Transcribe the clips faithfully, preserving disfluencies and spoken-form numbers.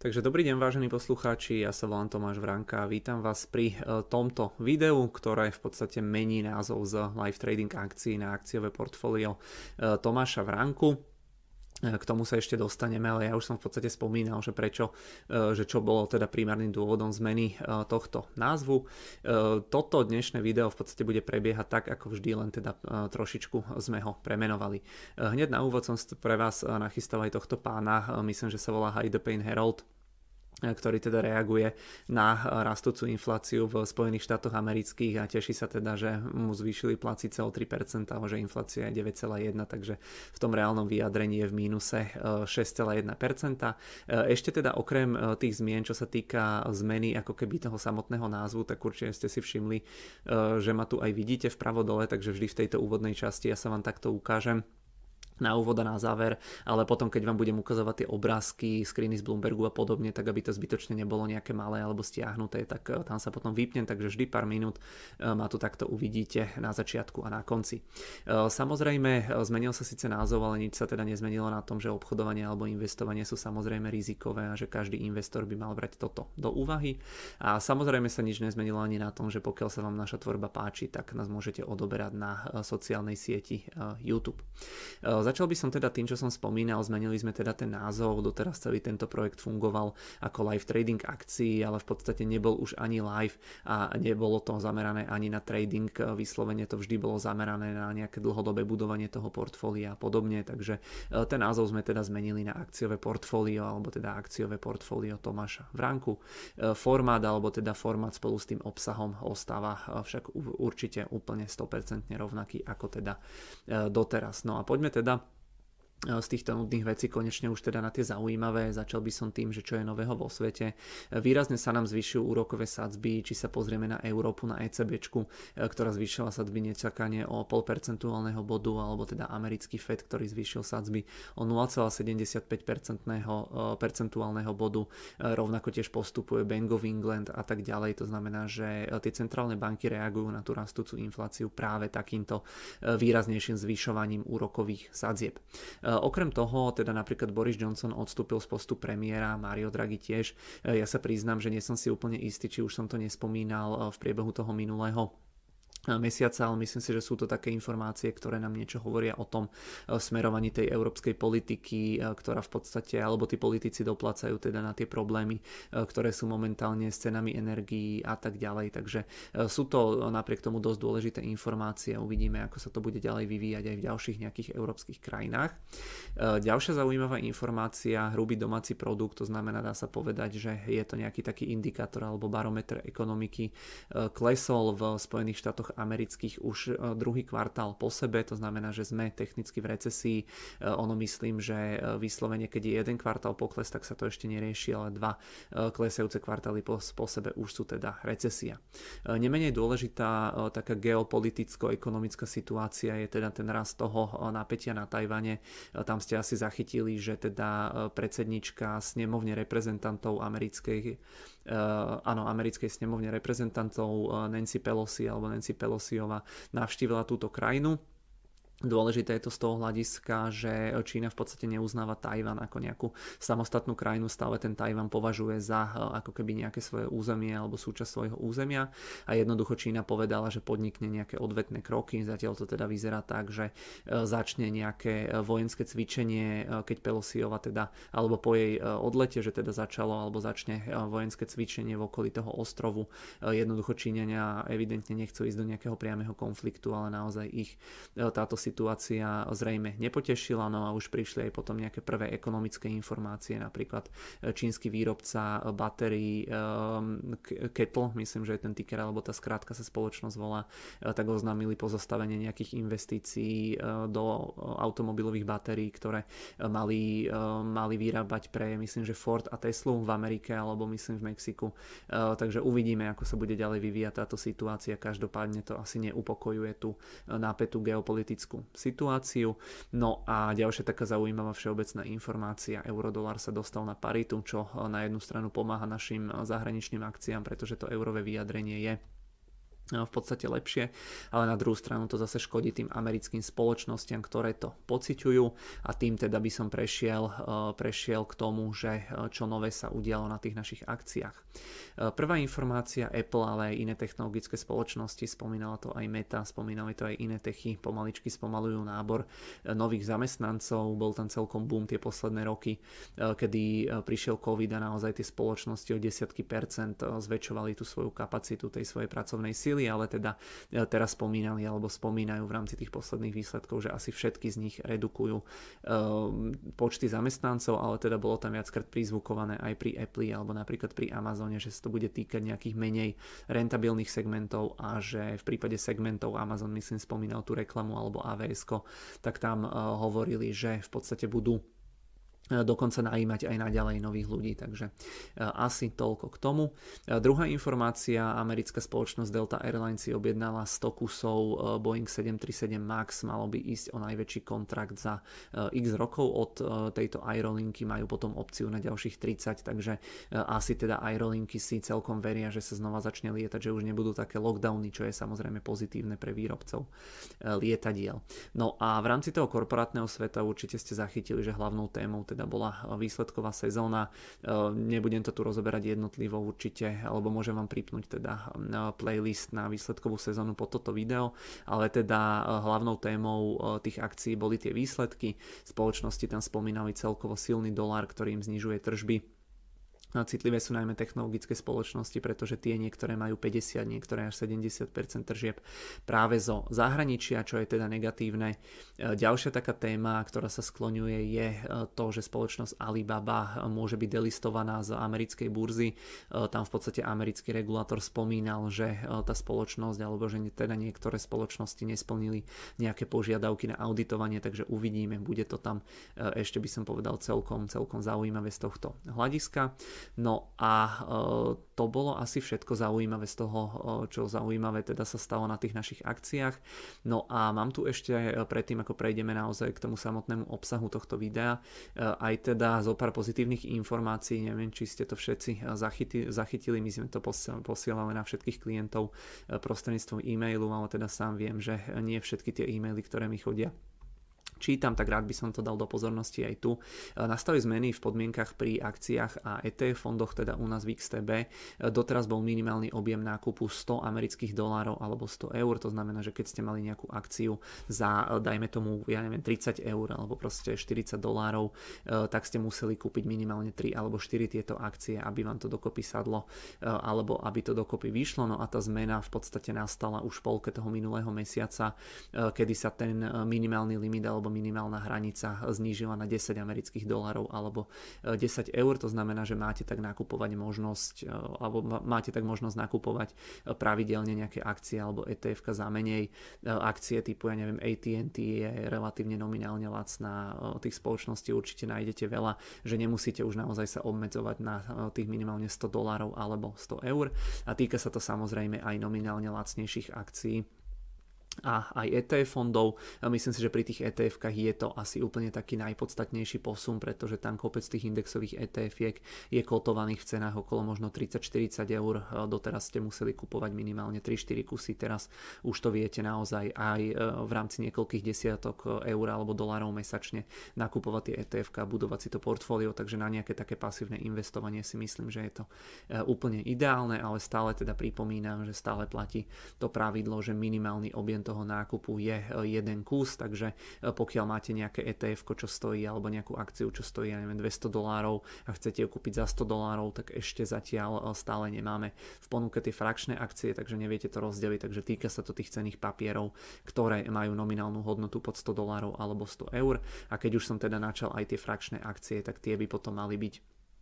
Takže dobrý deň, vážení poslucháči, ja sa volám Tomáš Vránka a vítam vás pri e, tomto videu, ktoré v podstate mení názov z live trading akcií na akciové portfólio e, Tomáša Vránku. K tomu sa ešte dostaneme, ale ja už som v podstate spomínal, že prečo, že čo bolo teda primárnym dôvodom zmeny tohto názvu. Toto dnešné video v podstate bude prebiehať tak, ako vždy, len teda trošičku sme ho premenovali. Hneď na úvod som pre vás nachystal aj tohto pána, myslím, že sa volá Hide the Pain Herald, ktorý teda reaguje na rastúcu infláciu v Spojených štátoch amerických a teší sa teda, že mu zvýšili plat síce o tri percentá, že inflácia je deväť celá jedna, takže v tom reálnom vyjadrení je v mínuse šesť celá jedna percenta. Ešte teda okrem tých zmien, čo sa týka zmeny ako keby toho samotného názvu, tak určite ste si všimli, že ma tu aj vidíte vpravo dole, takže vždy v tejto úvodnej časti ja sa vám takto ukážem na úvod a na záver, ale potom keď vám budem ukazovať tie obrázky, screeny z Bloombergu a podobne, tak aby to zbytočne nebolo nejaké malé alebo stiahnuté, tak tam sa potom vypnem, takže vždy pár minút ma tu takto uvidíte na začiatku a na konci. Samozrejme, zmenil sa síce názov, ale nič sa teda nezmenilo na tom, že obchodovanie alebo investovanie sú samozrejme rizikové a že každý investor by mal brať toto do úvahy. A samozrejme sa nič nezmenilo ani na tom, že pokiaľ sa vám naša tvorba páči, tak nás môžete odoberať na sociálnej sieti YouTube. Začal by som teda tým, čo som spomínal, zmenili sme teda ten názov, doteraz celý tento projekt fungoval ako live trading akcií, ale v podstate nebol už ani live a nebolo to zamerané ani na trading, vyslovene to vždy bolo zamerané na nejaké dlhodobé budovanie toho portfólia a podobne, takže ten názov sme teda zmenili na akciové portfólio, alebo teda akciové portfólio Tomáša Vránku. Formát, alebo teda formát spolu s tým obsahom ostáva však určite úplne sto percent rovnaký ako teda doteraz. No a poďme teda z týchto nudných vecí konečne už teda na tie zaujímavé. Začal by som tým, že čo je nového vo svete. Výrazne sa nám zvyšujú úrokové sadzby, či sa pozrieme na Európu, na ECBčku, ktorá zvýšila sadzby nečakane o pol percentuálneho bodu, alebo teda americký Fed, ktorý zvýšil sadzby o nula celá sedemdesiatpäť percentuálneho bodu. Rovnako tiež postupuje Bank of England a tak ďalej. To znamená, že tie centrálne banky reagujú na tú rastúcu infláciu práve takýmto výraznejším zvyšovaním úrokových sadzieb. Okrem toho, teda napríklad Boris Johnson odstúpil z postu premiéra, Mario Draghi tiež. Ja sa priznám, že nie som si úplne istý, či už som to nespomínal v priebehu toho minulého mesiaca, ale myslím si, že sú to také informácie, ktoré nám niečo hovoria o tom smerovaní tej európskej politiky, ktorá v podstate, alebo tí politici doplácajú teda na tie problémy, ktoré sú momentálne s cenami energií a tak ďalej. Takže sú to napriek tomu dosť dôležité informácie. Uvidíme, ako sa to bude ďalej vyvíjať aj v ďalších nejakých európskych krajinách. Ďalšia zaujímavá informácia, hrubý domáci produkt, to znamená, dá sa povedať, že je to nejaký taký indikátor alebo barometer ekonomiky, klesol v Spojených štátoch amerických už druhý kvartál po sebe, to znamená, že sme technicky v recesii. Ono myslím, že vyslovene, keď je jeden kvartál pokles, tak sa to ešte nerieši, ale dva klesajúce kvartály po, po sebe už sú teda recesia. Nemenej dôležitá taká geopoliticko-ekonomická situácia je teda ten rast toho napätia na Tajvane. Tam ste asi zachytili, že teda predsednička snemovne reprezentantov americkej áno, americkej snemovne reprezentantov Nancy Pelosi alebo Nancy Pelosiova navštívila túto krajinu. Dôležité je to z toho hľadiska, že Čína v podstate neuznáva Tajvan ako nejakú samostatnú krajinu, stále ten Tajvan považuje za ako keby nejaké svoje územie alebo súčasť svojho územia a jednoducho Čína povedala, že podnikne nejaké odvetné kroky. Zatiaľ to teda vyzerá tak, že začne nejaké vojenské cvičenie, keď Pelosiova teda, alebo po jej odlete, že teda začalo alebo začne vojenské cvičenie v okolí toho ostrovu. Jednoducho Číňania evidentne nechcú ísť do nejakého priameho konfliktu, ale naozaj ich táto situácia zrejme nepotešila, no a už prišli aj potom nejaké prvé ekonomické informácie, napríklad čínsky výrobca batérií um, Kettle, myslím, že je ten ticker, alebo tá skrátka sa spoločnosť volá, tak oznámili pozastavenie nejakých investícií do automobilových batérií, ktoré mali, mali vyrábať pre, myslím, že Ford a Teslu v Amerike, alebo myslím v Mexiku. Takže uvidíme, ako sa bude ďalej vyvíjať táto situácia. Každopádne to asi neupokojuje tú nápätú geopolitickú situáciu. No a ďalšia taká zaujímavá všeobecná informácia, eurodolár sa dostal na paritu, čo na jednu stranu pomáha našim zahraničným akciám, pretože to eurové vyjadrenie je v podstate lepšie, ale na druhú stranu to zase škodí tým americkým spoločnostiam, ktoré to pociťujú, a tým teda by som prešiel, prešiel k tomu, že čo nové sa udialo na tých našich akciách. Prvá informácia, Apple, ale aj iné technologické spoločnosti, spomínala to aj Meta, spomínali to aj iné techy, pomaličky spomalujú nábor nových zamestnancov, bol tam celkom boom tie posledné roky, kedy prišiel COVID a naozaj tie spoločnosti o desiatky percent zväčšovali tú svoju kapacitu tej svojej pracovnej síly, ale teda teraz spomínali alebo spomínajú v rámci tých posledných výsledkov, že asi všetky z nich redukujú počty zamestnancov, ale teda bolo tam viackrát prizvukované aj pri Apple alebo napríklad pri Amazone, že sa to bude týkať nejakých menej rentabilných segmentov a že v prípade segmentov Amazon, myslím, spomínal tú reklamu alebo á vé esko, tak tam hovorili, že v podstate budú dokonca najímať aj naďalej nových ľudí, takže asi toľko k tomu. Druhá informácia, americká spoločnosť Delta Airlines si objednala sto kusov Boeing sedem tri sedem MAX, malo by ísť o najväčší kontrakt za x rokov od tejto aerolinky, majú potom opciu na ďalších tridsať, takže asi teda aerolinky si celkom veria, že sa znova začne lietať, že už nebudú také lockdowny, čo je samozrejme pozitívne pre výrobcov lietadiel. No a v rámci toho korporátneho sveta určite ste zachytili, že hlavnou témou teda bola výsledková sezóna. Nebudem to tu rozoberať jednotlivo určite, alebo môžem vám pripnúť teda playlist na výsledkovú sezónu pod toto video, ale teda hlavnou témou tých akcií boli tie výsledky. Spoločnosti tam spomínali celkovo silný dolár, ktorý im znižuje tržby. Citlivé sú najmä technologické spoločnosti, pretože tie niektoré majú päťdesiat, niektoré až sedemdesiat percent tržieb práve zo zahraničia, čo je teda negatívne. Ďalšia taká téma, ktorá sa skloňuje, je to, že spoločnosť Alibaba môže byť delistovaná z americkej burzy. Tam v podstate americký regulátor spomínal, že tá spoločnosť, alebo že teda niektoré spoločnosti nesplnili nejaké požiadavky na auditovanie, takže uvidíme, bude to tam ešte by som povedal celkom, celkom zaujímavé z tohto hľadiska. No a to bolo asi všetko zaujímavé z toho, čo zaujímavé teda sa stalo na tých našich akciách. No a mám tu ešte predtým, ako prejdeme naozaj k tomu samotnému obsahu tohto videa, aj teda zo pár pozitívnych informácií. Neviem, či ste to všetci zachytili, zachytili. My sme to posielali na všetkých klientov prostredníctvom e-mailu, ale teda sám viem, že nie všetky tie e-maily, ktoré mi chodia, čítam, tak rád by som to dal do pozornosti aj tu. Nastali zmeny v podmienkach pri akciách a é té ef fondoch, teda u nás v iks té bé. Doteraz bol minimálny objem nákupu sto amerických dolárov alebo sto eur, to znamená, že keď ste mali nejakú akciu za, dajme tomu, ja neviem, tridsať eur alebo proste štyridsať dolárov, tak ste museli kúpiť minimálne tri alebo štyri tieto akcie, aby vám to dokopy sadlo alebo aby to dokopy vyšlo. No a tá zmena v podstate nastala už v polke toho minulého mesiaca, kedy sa ten minimálny limit alebo minimálna hranica znížila na desať amerických dolárov alebo desať eur, to znamená, že máte tak nakupovať možnosť alebo máte tak možnosť nakupovať pravidelne nejaké akcie alebo é té efka za menej. Akcie typu, ja neviem, á té and té je relatívne nominálne lacná, tých spoločností určite nájdete veľa, že nemusíte už naozaj sa obmedzovať na tých minimálne sto dolárov alebo sto eur, a týka sa to samozrejme aj nominálne lacnejších akcií a aj é té ef fondov. Myslím si, že pri tých é té efkách je to asi úplne taký najpodstatnejší posun, pretože tam kopec tých indexových é té efiek je kotovaných v cenách okolo možno tridsať štyridsať eur. Doteraz ste museli kupovať minimálne tri štyri kusy, teraz už to viete naozaj aj v rámci niekoľkých desiatok eur alebo dolárov mesačne nakupovať tie é té efka a budovať si to portfólio, takže na nejaké také pasívne investovanie si myslím, že je to úplne ideálne, ale stále teda pripomínam, že stále platí to pravidlo, že minimálny objem toho nákupu je jeden kus, takže pokiaľ máte nejaké é té efko, čo stojí, alebo nejakú akciu, čo stojí, ja neviem, dvesto dolárov a chcete ju kúpiť za sto dolárov, tak ešte zatiaľ stále nemáme v ponuke tie frakčné akcie, takže neviete to rozdeliť, takže týka sa to tých cenných papierov, ktoré majú nominálnu hodnotu pod sto dolárov alebo sto eur, a keď už som teda načal aj tie frakčné akcie, tak tie by potom mali byť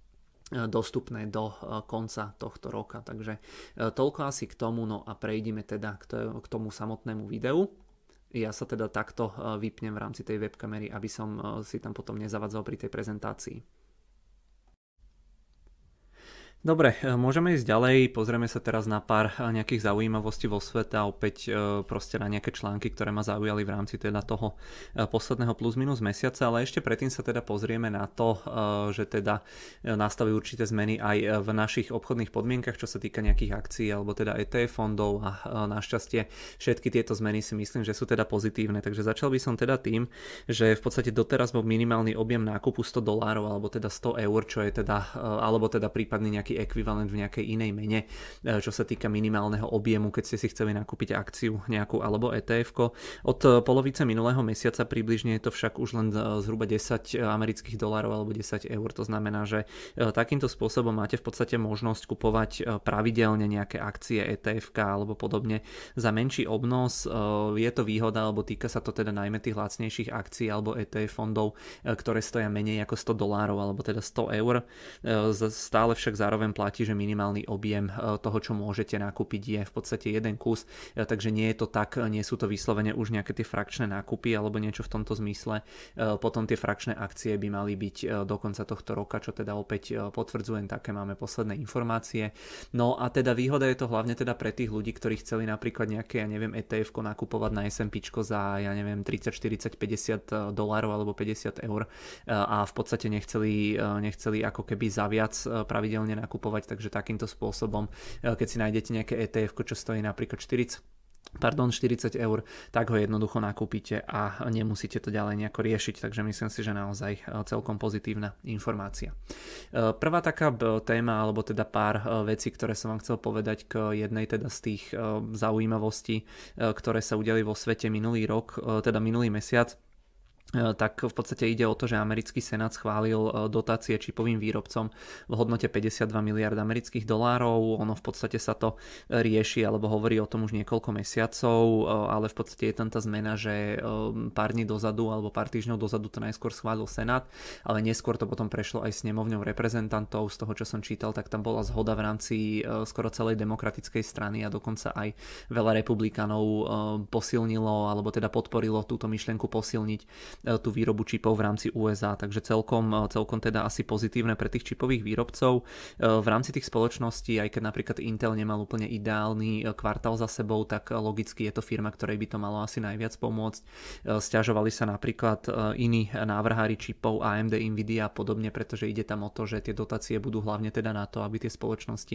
dostupné do konca tohto roka. Takže toľko asi k tomu, no a prejdime teda k tomu samotnému videu. Ja sa teda takto vypnem v rámci tej webkamery, aby som si tam potom nezavadzal pri tej prezentácii. Dobre, môžeme ísť ďalej, pozrieme sa teraz na pár nejakých zaujímavostí vo svete a opäť proste na nejaké články, ktoré ma zaujali v rámci teda toho posledného plus minus mesiaca, ale ešte predtým sa teda pozrieme na to, že teda nastali určité zmeny aj v našich obchodných podmienkach, čo sa týka nejakých akcií alebo teda é té ef fondov a našťastie všetky tieto zmeny si myslím, že sú teda pozitívne, takže začal by som teda tým, že v podstate doteraz bol minimálny objem nákupu sto dolárov alebo teda sto eur, čo je teda, alebo teda prípadný nejaký ekvivalent v nejakej inej mene, čo sa týka minimálneho objemu, keď ste si chceli nakúpiť akciu nejakú alebo é té efko. Od polovice minulého mesiaca približne je to však už len zhruba desať amerických dolárov alebo desať eur. To znamená, že takýmto spôsobom máte v podstate možnosť kupovať pravidelne nejaké akcie é té efka alebo podobne za menší obnos. Je to výhoda, alebo týka sa to teda najmä tých lacnejších akcií alebo é té ef fondov, ktoré stoja menej ako sto dolárov alebo teda sto eur. Stále však zároveň platí, že minimálny objem toho, čo môžete nakúpiť, je v podstate jeden kus, takže nie je to tak, nie sú to vyslovene už nejaké tie frakčné nákupy alebo niečo v tomto zmysle. Potom tie frakčné akcie by mali byť do konca tohto roka, čo teda opäť potvrdzujem, také máme posledné informácie. No a teda výhoda je to hlavne teda pre tých ľudí, ktorí chceli napríklad nejaké, ja neviem, é té efko nakupovať na es end pé za, ja neviem, tridsať, štyridsať, päťdesiat dolárov alebo päťdesiat eur a v podstate nechceli, nechceli ako keby zaviac pravidelne nakupovať, takže takýmto spôsobom, keď si nájdete nejaké é té efko, čo stojí napríklad štyridsať pardon, štyridsať eur, tak ho jednoducho nakúpite a nemusíte to ďalej nejako riešiť, takže myslím si, že naozaj celkom pozitívna informácia. Prvá taká téma, alebo teda pár vecí, ktoré som vám chcel povedať k jednej teda z tých zaujímavostí, ktoré sa udiali vo svete minulý rok, teda minulý mesiac, tak v podstate ide o to, že americký senát schválil dotácie čipovým výrobcom v hodnote päťdesiatdva miliárd amerických dolárov. Ono v podstate sa to rieši alebo hovorí o tom už niekoľko mesiacov, ale v podstate je tam tá zmena, že pár dní dozadu alebo pár týždňov dozadu to najskôr schválil senát, ale neskôr to potom prešlo aj snemovňou reprezentantov. Z toho, čo som čítal, tak tam bola zhoda v rámci skoro celej demokratickej strany a dokonca aj veľa republikánov posilnilo alebo teda podporilo túto myšlienku posilniť tú výrobu čipov v rámci ú es á, takže celkom, celkom teda asi pozitívne pre tých čipových výrobcov. V rámci tých spoločností, aj keď napríklad Intel nemal úplne ideálny kvartál za sebou, tak logicky je to firma, ktorej by to malo asi najviac pomôcť. Sťažovali sa napríklad iní návrhári čipov á em dé, Nvidia a podobne, pretože ide tam o to, že tie dotácie budú hlavne teda na to, aby tie spoločnosti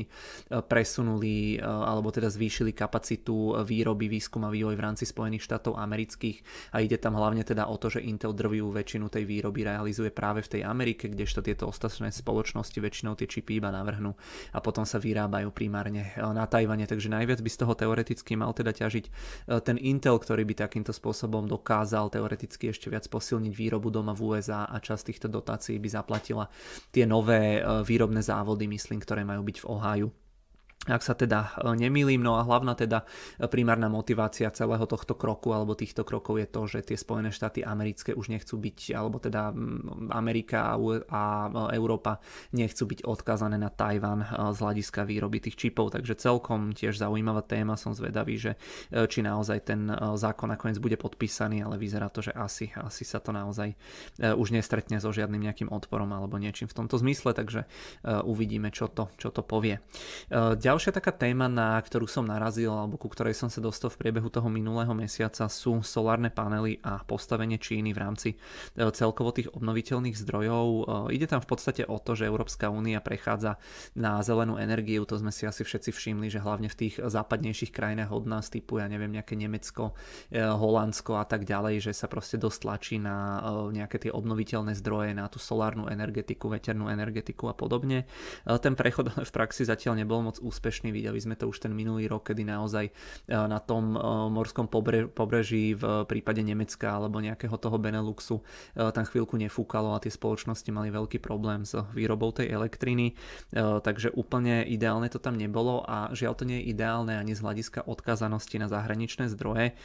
presunuli alebo teda zvýšili kapacitu výroby, výskum a vývoj v rámci Spojených štátov amerických a ide tam hlavne teda o to, že Intel drvivú väčšinu tej výroby realizuje práve v tej Amerike, kdežto tieto ostatné spoločnosti väčšinou tie čipy iba navrhnú a potom sa vyrábajú primárne na Tajvane, takže najviac by z toho teoreticky mal teda ťažiť ten Intel, ktorý by takýmto spôsobom dokázal teoreticky ešte viac posilniť výrobu doma v ú es á a časť týchto dotácií by zaplatila tie nové výrobné závody, myslím, ktoré majú byť v Ohiu. Ak sa teda nemýlim, no a hlavná teda primárna motivácia celého tohto kroku alebo týchto krokov je to, že tie Spojené štáty americké už nechcú byť, alebo teda Amerika a Európa nechcú byť odkázané na Tajvan z hľadiska výroby tých čipov, takže celkom tiež zaujímavá téma, som zvedavý, že či naozaj ten zákon nakoniec bude podpísaný, ale vyzerá to, že asi, asi sa to naozaj už nestretne so žiadnym nejakým odporom alebo niečím v tomto zmysle, takže uvidíme, čo to, čo to povie. Ďalšia taká téma, na ktorú som narazil alebo ku ktorej som sa dostal v priebehu toho minulého mesiaca, sú solárne panely a postavenie Číny v rámci celkovo tých obnoviteľných zdrojov. Ide tam v podstate o to, že Európska únia prechádza na zelenú energiu, to sme si asi všetci všimli, že hlavne v tých západnejších krajinách od nás typu, ja neviem, nejaké Nemecko, Holandsko a tak ďalej, že sa proste dosť tlačí na nejaké tie obnoviteľné zdroje, na tú solárnu energetiku, veternú energetiku a podobne. Ten prechod v praxi zatiaľ nebol moc úspešný, videli sme to už ten minulý rok, kedy naozaj na tom morskom pobreží v prípade Nemecka alebo nejakého toho Beneluxu tam chvíľku nefúkalo a tie spoločnosti mali veľký problém s výrobou tej elektriny, takže úplne ideálne to tam nebolo a žiaľ to nie je ideálne ani z hľadiska odkázanosti na zahraničné zdroje,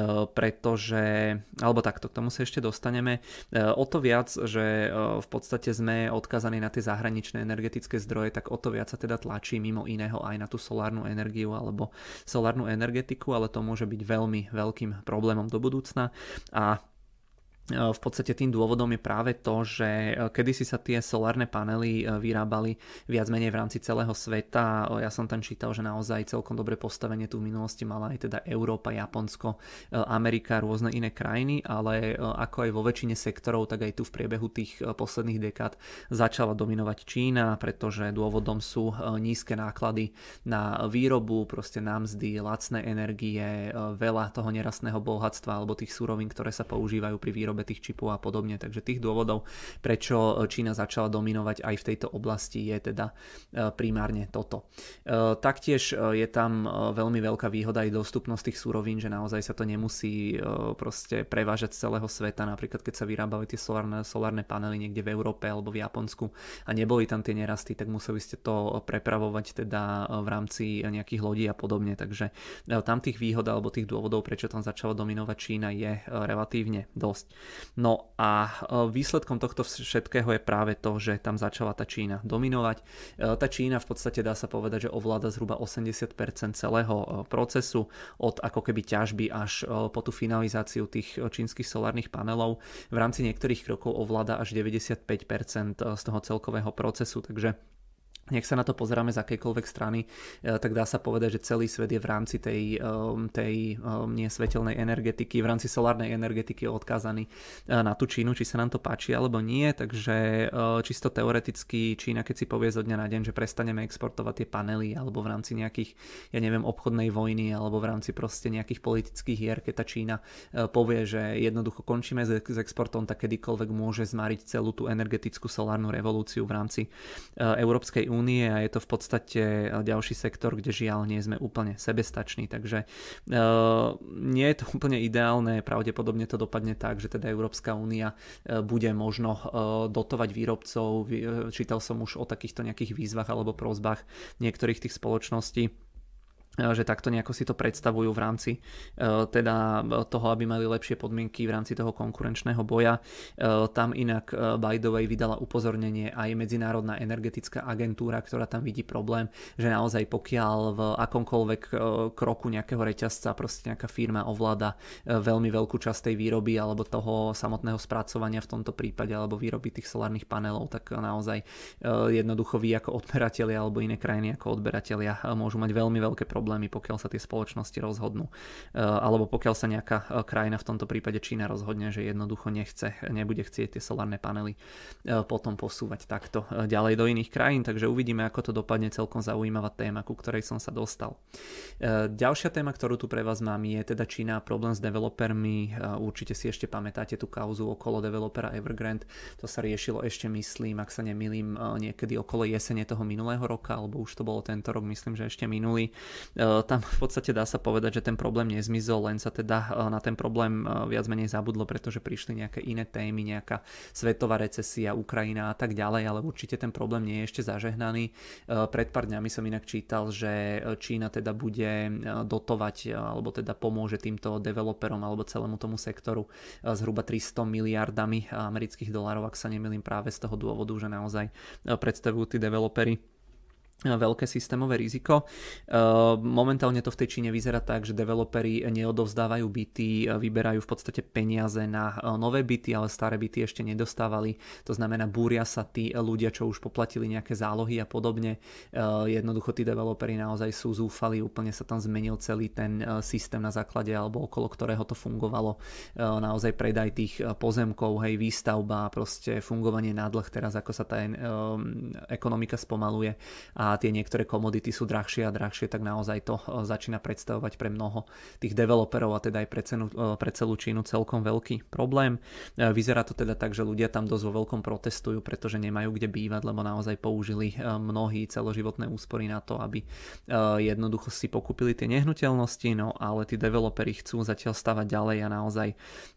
pretože, alebo takto, k tomu sa ešte dostaneme, o to viac, že v podstate sme odkázaní na tie zahraničné energetické zdroje, tak o to viac sa teda tlačí mimo iného aj na tú solárnu energiu alebo solárnu energetiku, ale to môže byť veľmi veľkým problémom do budúcna a V podstate tým dôvodom je práve to, že kedysi sa tie solárne panely vyrábali viac menej v rámci celého sveta. Ja som tam čítal, že naozaj celkom dobre postavenie tu v minulosti mala aj teda Európa, Japonsko, Amerika, rôzne iné krajiny, ale ako aj vo väčšine sektorov, tak aj tu v priebehu tých posledných dekád začala dominovať Čína, pretože dôvodom sú nízke náklady na výrobu, proste na mzdy, lacné energie, veľa toho nerastného bohatstva alebo tých surovín, ktoré sa používajú pri výrobe tých čipov a podobne. Takže tých dôvodov, prečo Čína začala dominovať aj v tejto oblasti, je teda primárne toto. Taktiež je tam veľmi veľká výhoda aj dostupnosť tých surovín, že naozaj sa to nemusí proste prevážať z celého sveta. Napríklad keď sa vyrábali tie solárne, solárne panely niekde v Európe alebo v Japonsku a neboli tam tie nerasty, tak museli ste to prepravovať teda v rámci nejakých lodí a podobne. Takže tam tých výhod alebo tých dôvodov, prečo tam začala dominovať Čína, je relatívne dosť. No a výsledkom tohto všetkého je práve to, že tam začala tá Čína dominovať. Tá Čína v podstate dá sa povedať, že ovláda zhruba osemdesiat percent celého procesu od ako keby ťažby až po tú finalizáciu tých čínskych solárnych panelov. V rámci niektorých krokov ovláda až deväťdesiatpäť percent z toho celkového procesu, takže nech sa na to pozeráme z akejkoľvek strany, tak dá sa povedať, že celý svet je v rámci tej, tej nie svetelnej energetiky, v rámci solárnej energetiky odkázaný na tú Čínu, či sa nám to páči alebo nie, takže čisto teoreticky Čína, keď si povie zo dňa na deň, že prestaneme exportovať tie panely alebo v rámci nejakých, ja neviem, obchodnej vojny alebo v rámci proste nejakých politických hier, keď tá Čína povie, že jednoducho končíme s exportom, tak kedykoľvek môže zmariť celú tú energetickú solárnu revolúciu v rámci Európskej únie. únie a je to v podstate ďalší sektor, kde žiaľ nie sme úplne sebestační, takže uh, nie je to úplne ideálne, pravdepodobne to dopadne tak, že teda Európska únia uh, bude možno uh, dotovať výrobcov, čítal som už o takýchto nejakých výzvach alebo prosbách niektorých tých spoločností, že takto nejako si to predstavujú v rámci teda toho, aby mali lepšie podmienky v rámci toho konkurenčného boja. Tam inak by the way vydala upozornenie aj Medzinárodná energetická agentúra, ktorá tam vidí problém, že naozaj pokiaľ v akomkoľvek kroku nejakého reťazca proste nejaká firma ovláda veľmi veľkú časť tej výroby alebo toho samotného spracovania v tomto prípade alebo výroby tých solárnych panelov, tak naozaj jednoducho vy ako odberatelia alebo iné krajiny ako odberatelia môžu mať veľmi veľké problémy, pokiaľ sa tie spoločnosti rozhodnú. Alebo pokiaľ sa nejaká krajina, v tomto prípade Čína, rozhodne, že jednoducho nechce, nebude chcieť tie solárne panely potom posúvať takto ďalej do iných krajín. Takže uvidíme, ako to dopadne. Celkom zaujímavá téma, ku ktorej som sa dostal. Ďalšia téma, ktorú tu pre vás mám, je teda Čína a problém s developermi. Určite si ešte pamätáte tú kauzu okolo developera Evergrande. To sa riešilo ešte, myslím, ak sa nemýlim, niekedy okolo jesene toho minulého roka, alebo už to bolo tento rok, myslím, že ešte minulý. Tam v podstate dá sa povedať, že ten problém nezmizol, len sa teda na ten problém viac menej zabudlo, pretože prišli nejaké iné témy, nejaká svetová recesia, Ukrajina a tak ďalej, ale určite ten problém nie je ešte zažehnaný. Pred pár dňami som inak čítal, že Čína teda bude dotovať alebo teda pomôže týmto developerom alebo celému tomu sektoru zhruba tristo miliardami amerických dolárov, ak sa nemýlim, práve z toho dôvodu, že naozaj predstavujú tí developeri veľké systémové riziko. Momentálne to v tej Číne vyzerá tak, že developeri neodovzdávajú byty, vyberajú v podstate peniaze na nové byty, ale staré byty ešte nedostávali. To znamená, búria sa tí ľudia, čo už poplatili nejaké zálohy a podobne. Jednoducho tí developeri naozaj sú zúfali, úplne sa tam zmenil celý ten systém na základe alebo okolo ktorého to fungovalo. Naozaj predaj tých pozemkov, hej, výstavba, proste fungovanie na dlh teraz, ako sa tá ekonomika spomaluje a a tie niektoré komodity sú drahšie a drahšie, tak naozaj to začína predstavovať pre mnoho tých developerov a teda aj pre, cenu, pre celú Čínu celkom veľký problém. Vyzerá to teda tak, že ľudia tam dosť vo veľkom protestujú, pretože nemajú kde bývať, lebo naozaj použili mnohí celoživotné úspory na to, aby jednoducho si pokúpili tie nehnuteľnosti, no ale tí developeri chcú zatiaľ stavať ďalej a naozaj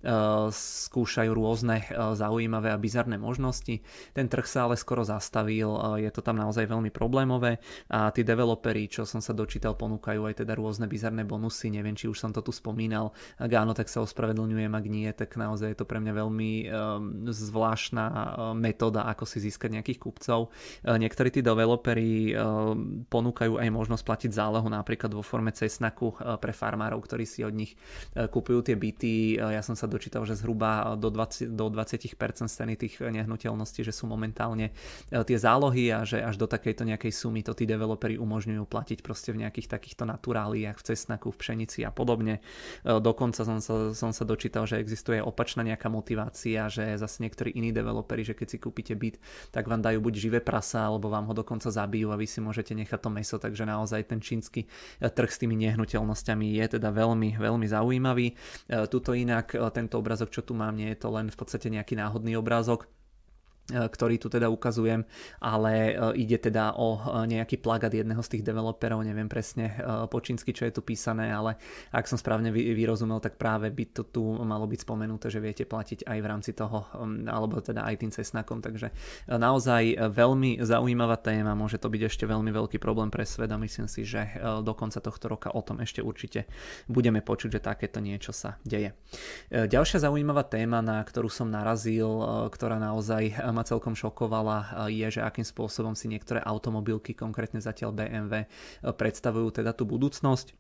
skúšajú rôzne zaujímavé a bizarné možnosti. Ten trh sa ale skoro zastavil, je to tam naozaj veľmi problémové. zaujímavé a tí developeri, čo som sa dočítal, ponúkajú aj teda rôzne bizarné bonusy, neviem, či už som to tu spomínal, ak áno, tak sa ospravedlňujem, ak nie, tak naozaj je to pre mňa veľmi um, zvláštna metóda, ako si získať nejakých kupcov. Niektorí tí developeri um, ponúkajú aj možnosť platiť zálohu napríklad vo forme cesnaku pre farmárov, ktorí si od nich kupujú tie byty. Ja som sa dočítal, že zhruba do dvadsať, do dvadsať percent z ceny tých nehnuteľností, že sú momentálne tie zálohy a že až do takejto nejakej sumy to tí developeri umožňujú platiť proste v nejakých takýchto naturáliách, v cesnaku, v pšenici a podobne. Dokonca som sa, som sa dočítal, že existuje opačná nejaká motivácia, že zase niektorí iní developeri, že keď si kúpite byt, tak vám dajú buď živé prasa, alebo vám ho dokonca zabijú a vy si môžete nechať to mäso, takže naozaj ten čínsky trh s tými nehnuteľnosťami je teda veľmi, veľmi zaujímavý. Tuto inak tento obrazok, čo tu mám, nie je to len v podstate nejaký náhodný obrázok, ktorý tu teda ukazujem, ale ide teda o nejaký plagát jedného z tých developerov, neviem presne po čínsky, čo je tu písané, ale ak som správne vyrozumel, tak práve by to tu malo byť spomenuté, že viete platiť aj v rámci toho, alebo teda aj tým cesnakom, takže naozaj veľmi zaujímavá téma, môže to byť ešte veľmi veľký problém pre svet a myslím si, že do konca tohto roka o tom ešte určite budeme počuť, že takéto niečo sa deje. Ďalšia zaujímavá téma, na ktorú som narazil, ktorá naozaj ma celkom šokovala, je, že akým spôsobom si niektoré automobilky, konkrétne zatiaľ bé em vé, predstavujú teda tú budúcnosť.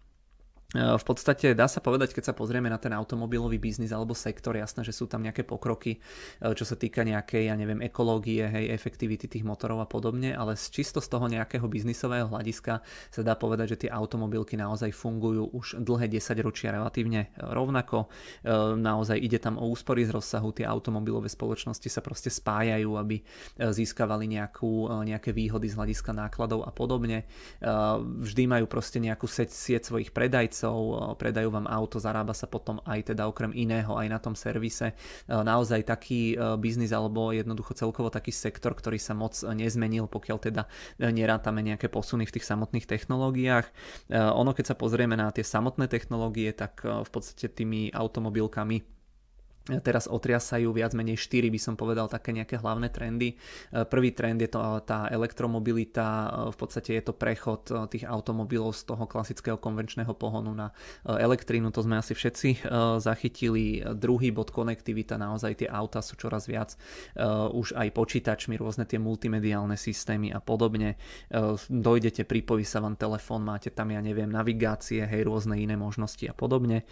V podstate dá sa povedať, keď sa pozrieme na ten automobilový biznis alebo sektor, jasné, že sú tam nejaké pokroky, čo sa týka nejakej, ja neviem, ekológie, hej, efektivity tých motorov a podobne, ale čisto z toho nejakého biznisového hľadiska sa dá povedať, že tie automobilky naozaj fungujú už dlhé desaťročia relatívne rovnako. Naozaj ide tam o úspory z rozsahu, tie automobilové spoločnosti sa proste spájajú, aby získavali nejakú, nejaké výhody z hľadiska nákladov a podobne. Vždy majú proste nejakú sieť, sieť svojich predajcov, predajú vám auto, zarába sa potom aj teda okrem iného aj na tom servise. Naozaj taký biznis alebo jednoducho celkovo taký sektor, ktorý sa moc nezmenil, pokiaľ teda nerátame nejaké posuny v tých samotných technológiách. Ono, keď sa pozrieme na tie samotné technológie, tak v podstate tými automobilkami teraz otriasajú viac menej štyri, by som povedal, také nejaké hlavné trendy. Prvý trend je to tá elektromobilita, v podstate je to prechod tých automobilov z toho klasického konvenčného pohonu na elektrínu, to sme asi všetci zachytili. Druhý bod, konektivita, naozaj tie autá sú čoraz viac už aj počítačmi, rôzne tie multimediálne systémy a podobne. Dojdete, pripojí sa vám telefón, máte tam, ja neviem, navigácie, hej, rôzne iné možnosti a podobne.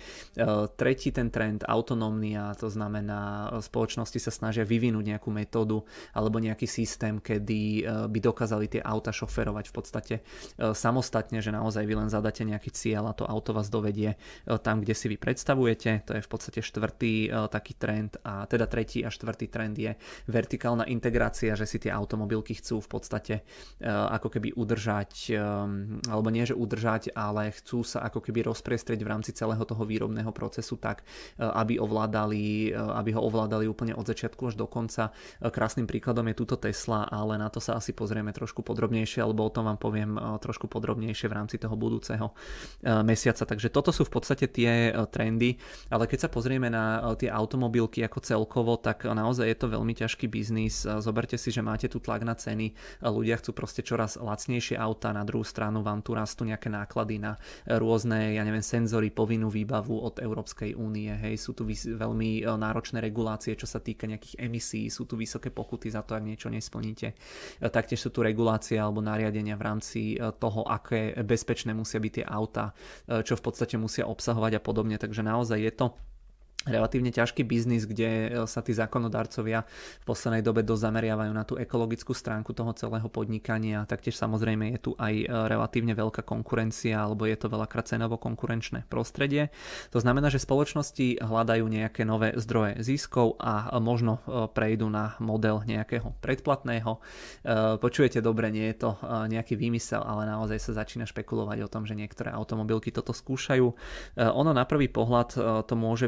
Tretí ten trend, autonómia, to znamená, spoločnosti sa snažia vyvinúť nejakú metódu alebo nejaký systém, kedy by dokázali tie auta šoferovať v podstate samostatne, že naozaj vy len zadáte nejaký cieľ a to auto vás dovedie tam, kde si vy predstavujete. To je v podstate štvrtý taký trend a teda tretí a štvrtý trend je vertikálna integrácia, že si tie automobilky chcú v podstate ako keby udržať, alebo nie že udržať, ale chcú sa ako keby rozpriestrieť v rámci celého toho výrobného procesu tak, aby ovládali aby ho ovládali úplne od začiatku až do konca. Krásnym príkladom je túto Tesla, ale na to sa asi pozrieme trošku podrobnejšie, alebo o tom vám poviem trošku podrobnejšie v rámci toho budúceho mesiaca. Takže toto sú v podstate tie trendy, ale keď sa pozrieme na tie automobilky ako celkovo, tak naozaj je to veľmi ťažký biznis. Zoberte si, že máte tu tlak na ceny, ľudia chcú proste čoraz lacnejšie auta, na druhú stranu vám tu rastú nejaké náklady na rôzne, ja neviem, senzory, povinnú výbavu od Európskej únie, hej, sú tu veľmi náročné regulácie, čo sa týka nejakých emisí, sú tu vysoké pokuty za to, ak niečo nesplníte. Taktiež sú tu regulácie alebo nariadenia v rámci toho, aké bezpečné musia byť tie auta, čo v podstate musia obsahovať a podobne, takže naozaj je to relatívne ťažký biznis, kde sa tí zákonodarcovia v poslednej dobe dosť zameriavajú na tú ekologickú stránku toho celého podnikania. Taktiež samozrejme je tu aj relatívne veľká konkurencia, alebo je to veľakrát cenovo konkurenčné prostredie. To znamená, že spoločnosti hľadajú nejaké nové zdroje ziskov a možno prejdú na model nejakého predplatného. Počujete dobre, nie je to nejaký výmysel, ale naozaj sa začína špekulovať o tom, že niektoré automobilky toto skúšajú. Ono na prvý pohľad to môže byť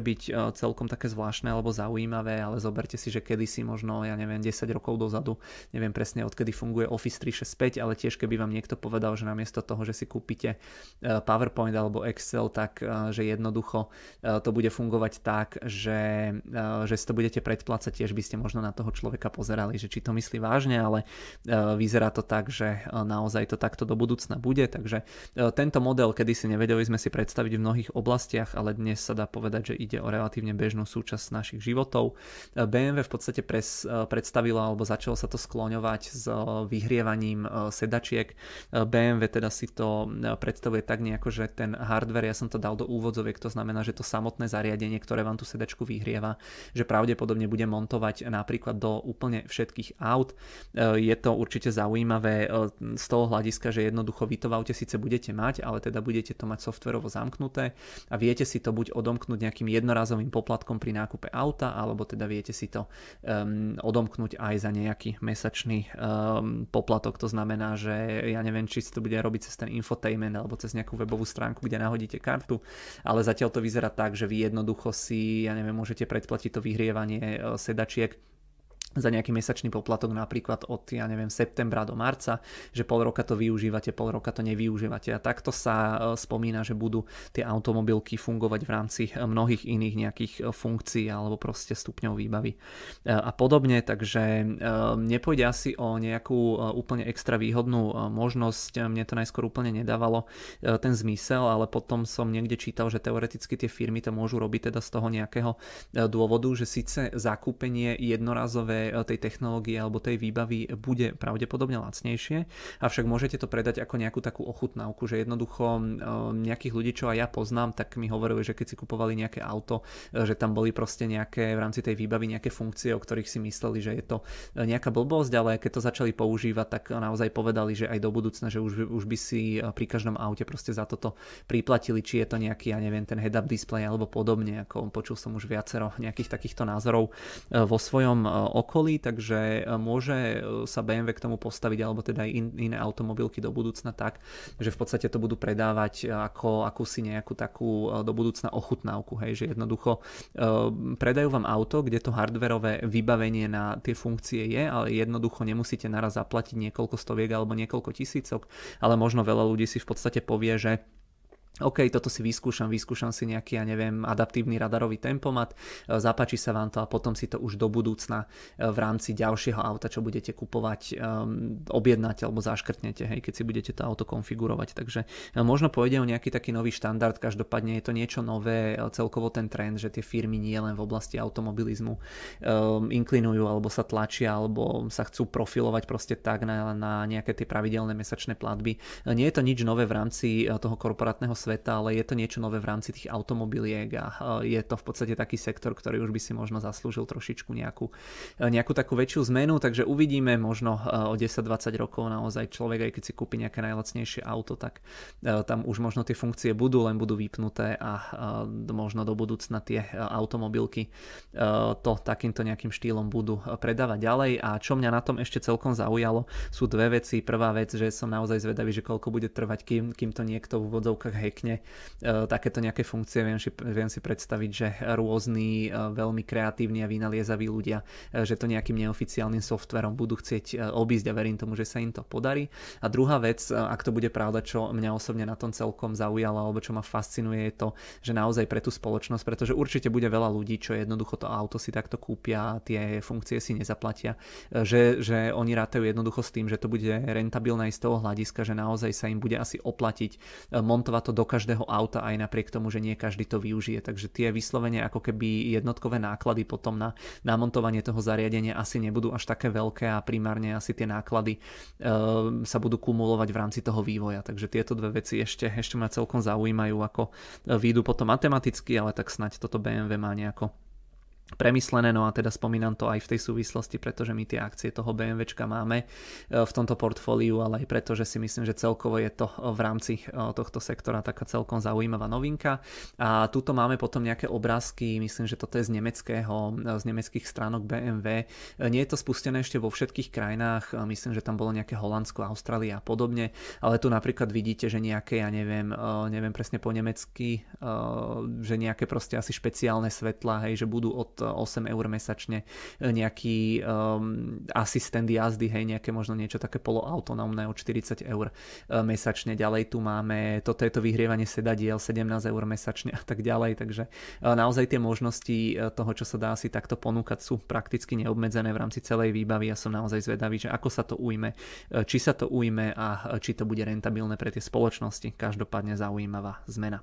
celkom také zvláštne alebo zaujímavé, ale zoberte si, že kedysi možno, ja neviem, desať rokov dozadu, neviem presne odkedy funguje Office tri šesť päť, ale tiež keby vám niekto povedal, že namiesto toho, že si kúpite PowerPoint alebo Excel, tak že jednoducho to bude fungovať tak, že, že si to budete predplácať, tiež by ste možno na toho človeka pozerali, že či to myslí vážne, ale vyzerá to tak, že naozaj to takto do budúcna bude, takže tento model kedysi nevedeli sme si predstaviť v mnohých oblastiach, ale dnes sa dá povedať, že ide o relatívne bežnú súčasť našich životov. bé em vé v podstate pres, predstavilo alebo začalo sa to skloňovať s vyhrievaním sedačiek. bé em vé teda si to predstavuje tak nejako, že ten hardware, ja som to dal do úvodzoviek, to znamená, že to samotné zariadenie, ktoré vám tú sedačku vyhrieva, že pravdepodobne bude montovať napríklad do úplne všetkých aut. Je to určite zaujímavé z toho hľadiska, že jednoducho vy to v aute síce budete mať, ale teda budete to mať softverovo zamknuté a viete si to buď odomknúť nejakým jednorazovým poplatkom pri nákupe auta, alebo teda viete si to um, odomknúť aj za nejaký mesačný um, poplatok. To znamená, že ja neviem, či si to bude robiť cez ten infotainment alebo cez nejakú webovú stránku, kde nahodíte kartu, ale zatiaľ to vyzerá tak, že vy jednoducho si, ja neviem, môžete predplatiť to vyhrievanie sedačiek za nejaký mesačný poplatok napríklad od, ja neviem, septembra do marca, že pol roka to využívate, pol roka to nevyužívate a takto sa spomína, že budú tie automobilky fungovať v rámci mnohých iných nejakých funkcií alebo proste stupňov výbavy a podobne, takže nepôjde asi o nejakú úplne extra výhodnú možnosť, mne to najskôr úplne nedávalo ten zmysel, ale potom som niekde čítal, že teoreticky tie firmy to môžu robiť teda z toho nejakého dôvodu, že síce zakúpenie jednorazové tej technológie alebo tej výbavy bude pravdepodobne lacnejšie, avšak môžete to predať ako nejakú takú ochutnávku, že jednoducho nejakých ľudí, čo aj ja poznám, tak mi hovorili, že keď si kupovali nejaké auto, že tam boli proste nejaké v rámci tej výbavy nejaké funkcie, o ktorých si mysleli, že je to nejaká blbosť, ale keď to začali používať, tak naozaj povedali, že aj do budúcna, že už, už by si pri každom aute proste za toto priplatili, či je to nejaký, ja neviem, ten head-up display alebo podobne, ako počul som už viacero nejakých takýchto názorov vo svojom okolí, takže môže sa bé em vé k tomu postaviť alebo teda aj in, iné automobilky do budúcna tak, že v podstate to budú predávať ako akúsi nejakú takú do budúcna ochutnávku, hej, že jednoducho predajú vám auto, kde to hardwareové vybavenie na tie funkcie je, ale jednoducho nemusíte naraz zaplatiť niekoľko stoviek alebo niekoľko tisícok, ale možno veľa ľudí si v podstate povie, že OK, toto si vyskúšam, vyskúšam si nejaký, ja neviem, adaptívny radarový tempomat, zapáči sa vám to a potom si to už do budúcna v rámci ďalšieho auta, čo budete kupovať, objednáte alebo zaškrtnete, hej, keď si budete to auto konfigurovať. Takže možno pôjde o nejaký taký nový štandard, každopádne je to niečo nové, celkovo ten trend, že tie firmy nie len v oblasti automobilizmu um, inklinujú alebo sa tlačia alebo sa chcú profilovať proste tak na, na nejaké tie pravidelné mesačné platby. Nie je to nič nové v rámci toho korporátneho sveta, ale je to niečo nové v rámci tých automobiliek a je to v podstate taký sektor, ktorý už by si možno zaslúžil trošičku nejakú, nejakú takú väčšiu zmenu, takže uvidíme možno o desať dvadsať rokov naozaj človek, aj keď si kúpi nejaké najlacnejšie auto, tak tam už možno tie funkcie budú, len budú vypnuté a možno do budúcna tie automobilky to takýmto nejakým štýlom budú predávať ďalej. A čo mňa na tom ešte celkom zaujalo, sú dve veci. Prvá vec, že som naozaj zvedavý, že koľko bude trvať, kým, kým to niekto v úvodzovkách hackne takéto nejaké funkcie. Viem si, viem si predstaviť, že rôzni veľmi kreatívni a vynaliezaví ľudia, že to nejakým neoficiálnym softverom budú chcieť obísť a verím tomu, že sa im to podarí. A druhá vec, ak to bude pravda, čo mňa osobne na tom celkom zaujalo alebo čo ma fascinuje, je to, že naozaj pre tú spoločnosť, pretože určite bude veľa ľudí, čo jednoducho to auto si takto kúpia a tie funkcie si nezaplatia, že, že oni rátajú jednoducho s tým, že to bude rentabilné aj z toho hľadiska, že naozaj sa im bude asi oplatiť montovať to do každého auta aj napriek tomu, že nie každý to využije. Takže tie vyslovene ako keby jednotkové náklady potom na namontovanie toho zariadenia asi nebudú až také veľké a primárne asi tie náklady e, sa budú kumulovať v rámci toho vývoja. Takže tieto dve veci ešte, ešte ma celkom zaujímajú, ako výjdu potom matematicky, ale tak snáď toto bé em vé má nejako premyslené, no a teda spomínam to aj v tej súvislosti, pretože my tie akcie toho BMWčka máme v tomto portfóliu, ale aj preto, že si myslím, že celkovo je to v rámci tohto sektora taká celkom zaujímavá novinka. A tuto máme potom nejaké obrázky, myslím, že toto je z nemeckého, z nemeckých stránok bé em vé. Nie je to spustené ešte vo všetkých krajinách, myslím, že tam bolo nejaké Holandsko, Austrália a podobne, ale tu napríklad vidíte, že nejaké, ja neviem, neviem presne po nemecky, že nejaké proste asi špeciálne svetlá, hej, že budú od osem eur mesačne, nejaký um, asistent jazdy, hej, nejaké možno niečo také poloautonómne od štyridsať eur mesačne. Ďalej tu máme, toto je to vyhrievanie sedadiel, sedemnásť eur mesačne a tak ďalej, takže naozaj tie možnosti toho, čo sa dá asi takto ponúkať, sú prakticky neobmedzené v rámci celej výbavy. Ja som naozaj zvedavý, že ako sa to ujme, či sa to ujme a či to bude rentabilné pre tie spoločnosti. Každopádne zaujímavá zmena.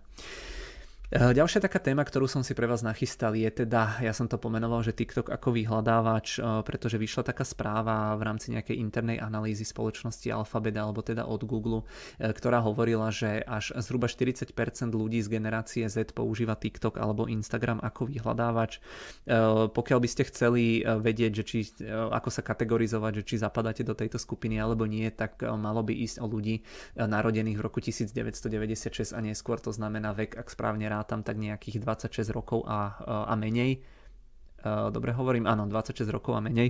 Ďalšia taká téma, ktorú som si pre vás nachystal, je teda, ja som to pomenoval, že TikTok ako vyhľadávač, pretože vyšla taká správa v rámci nejakej internej analýzy spoločnosti Alphabet, alebo teda od Google, ktorá hovorila, že až zhruba štyridsať percent ľudí z generácie Z používa TikTok alebo Instagram ako vyhľadávač. Pokiaľ by ste chceli vedieť, že či, ako sa kategorizovať, že či zapadáte do tejto skupiny alebo nie, tak malo by ísť o ľudí narodených v roku devätnásťstodeväťdesiatšesť a neskôr, to znamená vek, ak správne tam tak nejakých dvadsaťšesť rokov a, a menej. Dobre hovorím? Áno, dvadsaťšesť rokov a menej.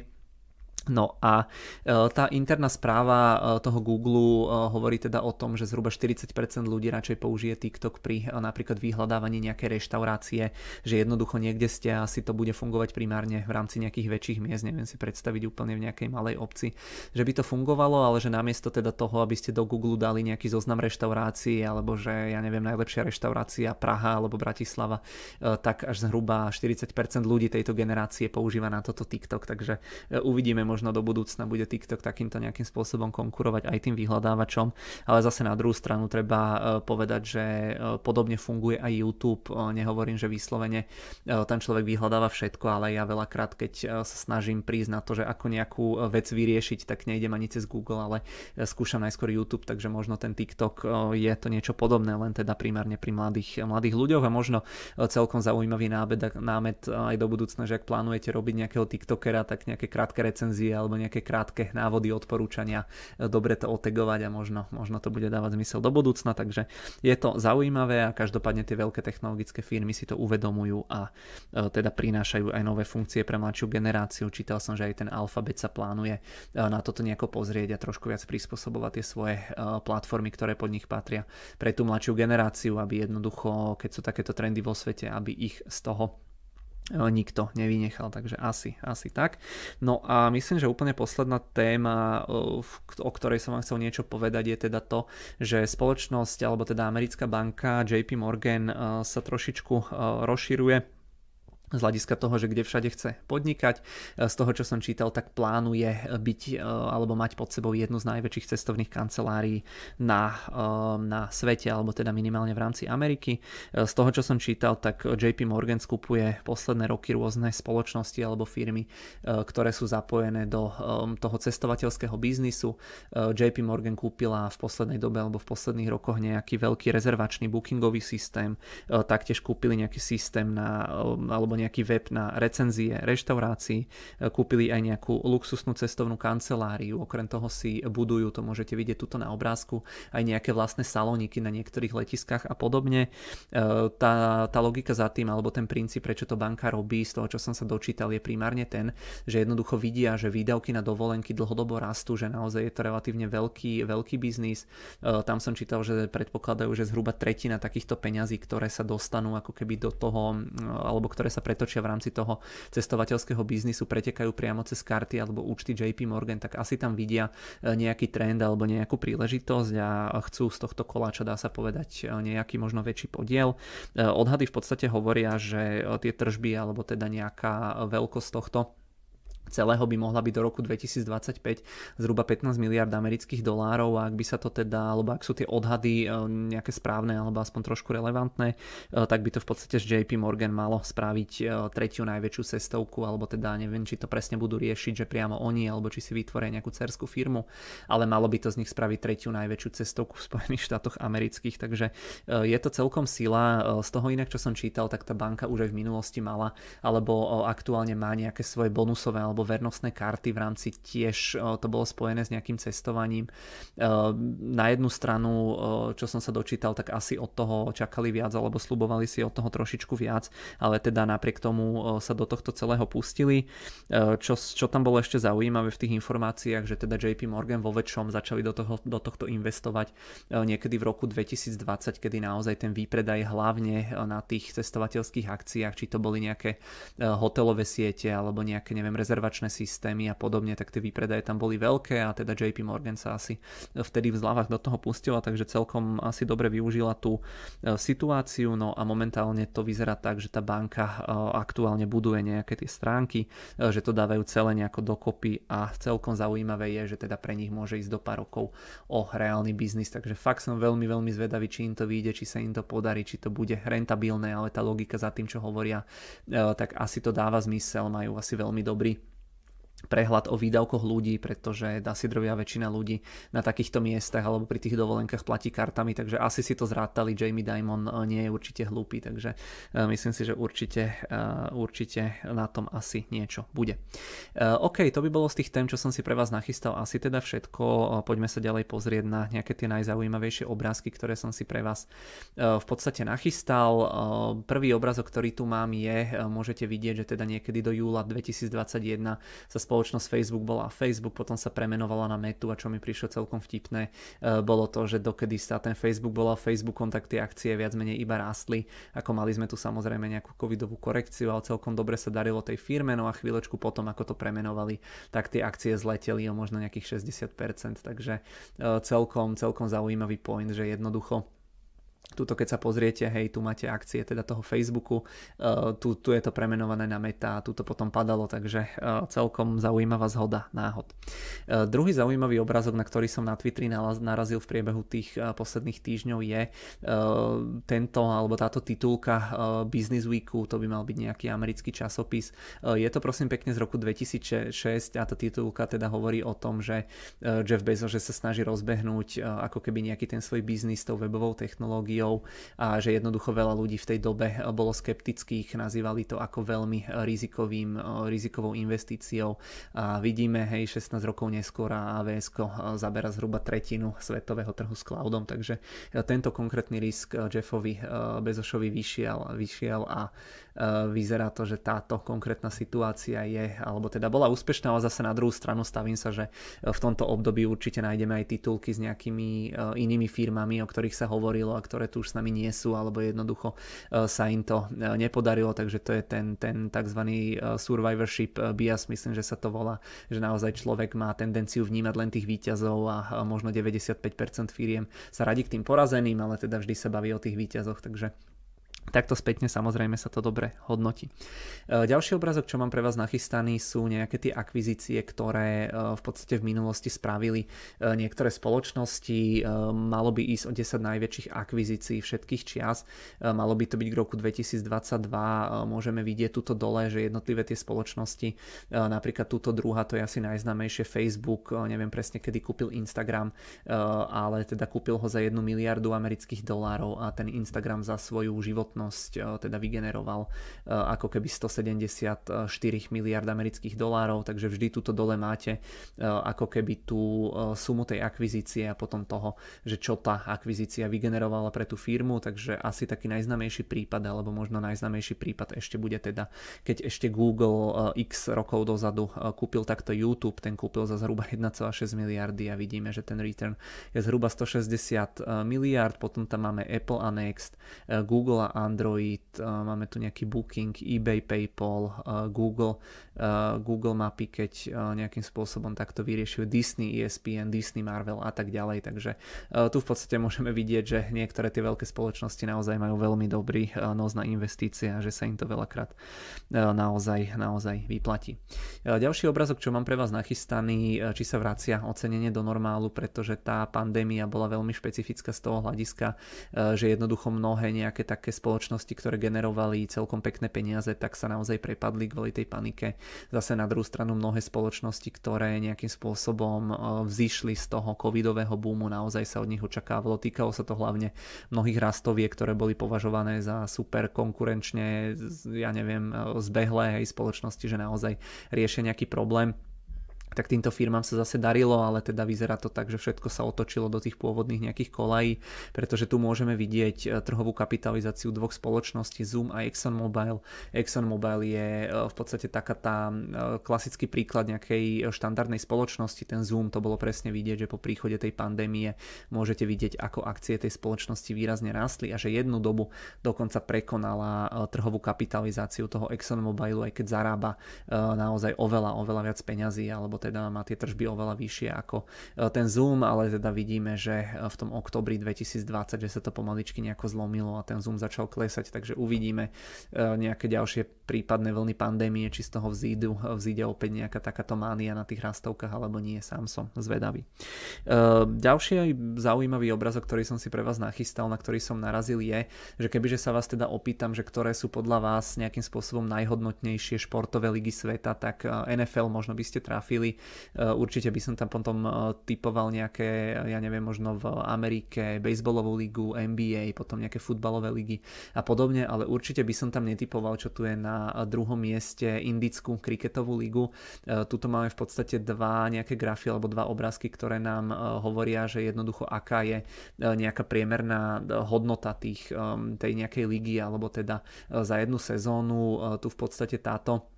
No a tá interná správa toho Google hovorí teda o tom, že zhruba štyridsať percent ľudí radšej použije TikTok pri napríklad vyhľadávaní nejakej reštaurácie, že jednoducho niekde ste a asi to bude fungovať primárne v rámci nejakých väčších miest, neviem si predstaviť úplne v nejakej malej obci, že by to fungovalo, ale že namiesto teda toho, aby ste do Google dali nejaký zoznam reštaurácií, alebo že ja neviem, najlepšia reštaurácia Praha alebo Bratislava, tak až zhruba štyridsať percent ľudí tejto generácie používa na toto TikTok, takže uvidíme, možno do budúcna bude TikTok takýmto nejakým spôsobom konkurovať aj tým vyhľadávačom, ale zase na druhú stranu treba povedať, že podobne funguje aj YouTube. Nehovorím, že vyslovene ten človek vyhľadáva všetko, ale ja veľakrát, keď sa snažím prísť na to, že ako nejakú vec vyriešiť, tak nejdem ani cez Google, ale skúšam najskôr YouTube, takže možno ten TikTok je to niečo podobné, len teda primárne pri mladých, mladých ľuďoch a možno celkom zaujímavý námet, námet aj do budúcna, že ak plánujete robiť nejakého TikTokera, tak nejaké krátke recenzie alebo nejaké krátke návody, odporúčania, dobre to otegovať a možno, možno to bude dávať zmysel do budúcna, takže je to zaujímavé a každopádne tie veľké technologické firmy si to uvedomujú a teda prinášajú aj nové funkcie pre mladšiu generáciu. Čítal som, že aj ten Alphabet sa plánuje na toto nejako pozrieť a trošku viac prispôsobovať tie svoje platformy, ktoré pod nich patria pre tú mladšiu generáciu, aby jednoducho, keď sú takéto trendy vo svete, aby ich z toho nikto nevynechal, takže asi, asi tak. No a myslím, že úplne posledná téma, o ktorej som vám chcel niečo povedať, je teda to, že spoločnosť, alebo teda americká banka J P Morgan sa trošičku rozširuje z hľadiska toho, že kde všade chce podnikať. Z toho, čo som čítal, tak plánuje byť alebo mať pod sebou jednu z najväčších cestovných kancelárií na, na svete, alebo teda minimálne v rámci Ameriky. Z toho, čo som čítal, tak J P Morgan skupuje posledné roky rôzne spoločnosti alebo firmy, ktoré sú zapojené do toho cestovateľského biznisu. J P Morgan kúpila v poslednej dobe alebo v posledných rokoch nejaký veľký rezervačný bookingový systém, taktiež kúpili nejaký systém na, alebo nejaký web na recenzie reštaurácií, kúpili aj nejakú luxusnú cestovnú kanceláriu, okrem toho si budujú, to môžete vidieť tuto na obrázku, aj nejaké vlastné salóniky na niektorých letiskách a podobne. Tá, tá logika za tým, alebo ten princíp, prečo to banka robí, z toho, čo som sa dočítal, je primárne ten, že jednoducho vidia, že výdavky na dovolenky dlhodobo rastú, že naozaj je to relatívne veľký, veľký biznis. Tam som čítal, že predpokladajú, že zhruba tretina takýchto peňazí, ktoré sa dostanú ako keby do toho, alebo ktoré sa pretočia v rámci toho cestovateľského biznisu, pretekajú priamo cez karty alebo účty J P Morgan, tak asi tam vidia nejaký trend alebo nejakú príležitosť a chcú z tohto koláča, dá sa povedať, nejaký možno väčší podiel. Odhady v podstate hovoria, že tie tržby alebo teda nejaká veľkosť tohto celého by mohla byť do roku dvetisícdvadsaťpäť zhruba pätnásť miliárd amerických dolárov a ak by sa to teda, alebo ak sú tie odhady nejaké správne alebo aspoň trošku relevantné, tak by to v podstate z J P Morgan malo spraviť tretiu najväčšiu cestovku, alebo teda neviem, či to presne budú riešiť, že priamo oni, alebo či si vytvoria nejakú dcerskú firmu, ale malo by to z nich spraviť tretiu najväčšiu cestovku v Spojených štátoch amerických, takže je to celkom sila. Z toho inak, čo som čítal, tak tá banka už aj v minulosti mala, alebo aktuálne má nejaké svoje bonusové alebo vernostné karty v rámci tiež to bolo spojené s nejakým cestovaním. Na jednu stranu, čo som sa dočítal, tak asi od toho čakali viac alebo slubovali si od toho trošičku viac, ale teda napriek tomu sa do tohto celého pustili. Čo, čo tam bolo ešte zaujímavé v tých informáciách, že teda J P Morgan vo väčšom začali do, toho, do tohto investovať niekedy v roku dvetisícdvadsať, kedy naozaj ten výpredaj hlavne na tých cestovateľských akciách, či to boli nejaké hotelové siete alebo nejaké, neviem, rezervačné systémy a podobne, tak tie výpredaje tam boli veľké a teda J P Morgan sa asi vtedy v zľavách do toho pustila, takže celkom asi dobre využila tú situáciu, no a momentálne to vyzerá tak, že tá banka aktuálne buduje nejaké tie stránky, že to dávajú celé nejako dokopy a celkom zaujímavé je, že teda pre nich môže ísť do pár rokov o reálny biznis, takže fakt som veľmi, veľmi zvedavý, či im to vyjde, či sa im to podarí, či to bude rentabilné, ale tá logika za tým, čo hovoria, tak asi to dáva zmysel, majú asi veľmi dobrý prehľad o výdavkoch ľudí, pretože asi drvia väčšina ľudí na takýchto miestach alebo pri tých dovolenkách platí kartami, takže asi si to zrátali. Jamie Dimon nie je určite hlúpy, takže myslím si, že určite, určite na tom asi niečo bude. OK, to by bolo z tých tém, čo som si pre vás nachystal, asi teda všetko. Poďme sa ďalej pozrieť na nejaké tie najzaujímavejšie obrázky, ktoré som si pre vás v podstate nachystal. Prvý obrazok, ktorý tu mám je, môžete vidieť, že teda niekedy do júla dvetisícdvadsaťjeden sa spoločnosť Facebook bola Facebook, potom sa premenovala na Metu a čo mi prišlo celkom vtipné, bolo to, že dokedy sa ten Facebook bola Facebookom, tak tie akcie viac menej iba rástli, ako mali sme tu samozrejme nejakú covidovú korekciu, ale celkom dobre sa darilo tej firme, no a chvíľočku potom, ako to premenovali, tak tie akcie zleteli o možno nejakých šesťdesiat percent, takže celkom, celkom zaujímavý point, že jednoducho tuto keď sa pozriete, hej, tu máte akcie teda toho Facebooku, uh, tu, tu je to premenované na Meta a tu to potom padalo, takže uh, celkom zaujímavá zhoda náhod. Uh, druhý zaujímavý obrázok, na ktorý som na Twitteri narazil v priebehu tých uh, posledných týždňov je uh, tento, alebo táto titulka uh, Business Weeku, to by mal byť nejaký americký časopis. Uh, je to prosím pekne z roku dvetisícšesť a tá titulka teda hovorí o tom, že uh, Jeff Bezos že sa snaží rozbehnúť uh, ako keby nejaký ten svoj biznis tou webovou technológiou a že jednoducho veľa ľudí v tej dobe bolo skeptických, nazývali to ako veľmi rizikovým, rizikovou investíciou a vidíme, hej, šestnásť rokov neskôr a á vé es zabera zhruba tretinu svetového trhu s cloudom, takže tento konkrétny risk Jeffovi Bezosovi vyšiel, vyšiel a vyzerá to, že táto konkrétna situácia je, alebo teda bola úspešná, ale zase na druhú stranu stavím sa, že v tomto období určite nájdeme aj titulky s nejakými inými firmami, o ktorých sa hovorilo a ktoré tu už s nami nie sú, alebo jednoducho sa im to nepodarilo, takže to je ten, ten tzv. Survivorship bias, myslím, že sa to volá, že naozaj človek má tendenciu vnímať len tých víťazov a možno deväťdesiatpäť percent firiem sa radí k tým porazeným, ale teda vždy sa baví o tých víťazoch, takže takto spätne samozrejme sa to dobre hodnotí. Ďalší obrazok, čo mám pre vás nachystaný, sú nejaké tie akvizície, ktoré v podstate v minulosti spravili niektoré spoločnosti. Malo by ísť o desať najväčších akvizícií všetkých čias. Malo by to byť k roku dvetisícdvadsaťdva. Môžeme vidieť tuto dole, že jednotlivé tie spoločnosti, napríklad túto druhá, to je asi najznámejšie Facebook, neviem presne kedy kúpil Instagram, ale teda kúpil ho za jednu miliardu amerických dolárov a ten Instagram za svoju životnú teda vygeneroval ako keby stosedemdesiatštyri miliárd amerických dolárov, takže vždy tuto dole máte ako keby tú sumu tej akvizície a potom toho, že čo tá akvizícia vygenerovala pre tú firmu, takže asi taký najznámejší prípad, alebo možno najznámejší prípad ešte bude teda, keď ešte Google x rokov dozadu kúpil takto YouTube, ten kúpil za zhruba jeden celá šesť miliardy a vidíme, že ten return je zhruba stošesťdesiat miliárd, potom tam máme Apple a Next, Google a Android, máme tu nejaký Booking, eBay, PayPal, Google, Google mapy, keď nejakým spôsobom takto vyriešujú Disney, E S P N, Disney, Marvel a tak ďalej, takže tu v podstate môžeme vidieť, že niektoré tie veľké spoločnosti naozaj majú veľmi dobrý nos na investície a že sa im to veľakrát naozaj, naozaj vyplatí. Ďalší obrazok, čo mám pre vás nachystaný, či sa vracia ocenenie do normálu, pretože tá pandémia bola veľmi špecifická z toho hľadiska, že jednoducho mnohé nejaké také spoločnosti, ktoré generovali celkom pekné peniaze, tak sa naozaj prepadli kvôli tej panike. Zase na druhú stranu mnohé spoločnosti, ktoré nejakým spôsobom vzýšli z toho covidového boomu, naozaj sa od nich očakávalo. Týkalo sa to hlavne mnohých rastoviek, ktoré boli považované za super konkurenčne, ja neviem, zbehlé hej, spoločnosti, že naozaj riešia nejaký problém. Tak týmto firmám sa zase darilo, ale teda vyzerá to tak, že všetko sa otočilo do tých pôvodných nejakých kolají, pretože tu môžeme vidieť trhovú kapitalizáciu dvoch spoločností, Zoom a ExxonMobil. ExxonMobil je v podstate taká tá klasický príklad nejakej štandardnej spoločnosti. Ten Zoom, to bolo presne vidieť, že po príchode tej pandémie môžete vidieť, ako akcie tej spoločnosti výrazne rástli a že jednu dobu dokonca prekonala trhovú kapitalizáciu toho ExxonMobilu, aj keď zarába naozaj oveľa, oveľa viac peňazí, alebo teda má tie tržby oveľa vyššie ako ten Zoom, ale teda vidíme, že v tom októbri dvetisícdvadsať, že sa to pomaličky nejako zlomilo a ten Zoom začal klesať, takže uvidíme nejaké ďalšie prípadné vlny pandémie, či z toho vzídu, vzíde opäť nejaká takáto mánia na tých rastovkách, alebo nie, sám som zvedavý. Ďalší zaujímavý obrazok, ktorý som si pre vás nachystal, na ktorý som narazil je, že kebyže sa vás teda opýtam, že ktoré sú podľa vás nejakým spôsobom najhodnotnejšie športové ligy sveta, tak N F L možno by ste trafili. Určite by som tam potom typoval nejaké, ja neviem, možno v Amerike bejsbolovú ligu, N B A, potom nejaké futbalové ligy a podobne, ale určite by som tam netypoval, čo tu je na druhom mieste, indickú kriketovú ligu. Tuto máme v podstate dva nejaké grafy alebo dva obrázky, ktoré nám hovoria, že jednoducho aká je nejaká priemerná hodnota tých, tej nejakej ligy, alebo teda za jednu sezónu. Tu v podstate táto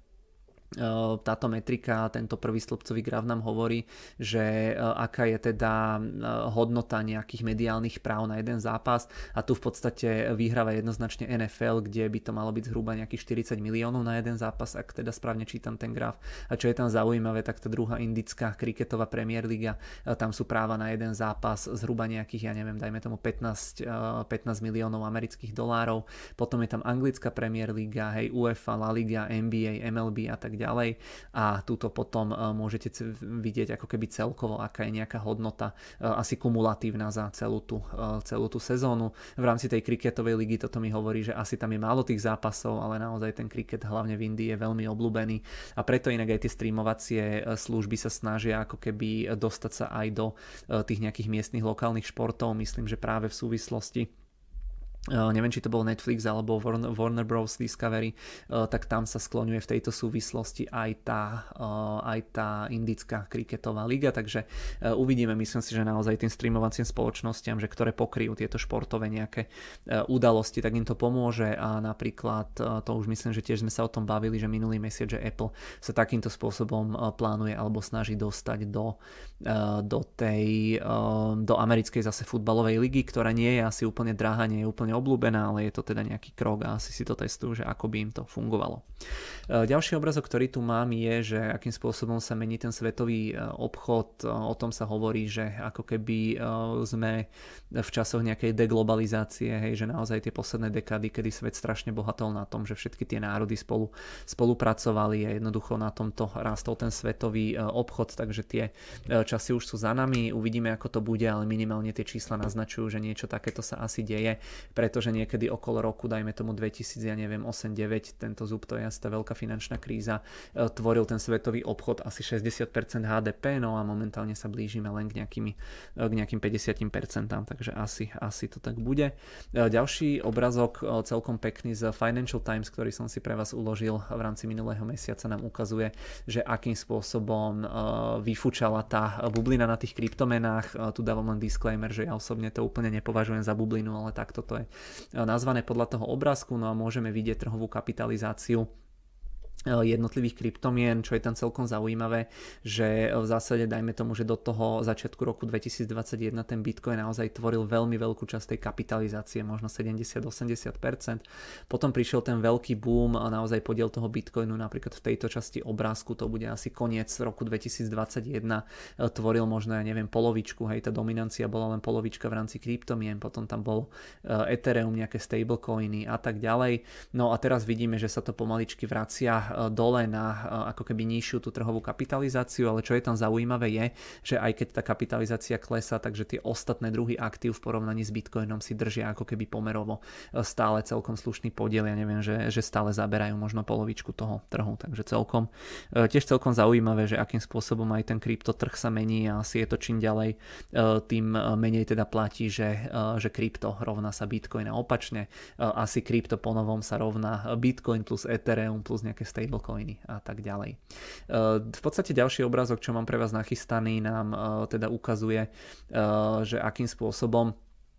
táto metrika, tento prvý stĺpcový graf nám hovorí, že aká je teda hodnota nejakých mediálnych práv na jeden zápas a tu v podstate vyhráva jednoznačne N F L, kde by to malo byť zhruba nejakých štyridsať miliónov na jeden zápas, ak teda správne čítam ten graf. A čo je tam zaujímavé, tak tá druhá indická kriketová Premier Liga, tam sú práva na jeden zápas zhruba nejakých, ja neviem, dajme tomu pätnásť, pätnásť miliónov amerických dolárov. Potom je tam anglická Premier Liga, hej, UEFA, La Liga, N B A, M L B a tak ďalej a túto potom môžete vidieť ako keby celkovo, aká je nejaká hodnota asi kumulatívna za celú tú, celú tú sezónu. V rámci tej kriketovej ligy toto mi hovorí, že asi tam je málo tých zápasov, ale naozaj ten kriket hlavne v Indii je veľmi obľúbený a preto inak aj tie streamovacie služby sa snažia ako keby dostať sa aj do tých nejakých miestnych lokálnych športov. Myslím, že práve v súvislosti Uh, neviem, či to bol Netflix alebo Warner, Warner Bros. Discovery, uh, tak tam sa skloňuje v tejto súvislosti aj tá, uh, aj tá indická kriketová liga, takže uh, uvidíme, myslím si, že naozaj tým streamovacím spoločnostiam, že ktoré pokryjú tieto športové nejaké uh, udalosti, tak im to pomôže a napríklad, uh, to už myslím, že tiež sme sa o tom bavili, že minulý mesiac, že Apple sa takýmto spôsobom uh, plánuje alebo snaží dostať do, uh, do tej, uh, do americkej zase futbalovej ligy, ktorá nie je asi úplne drahá, nie je úplne obľúbená, ale je to teda nejaký krok a asi si to testujú, že ako by im to fungovalo. Ďalší obrazok, ktorý tu mám, je, že akým spôsobom sa mení ten svetový obchod. O tom sa hovorí, že ako keby sme v časoch nejakej deglobalizácie, hej, že naozaj tie posledné dekády, kedy svet strašne bohatol na tom, že všetky tie národy spolu spolupracovali a jednoducho na tomto rástol ten svetový obchod, takže tie časy už sú za nami. Uvidíme, ako to bude, ale minimálne tie čísla naznačujú, že niečo takéto sa asi deje, pretože niekedy okolo roku, dajme tomu dvetisíc, ja neviem, osem deväť, tento zub, to je asi tá veľká finančná kríza, tvoril ten svetový obchod asi šesťdesiat percent há dé pé, no a momentálne sa blížime len k, nejakými, k nejakým päťdesiat percent, takže asi, asi to tak bude. Ďalší obrazok, celkom pekný z Financial Times, ktorý som si pre vás uložil v rámci minulého mesiaca, nám ukazuje, že akým spôsobom vyfúčala tá bublina na tých kryptomenách. Tu dávam len disclaimer, že ja osobne to úplne nepovažujem za bublinu, ale tak toto je nazvané podľa toho obrázku, no a môžeme vidieť trhovú kapitalizáciu jednotlivých kryptomien, čo je tam celkom zaujímavé, že v zásade dajme tomu, že do toho začiatku roku dvetisícdvadsaťjeden ten Bitcoin naozaj tvoril veľmi veľkú časť tej kapitalizácie, možno sedemdesiat až osemdesiat percent. Potom prišiel ten veľký boom a naozaj podiel toho Bitcoinu napríklad v tejto časti obrázku, to bude asi koniec roku dvetisícdvadsaťjeden, tvoril možno, ja neviem, polovičku, hej, tá dominancia bola len polovička v rámci kryptomien, potom tam bol Ethereum, nejaké stablecoiny a tak ďalej. No a teraz vidíme, že sa to pomaličky vracia dole na ako keby nižšiu tú trhovú kapitalizáciu, ale čo je tam zaujímavé je, že aj keď tá kapitalizácia klesá, takže tie ostatné druhy aktív v porovnaní s Bitcoinom si držia ako keby pomerovo stále celkom slušný podiel, ja neviem, že, že stále zaberajú možno polovičku toho trhu, takže celkom tiež celkom zaujímavé, že akým spôsobom aj ten kryptotrh sa mení a asi je to čím ďalej, tým menej teda platí, že, že krypto rovná sa Bitcoin a opačne, asi krypto ponovom sa rovná Bitcoin plus Ethereum plus nejaké stablecoiny a tak ďalej. V podstate ďalší obrázok, čo mám pre vás nachystaný, nám teda ukazuje, že akým spôsobom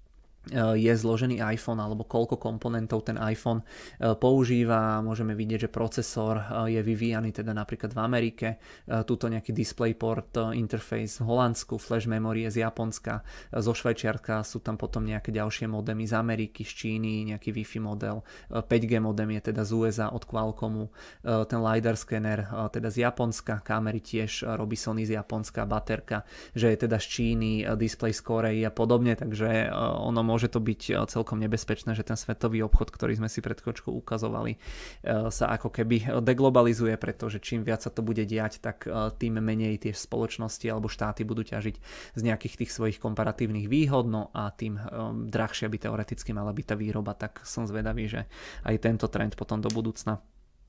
je zložený iPhone alebo koľko komponentov ten iPhone používa. Môžeme vidieť, že procesor je vyvíjaný teda napríklad v Amerike, tuto nejaký DisplayPort interface v Holandsku, flash memory je z Japonska, zo Švajčiarska sú tam potom nejaké ďalšie modemy z Ameriky, z Číny, nejaký Wi-Fi model, päť G modem je teda z U S A od Qualcommu, ten LiDAR scanner teda z Japonska, kamery tiež robí Sony z Japonska, baterka, že je teda z Číny, display z Korei a podobne, takže ono môže to byť celkom nebezpečné, že ten svetový obchod, ktorý sme si pred chvíľočkou ukazovali, sa ako keby deglobalizuje, pretože čím viac sa to bude diať, tak tým menej tie spoločnosti alebo štáty budú ťažiť z nejakých tých svojich komparatívnych výhod, no a tým drahšia by teoreticky mala byť tá výroba, tak som zvedavý, že aj tento trend potom do budúcna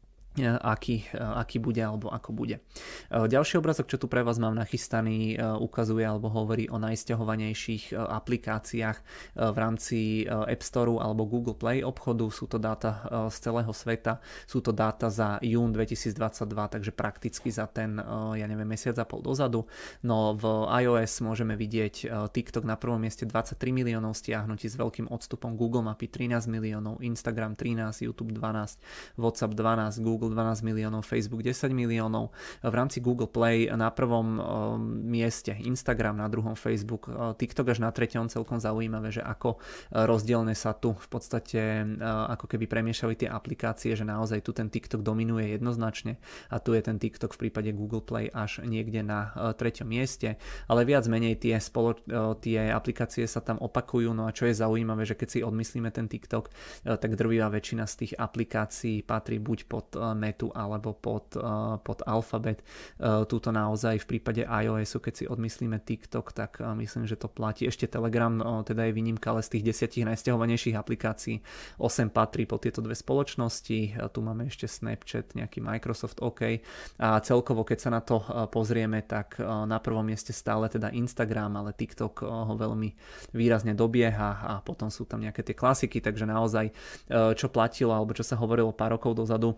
Aký, aký bude alebo ako bude. Ďalší obrazok, čo tu pre vás mám nachystaný, ukazuje alebo hovorí o najsťahovanejších aplikáciách v rámci App Store alebo Google Play obchodu. Sú to dáta z celého sveta, sú to dáta za jún dvetisícdvadsaťdva, takže prakticky za ten, ja neviem, mesiac a pol dozadu. No v iOS môžeme vidieť TikTok na prvom mieste dvadsaťtri miliónov stiahnutí s veľkým odstupom, Google Mapy trinásť miliónov, Instagram trinásť, YouTube dvanásť, WhatsApp dvanásť, Google dvanásť miliónov, Facebook desať miliónov. V rámci Google Play na prvom um, mieste Instagram, na druhom Facebook, uh, TikTok až na treťom, celkom zaujímavé, že ako rozdielne sa tu v podstate uh, ako keby premiešali tie aplikácie, že naozaj tu ten TikTok dominuje jednoznačne a tu je ten TikTok v prípade Google Play až niekde na uh, treťom mieste, ale viac menej tie, spolo- uh, tie aplikácie sa tam opakujú, no a čo je zaujímavé, že keď si odmyslíme ten TikTok, uh, tak drvivá väčšina z tých aplikácií patrí buď pod uh, Metu alebo pod, uh, pod Alphabet. Uh, Tuto naozaj v prípade iOSu, keď si odmyslíme TikTok, tak uh, myslím, že to platí. Ešte Telegram, uh, teda je výnimka, ale z tých desiatich najsťahovanejších aplikácií osem patrí pod tieto dve spoločnosti. Uh, tu máme ešte Snapchat, nejaký Microsoft, OK. A celkovo, keď sa na to uh, pozrieme, tak uh, na prvom mieste stále teda Instagram, ale TikTok uh, ho veľmi výrazne dobieha a potom sú tam nejaké tie klasiky, takže naozaj uh, čo platilo, alebo čo sa hovorilo pár rokov dozadu,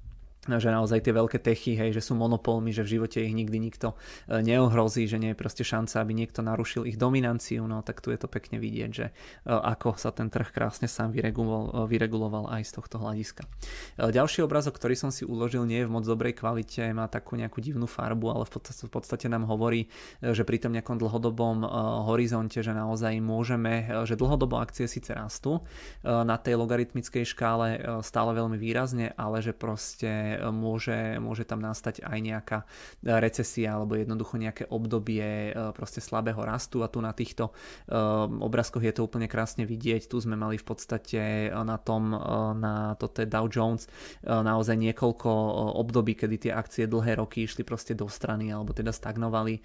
že naozaj tie veľké techy, hej, že sú monopolmi, že v živote ich nikdy nikto neohrozí, že nie je proste šanca, aby niekto narušil ich dominanciu, no tak tu je to pekne vidieť, že ako sa ten trh krásne sám vyreguloval, vyreguloval aj z tohto hľadiska. Ďalší obrazok, ktorý som si uložil, nie je v moc dobrej kvalite, má takú nejakú divnú farbu, ale v podstate, v podstate nám hovorí, že pri tom nejakom dlhodobom horizonte, že naozaj môžeme, že dlhodobo akcie síce rastú na tej logaritmickej škále stále veľmi výrazne, ale že proste Môže, môže tam nastať aj nejaká recesia alebo jednoducho nejaké obdobie proste slabého rastu a tu na týchto obrázkoch je to úplne krásne vidieť. Tu sme mali v podstate na tom, na toto Dow Jones naozaj niekoľko období, kedy tie akcie dlhé roky išli proste do strany alebo teda stagnovali.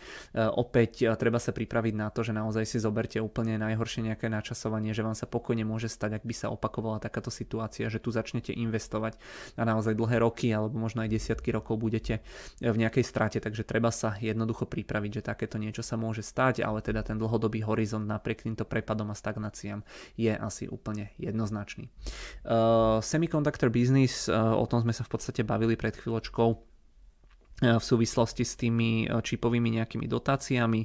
Opäť treba sa pripraviť na to, že naozaj si zoberte úplne najhoršie nejaké načasovanie, že vám sa pokojne môže stať, ak by sa opakovala takáto situácia, že tu začnete investovať a naozaj dlhé roky alebo možno aj desiatky rokov budete v nejakej strate, takže treba sa jednoducho pripraviť, že takéto niečo sa môže stať, ale teda ten dlhodobý horizont napriek týmto prepadom a stagnáciám je asi úplne jednoznačný. Uh, semiconductor business, uh, o tom sme sa v podstate bavili pred chvíľočkou. v súvislosti s tými čipovými nejakými dotáciami.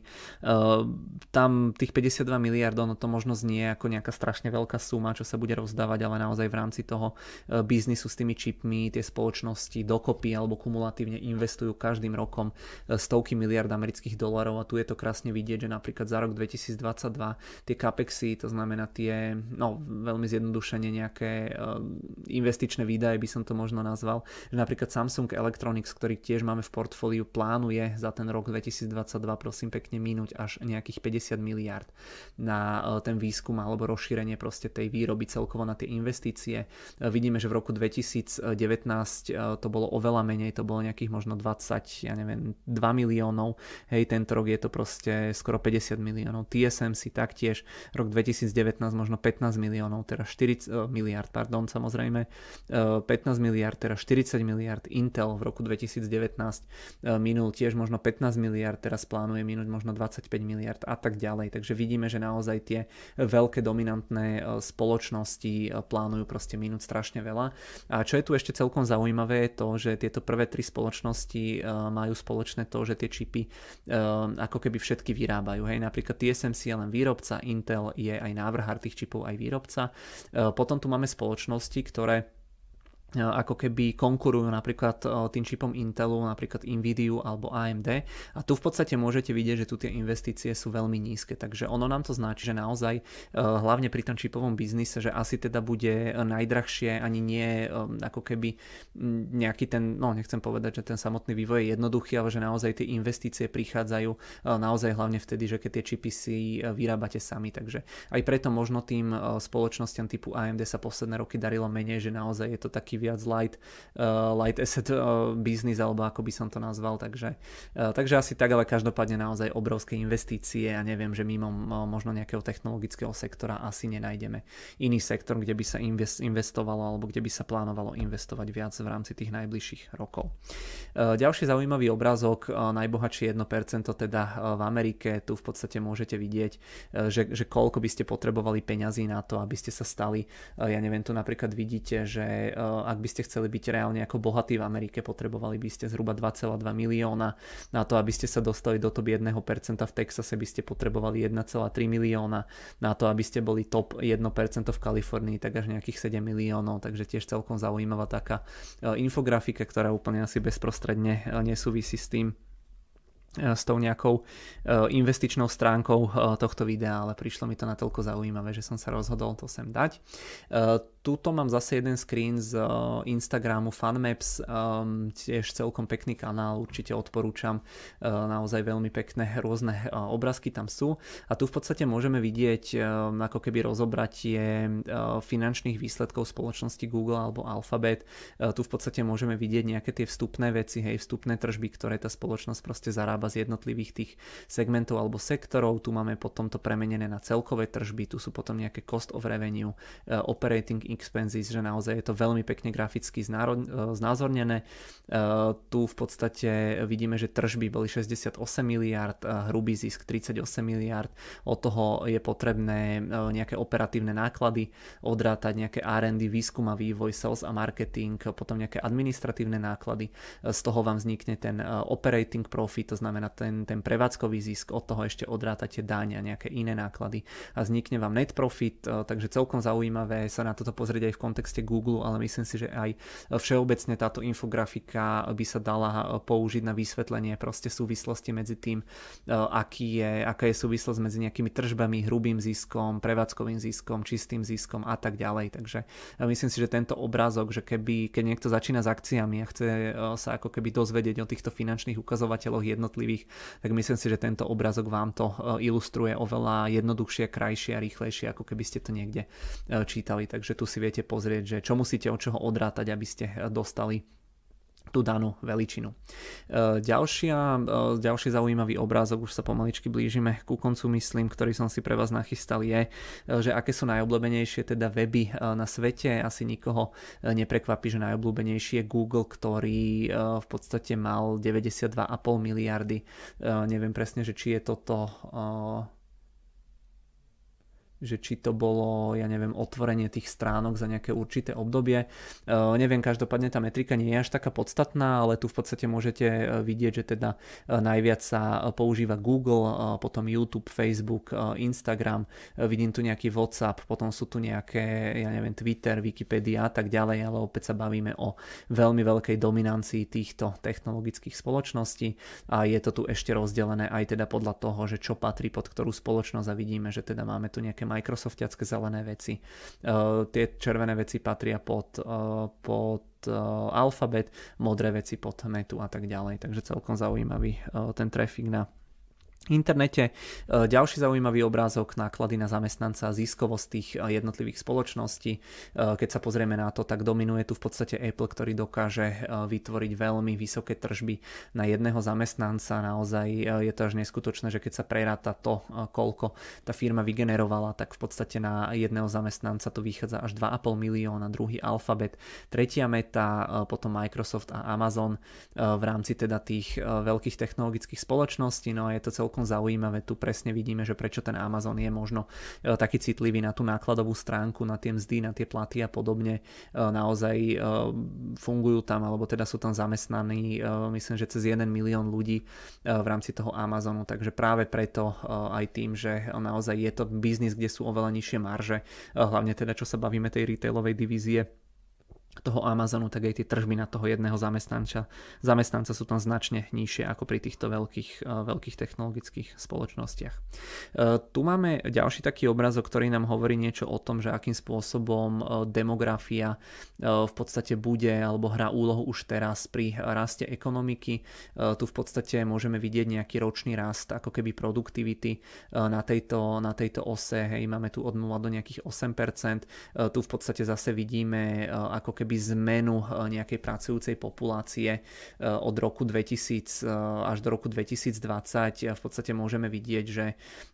Tam tých päťdesiatdva miliárd, ono to možno znie ako nejaká strašne veľká suma, čo sa bude rozdávať, ale naozaj v rámci toho biznisu s tými čipmi tie spoločnosti dokopy alebo kumulatívne investujú každým rokom stovky miliárd amerických dolarov a tu je to krásne vidieť, že napríklad za rok dvetisícdvadsaťdva tie capexy, to znamená tie, no veľmi zjednodušene nejaké investičné výdaje by som to možno nazval, že napríklad Samsung Electronics, ktorý tiež máme v portfóliu, plánuje za ten rok dvetisícdvadsaťdva prosím pekne minúť až nejakých päťdesiat miliárd na ten výskum alebo rozšírenie proste tej výroby celkovo na tie investície. Vidíme, že v roku dvetisícdevätnásť to bolo oveľa menej, to bolo nejakých možno dvadsať, ja neviem, dva miliónov. Hej, tento rok je to proste skoro päťdesiat miliónov. T S M C taktiež, rok dvetisícdevätnásť možno pätnásť miliónov, teda štyridsať miliárd, pardon, samozrejme, pätnásť miliárd, teda štyridsať miliárd. Intel v roku dvetisícdevätnásť minul tiež možno pätnásť miliárd, teraz plánuje minúť možno dvadsaťpäť miliárd a tak ďalej. Takže vidíme, že naozaj tie veľké dominantné spoločnosti plánujú proste minúť strašne veľa. A čo je tu ešte celkom zaujímavé je to, že tieto prvé tri spoločnosti majú spoločné to, že tie čipy ako keby všetky vyrábajú. Hej, napríklad T S M C je len výrobca, Intel je aj návrhár tých čipov, aj výrobca. Potom tu máme spoločnosti, ktoré ako keby konkurujú napríklad tým čipom Intelu, napríklad Nvidiu alebo A M D a tu v podstate môžete vidieť, že tu tie investície sú veľmi nízke, takže ono nám to značí, že naozaj hlavne pri tom čipovom biznise, že asi teda bude najdrahšie, ani nie ako keby nejaký ten, no nechcem povedať, že ten samotný vývoj je jednoduchý, ale že naozaj tie investície prichádzajú naozaj hlavne vtedy, že keď tie čipy si vyrábate sami, takže aj preto možno tým spoločnostiam typu A M D sa posledné roky darilo menej, že naozaj je to taký viac light, uh, light asset uh, business, alebo ako by som to nazval, takže, uh, takže asi tak, ale každopádne naozaj obrovské investície a neviem, že mimo uh, možno nejakého technologického sektora asi nenájdeme iný sektor, kde by sa invest, investovalo alebo kde by sa plánovalo investovať viac v rámci tých najbližších rokov. Uh, ďalší zaujímavý obrázok, uh, najbohatšie jedno percento teda uh, v Amerike, tu v podstate môžete vidieť, uh, že, že koľko by ste potrebovali peňazí na to, aby ste sa stali, uh, ja neviem, tu napríklad vidíte, že uh, ak by ste chceli byť reálne ako bohatí v Amerike, potrebovali by ste zhruba dva celé dva milióna. Na to, aby ste sa dostali do top jedno percento v Texase, by ste potrebovali jeden celé tri milióna. Na to, aby ste boli top jedno percento v Kalifornii, tak až nejakých sedem miliónov. Takže tiež celkom zaujímavá taká infografika, ktorá úplne asi bezprostredne nesúvisí s tým, s tou nejakou investičnou stránkou tohto videa, ale prišlo mi to natoľko zaujímavé, že som sa rozhodol to sem dať. Tuto mám zase jeden screen z Instagramu Funmaps, tiež celkom pekný kanál, určite odporúčam, naozaj veľmi pekné rôzne obrázky tam sú a tu v podstate môžeme vidieť ako keby rozobratie finančných výsledkov spoločnosti Google alebo Alphabet. Tu v podstate môžeme vidieť nejaké tie vstupné veci, hej, vstupné tržby, ktoré tá spoločnosť proste zarába z jednotlivých tých segmentov alebo sektorov. Tu máme potom to premenené na celkové tržby, tu sú potom nejaké cost of revenue, operating expenses, že naozaj je to veľmi pekne graficky znázornené. Tu v podstate vidíme, že tržby boli šesťdesiatosem miliárd, hrubý zisk tridsaťosem miliárd, od toho je potrebné nejaké operatívne náklady odrátať, nejaké R and D, výskum a vývoj, sales a marketing, potom nejaké administratívne náklady, z toho vám vznikne ten operating profit, to znamená na ten, ten prevádzkový zisk, od toho ešte odrátate daň a nejaké iné náklady a vznikne vám net profit, takže celkom zaujímavé sa na toto pozrieť aj v kontexte Google, ale myslím si, že aj všeobecne táto infografika by sa dala použiť na vysvetlenie proste súvislosti medzi tým, aký je, aká je súvislosť medzi nejakými tržbami, hrubým ziskom, prevádzkovým ziskom, čistým ziskom a tak ďalej, takže myslím si, že tento obrázok, že keby, keď niekto začína s akciami a chce sa ako keby dozvedieť o týchto finančných ukazovateľoch jednotlivých, tak myslím si, že tento obrazok vám to ilustruje oveľa jednoduchšie, krajšie a rýchlejšie, ako keby ste to niekde čítali. Takže tu si viete pozrieť, že čo musíte od čoho odrátať, aby ste dostali tú danú veličinu. Ďalšia, ďalší zaujímavý obrázok, už sa pomaličky blížime ku koncu, myslím, ktorý som si pre vás nachystal, je, že aké sú najobľúbenejšie teda weby na svete. Asi nikoho neprekvapí, že najobľúbenejší je Google, ktorý v podstate mal deväťdesiatdva celá päť miliardy. Neviem presne, že či je toto že či to bolo, ja neviem, otvorenie tých stránok za nejaké určité obdobie. Uh, neviem, každopádne tá metrika nie je až taká podstatná, ale tu v podstate môžete vidieť, že teda uh, najviac sa používa Google, uh, potom YouTube, Facebook, uh, Instagram, uh, vidím tu nejaký WhatsApp, potom sú tu nejaké, ja neviem, Twitter, Wikipedia a tak ďalej, ale opäť sa bavíme o veľmi veľkej dominancii týchto technologických spoločností a je to tu ešte rozdelené aj teda podľa toho, že čo patrí pod ktorú spoločnosť a vidíme, že teda máme tu nejaké Microsoftiacké zelené veci. Uh, tie červené veci patria pod, uh, pod uh, Alphabet, modré veci pod Metu a tak ďalej. Takže celkom zaujímavý uh, ten trafik na internete. Ďalší zaujímavý obrázok, náklady na zamestnanca, ziskovosť tých jednotlivých spoločností. Keď sa pozrieme na to, tak dominuje tu v podstate Apple, ktorý dokáže vytvoriť veľmi vysoké tržby na jedného zamestnanca. Naozaj je to až neskutočné, že keď sa preráta to, koľko tá firma vygenerovala, tak v podstate na jedného zamestnanca to vychádza až dva a pol milióna, druhý Alphabet, tretia Meta, potom Microsoft a Amazon v rámci teda tých veľkých technologických spoločností. No a je to celkom zaujímavé, tu presne vidíme, že prečo ten Amazon je možno taký citlivý na tú nákladovú stránku, na tie mzdy, na tie platy a podobne. Naozaj fungujú tam, alebo teda sú tam zamestnaní, myslím, že cez jeden milión ľudí v rámci toho Amazonu, takže práve preto aj tým, že naozaj je to biznis, kde sú oveľa nižšie marže, hlavne teda čo sa bavíme tej retailovej divízie toho Amazonu, tak aj tie tržby na toho jedného zamestnanca, zamestnanca sú tam značne nižšie ako pri týchto veľkých, veľkých technologických spoločnostiach. Tu máme ďalší taký obrazok, ktorý nám hovorí niečo o tom, že akým spôsobom demografia v podstate bude alebo hrá úlohu už teraz pri raste ekonomiky. Tu v podstate môžeme vidieť nejaký ročný rast ako keby produktivity na tejto, na tejto ose. Hej, máme tu od nula do nejakých osem percent. Tu v podstate zase vidíme ako keby zmenu nejakej pracujúcej populácie od roku dvetisíc až do roku dvetisícdvadsať. V podstate môžeme vidieť, že,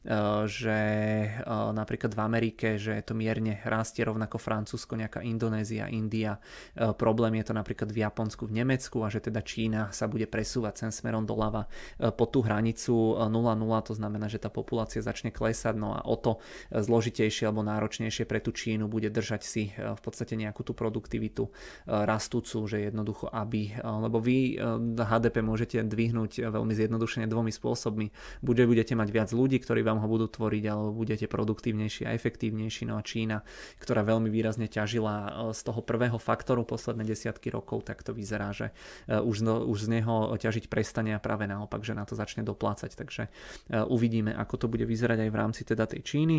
že napríklad v Amerike, že to mierne rastie, rovnako Francúzsko, nejaká Indonézia, India. Problém je to napríklad v Japonsku, v Nemecku a že teda Čína sa bude presúvať sem smerom doľava po tú hranicu nula nula, to znamená, že tá populácia začne klesať, no a o to zložitejšie alebo náročnejšie pre tú Čínu bude držať si v podstate nejakú tú produktivitu rastúcu, že jednoducho aby, lebo vy há dé pé môžete dvihnúť veľmi zjednodušene dvomi spôsobmi. Buď budete mať viac ľudí, ktorí vám ho budú tvoriť, alebo budete produktívnejší a efektívnejší. No a Čína, ktorá veľmi výrazne ťažila z toho prvého faktoru posledné desiatky rokov, tak to vyzerá, že už, no, už z neho ťažiť prestane a práve naopak, že na to začne doplácať. Takže uvidíme, ako to bude vyzerať aj v rámci teda tej Číny.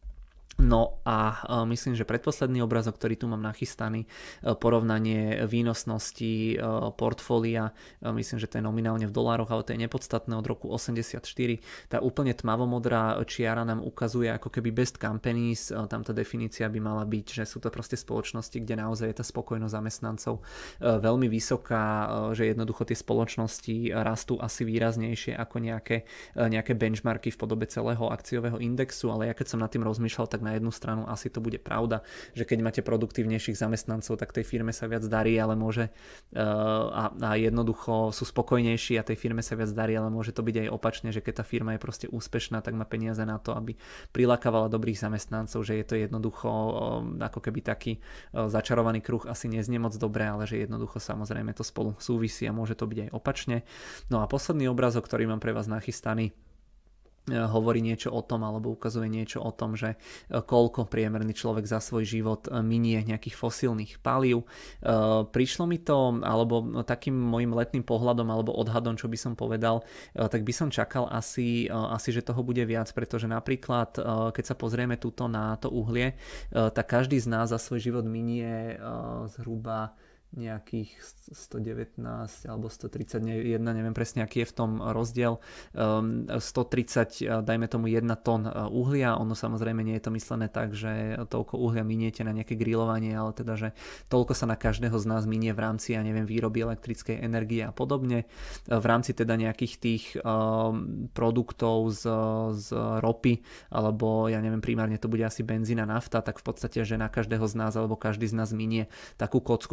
No a myslím, že predposledný obrazok, ktorý tu mám nachystaný, porovnanie výnosnosti portfólia, myslím, že to je nominálne v dolároch, ale to je nepodstatné, od roku osemdesiatštyri. Tá úplne tmavomodrá čiara nám ukazuje ako keby best companies, tam tá definícia by mala byť, že sú to proste spoločnosti, kde naozaj je tá spokojnosť zamestnancov veľmi vysoká, že jednoducho tie spoločnosti rastú asi výraznejšie ako nejaké, nejaké benchmarky v podobe celého akciového indexu, ale ja keď som nad tým rozmýšľal, tak na jednu stranu asi to bude pravda, že keď máte produktívnejších zamestnancov, tak tej firme sa viac darí, ale môže a, a jednoducho sú spokojnejší a tej firme sa viac darí, ale môže to byť aj opačne, že keď tá firma je proste úspešná, tak má peniaze na to, aby prilákavala dobrých zamestnancov, že je to jednoducho ako keby taký začarovaný kruh, asi neznie moc dobre, ale že jednoducho samozrejme to spolu súvisí a môže to byť aj opačne. No a posledný obrazok, ktorý mám pre vás nachystaný, hovorí niečo o tom, alebo ukazuje niečo o tom, že koľko priemerný človek za svoj život minie nejakých fosílnych palív. Prišlo mi to, alebo takým môjim letným pohľadom, alebo odhadom, čo by som povedal, tak by som čakal asi, asi, že toho bude viac, pretože napríklad, keď sa pozrieme tuto na to uhlie, tak každý z nás za svoj život minie zhruba nejakých stodevätnásť alebo stotridsaťjeden, neviem presne aký je v tom rozdiel, stotridsať, dajme tomu jedna tón uhlia, ono samozrejme nie je to myslené tak, že toľko uhlia miniete na nejaké grilovanie, ale teda, že toľko sa na každého z nás minie v rámci, ja neviem, výroby elektrickej energie a podobne, v rámci teda nejakých tých um, produktov z, z ropy, alebo ja neviem, primárne to bude asi benzín a nafta, tak v podstate, že na každého z nás, alebo každý z nás minie takú kocku, ktorá má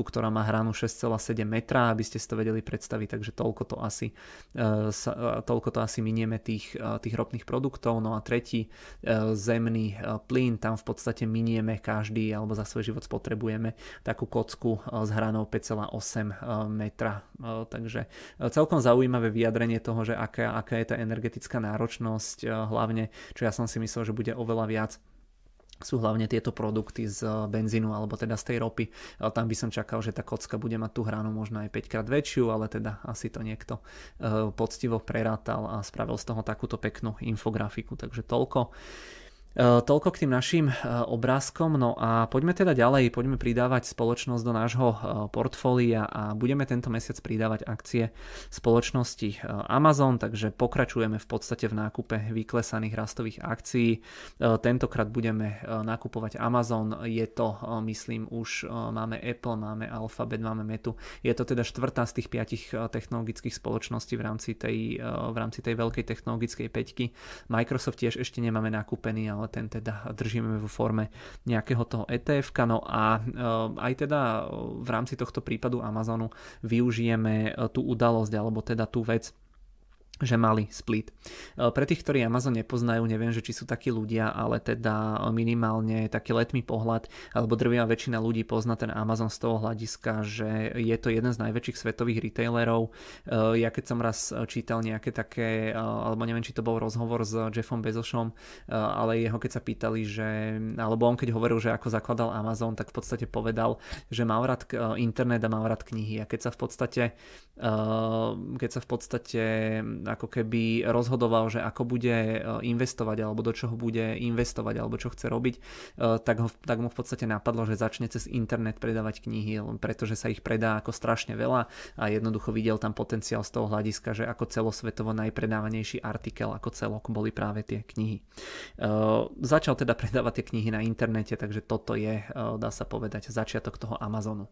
hranu šesť celá sedem metra, aby ste si to vedeli predstaviť, takže toľko to asi, toľko to asi minieme tých, tých ropných produktov. No a tretí, zemný plyn, tam v podstate minieme každý, alebo za svoj život spotrebujeme takú kocku s hranou päť celá osem metra. Takže celkom zaujímavé vyjadrenie toho, že aká, aká je tá energetická náročnosť, hlavne, čo ja som si myslel, že bude oveľa viac, sú hlavne tieto produkty z benzínu alebo teda z tej ropy. Tam by som čakal, že tá kocka bude mať tú hranu možno aj päť krát väčšiu, ale teda asi to niekto poctivo prerátal a spravil z toho takúto peknú infografiku. Takže toľko. Toľko k tým našim obrázkom, no a poďme teda ďalej, poďme pridávať spoločnosť do nášho portfólia a budeme tento mesiac pridávať akcie spoločnosti Amazon, takže pokračujeme v podstate v nákupe vyklesaných rastových akcií. Tentokrát budeme nakupovať Amazon, je to, myslím, už máme Apple, máme Alphabet, máme Metu, je to teda štvrtá z tých piatich technologických spoločností v rámci tej, v rámci tej veľkej technologickej päťky. Microsoft tiež ešte nemáme nakúpený, ale ten teda držíme vo forme nejakého toho é té efka. No a aj teda v rámci tohto prípadu Amazonu využijeme tú udalosť, alebo teda tú vec, že mali split. Pre tých, ktorí Amazon nepoznajú, neviem, že či sú takí ľudia, ale teda minimálne taký letmý pohľad, alebo drvivá väčšina ľudí pozná ten Amazon z toho hľadiska, že je to jeden z najväčších svetových retailerov. Ja keď som raz čítal nejaké také, alebo neviem, či to bol rozhovor s Jeffom Bezosom, ale jeho keď sa pýtali, že, alebo on keď hovoril, že ako zakladal Amazon, tak v podstate povedal, že mal rád internet a mal rád knihy. A keď sa v podstate keď sa v podstate ako keby rozhodoval, že ako bude investovať alebo do čoho bude investovať alebo čo chce robiť, tak, ho, tak mu v podstate napadlo, že začne cez internet predávať knihy, pretože sa ich predá ako strašne veľa a jednoducho videl tam potenciál z toho hľadiska, že ako celosvetovo najpredávanejší artikel ako celok boli práve tie knihy. Začal teda predávať tie knihy na internete, takže toto je, dá sa povedať, začiatok toho Amazonu.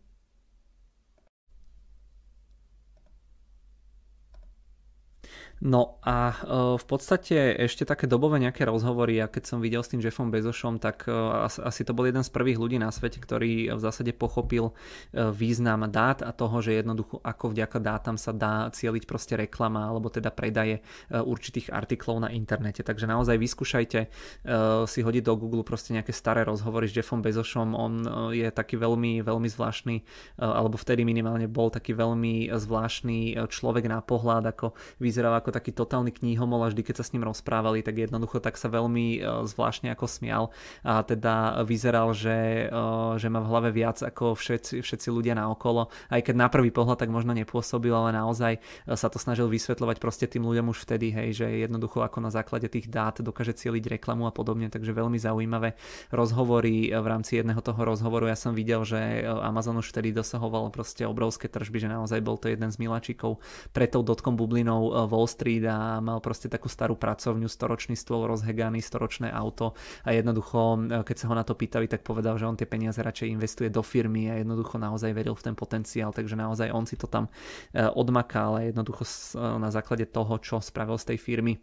No a v podstate ešte také dobové nejaké rozhovory, a keď som videl s tým Jeffom Bezosom, tak asi to bol jeden z prvých ľudí na svete, ktorý v zásade pochopil význam dát a toho, že jednoducho ako vďaka dátam sa dá cieliť proste reklama alebo teda predaje určitých artiklov na internete. Takže naozaj vyskúšajte si hodiť do Google proste nejaké staré rozhovory s Jeffom Bezosom. On je taký veľmi, veľmi zvláštny, alebo vtedy minimálne bol taký veľmi zvláštny človek na pohľad, ako vyzeral ako taký totálny knihomol a vždy, keď sa s ním rozprávali, tak jednoducho tak sa veľmi zvláštne ako smial a teda vyzeral, že, že má v hlave viac ako všetci, všetci ľudia naokolo. Aj keď na prvý pohľad tak možno nepôsobil, ale naozaj sa to snažil vysvetľovať proste tým ľuďom už vtedy, hej, že jednoducho ako na základe tých dát dokáže cieliť reklamu a podobne, takže veľmi zaujímavé rozhovory. V rámci jedného toho rozhovoru ja som videl, že Amazon už vtedy dosahoval proste obrovské tržby, že naozaj bol to jeden z miláčikov pred tou dotcom bublinou Wall Street a mal proste takú starú pracovňu, storočný stôl rozheganý, storočné auto a jednoducho, keď sa ho na to pýtali, tak povedal, že on tie peniaze radšej investuje do firmy a jednoducho naozaj veril v ten potenciál, takže naozaj on si to tam odmakal a jednoducho na základe toho, čo spravil z tej firmy,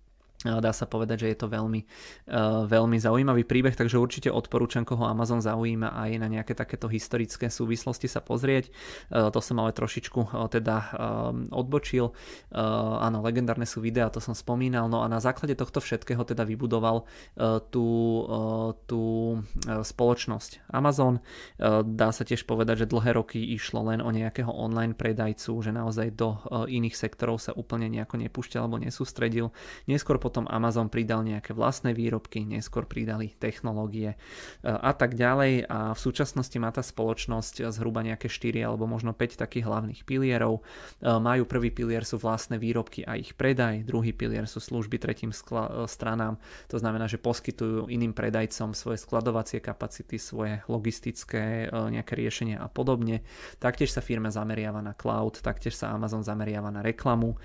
dá sa povedať, že je to veľmi, veľmi zaujímavý príbeh, takže určite odporúčam, koho Amazon zaujíma aj na nejaké takéto historické súvislosti sa pozrieť. To som ale trošičku teda odbočil. Áno, legendárne sú videá, to som spomínal. No a na základe tohto všetkého teda vybudoval tú, tú spoločnosť Amazon. Dá sa tiež povedať, že dlhé roky išlo len o nejakého online predajcu, že naozaj do iných sektorov sa úplne nejako nepúšťal alebo nesústredil. Neskôr potom Amazon pridal nejaké vlastné výrobky, neskôr pridali technológie a tak ďalej a v súčasnosti má tá spoločnosť zhruba nejaké štyri alebo možno päť takých hlavných pilierov. Majú prvý pilier sú vlastné výrobky a ich predaj, druhý pilier sú služby tretím skla- stranám, to znamená, že poskytujú iným predajcom svoje skladovacie kapacity, svoje logistické nejaké riešenia a podobne. Taktiež sa firma zameriava na cloud, taktiež sa Amazon zameriava na reklamu.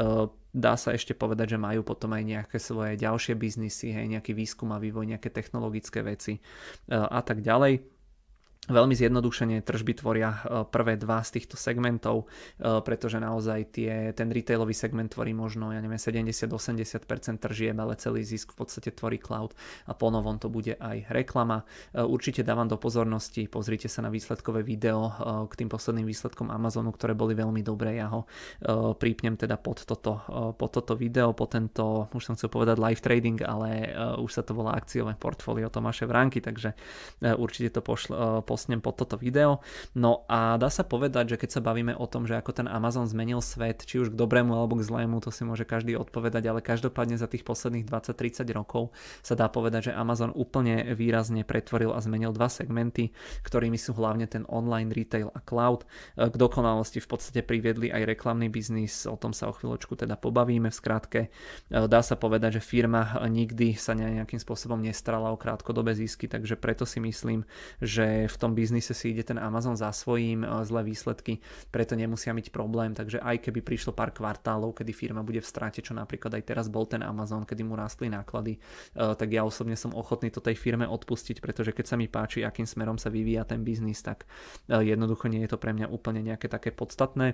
Dá sa ešte povedať, že majú potom aj nejaké svoje ďalšie biznisy, hej, nejaký výskum a vývoj, nejaké technologické veci a tak ďalej. Veľmi zjednodušene tržby tvoria prvé dva z týchto segmentov, pretože naozaj tie, ten retailový segment tvorí možno, ja neviem, sedemdesiat až osemdesiat percent tržieb, ale celý zisk v podstate tvorí cloud a ponovom to bude aj reklama. Určite dávam do pozornosti, pozrite sa na výsledkové video k tým posledným výsledkom Amazonu, ktoré boli veľmi dobré. Ja ho prípnem teda pod toto, pod toto video, pod tento, už som chcel povedať live trading, ale už sa to volá akciové portfólio Tomáša Vránky, takže určite to pošle posnem pod toto video. No a dá sa povedať, že keď sa bavíme o tom, že ako ten Amazon zmenil svet, či už k dobrému alebo k zlému, to si môže každý odpovedať, ale každopádne za tých posledných dvadsať tridsať rokov sa dá povedať, že Amazon úplne výrazne pretvoril a zmenil dva segmenty, ktorými sú hlavne ten online retail a cloud. K dokonalosti v podstate priviedli aj reklamný biznis, o tom sa o chvíľočku teda pobavíme v skratke. Dá sa povedať, že firma nikdy sa nejakým spôsobom nestarala o krátkodobé zisky, takže preto si myslím, že v tom biznise si ide ten Amazon za svojím, zlé výsledky, preto nemusia mať problém, takže aj keby prišlo pár kvartálov, kedy firma bude v strate, čo napríklad aj teraz bol ten Amazon, kedy mu rástli náklady, tak ja osobne som ochotný to tej firme odpustiť, pretože keď sa mi páči, akým smerom sa vyvíja ten biznis, tak jednoducho nie je to pre mňa úplne nejaké také podstatné.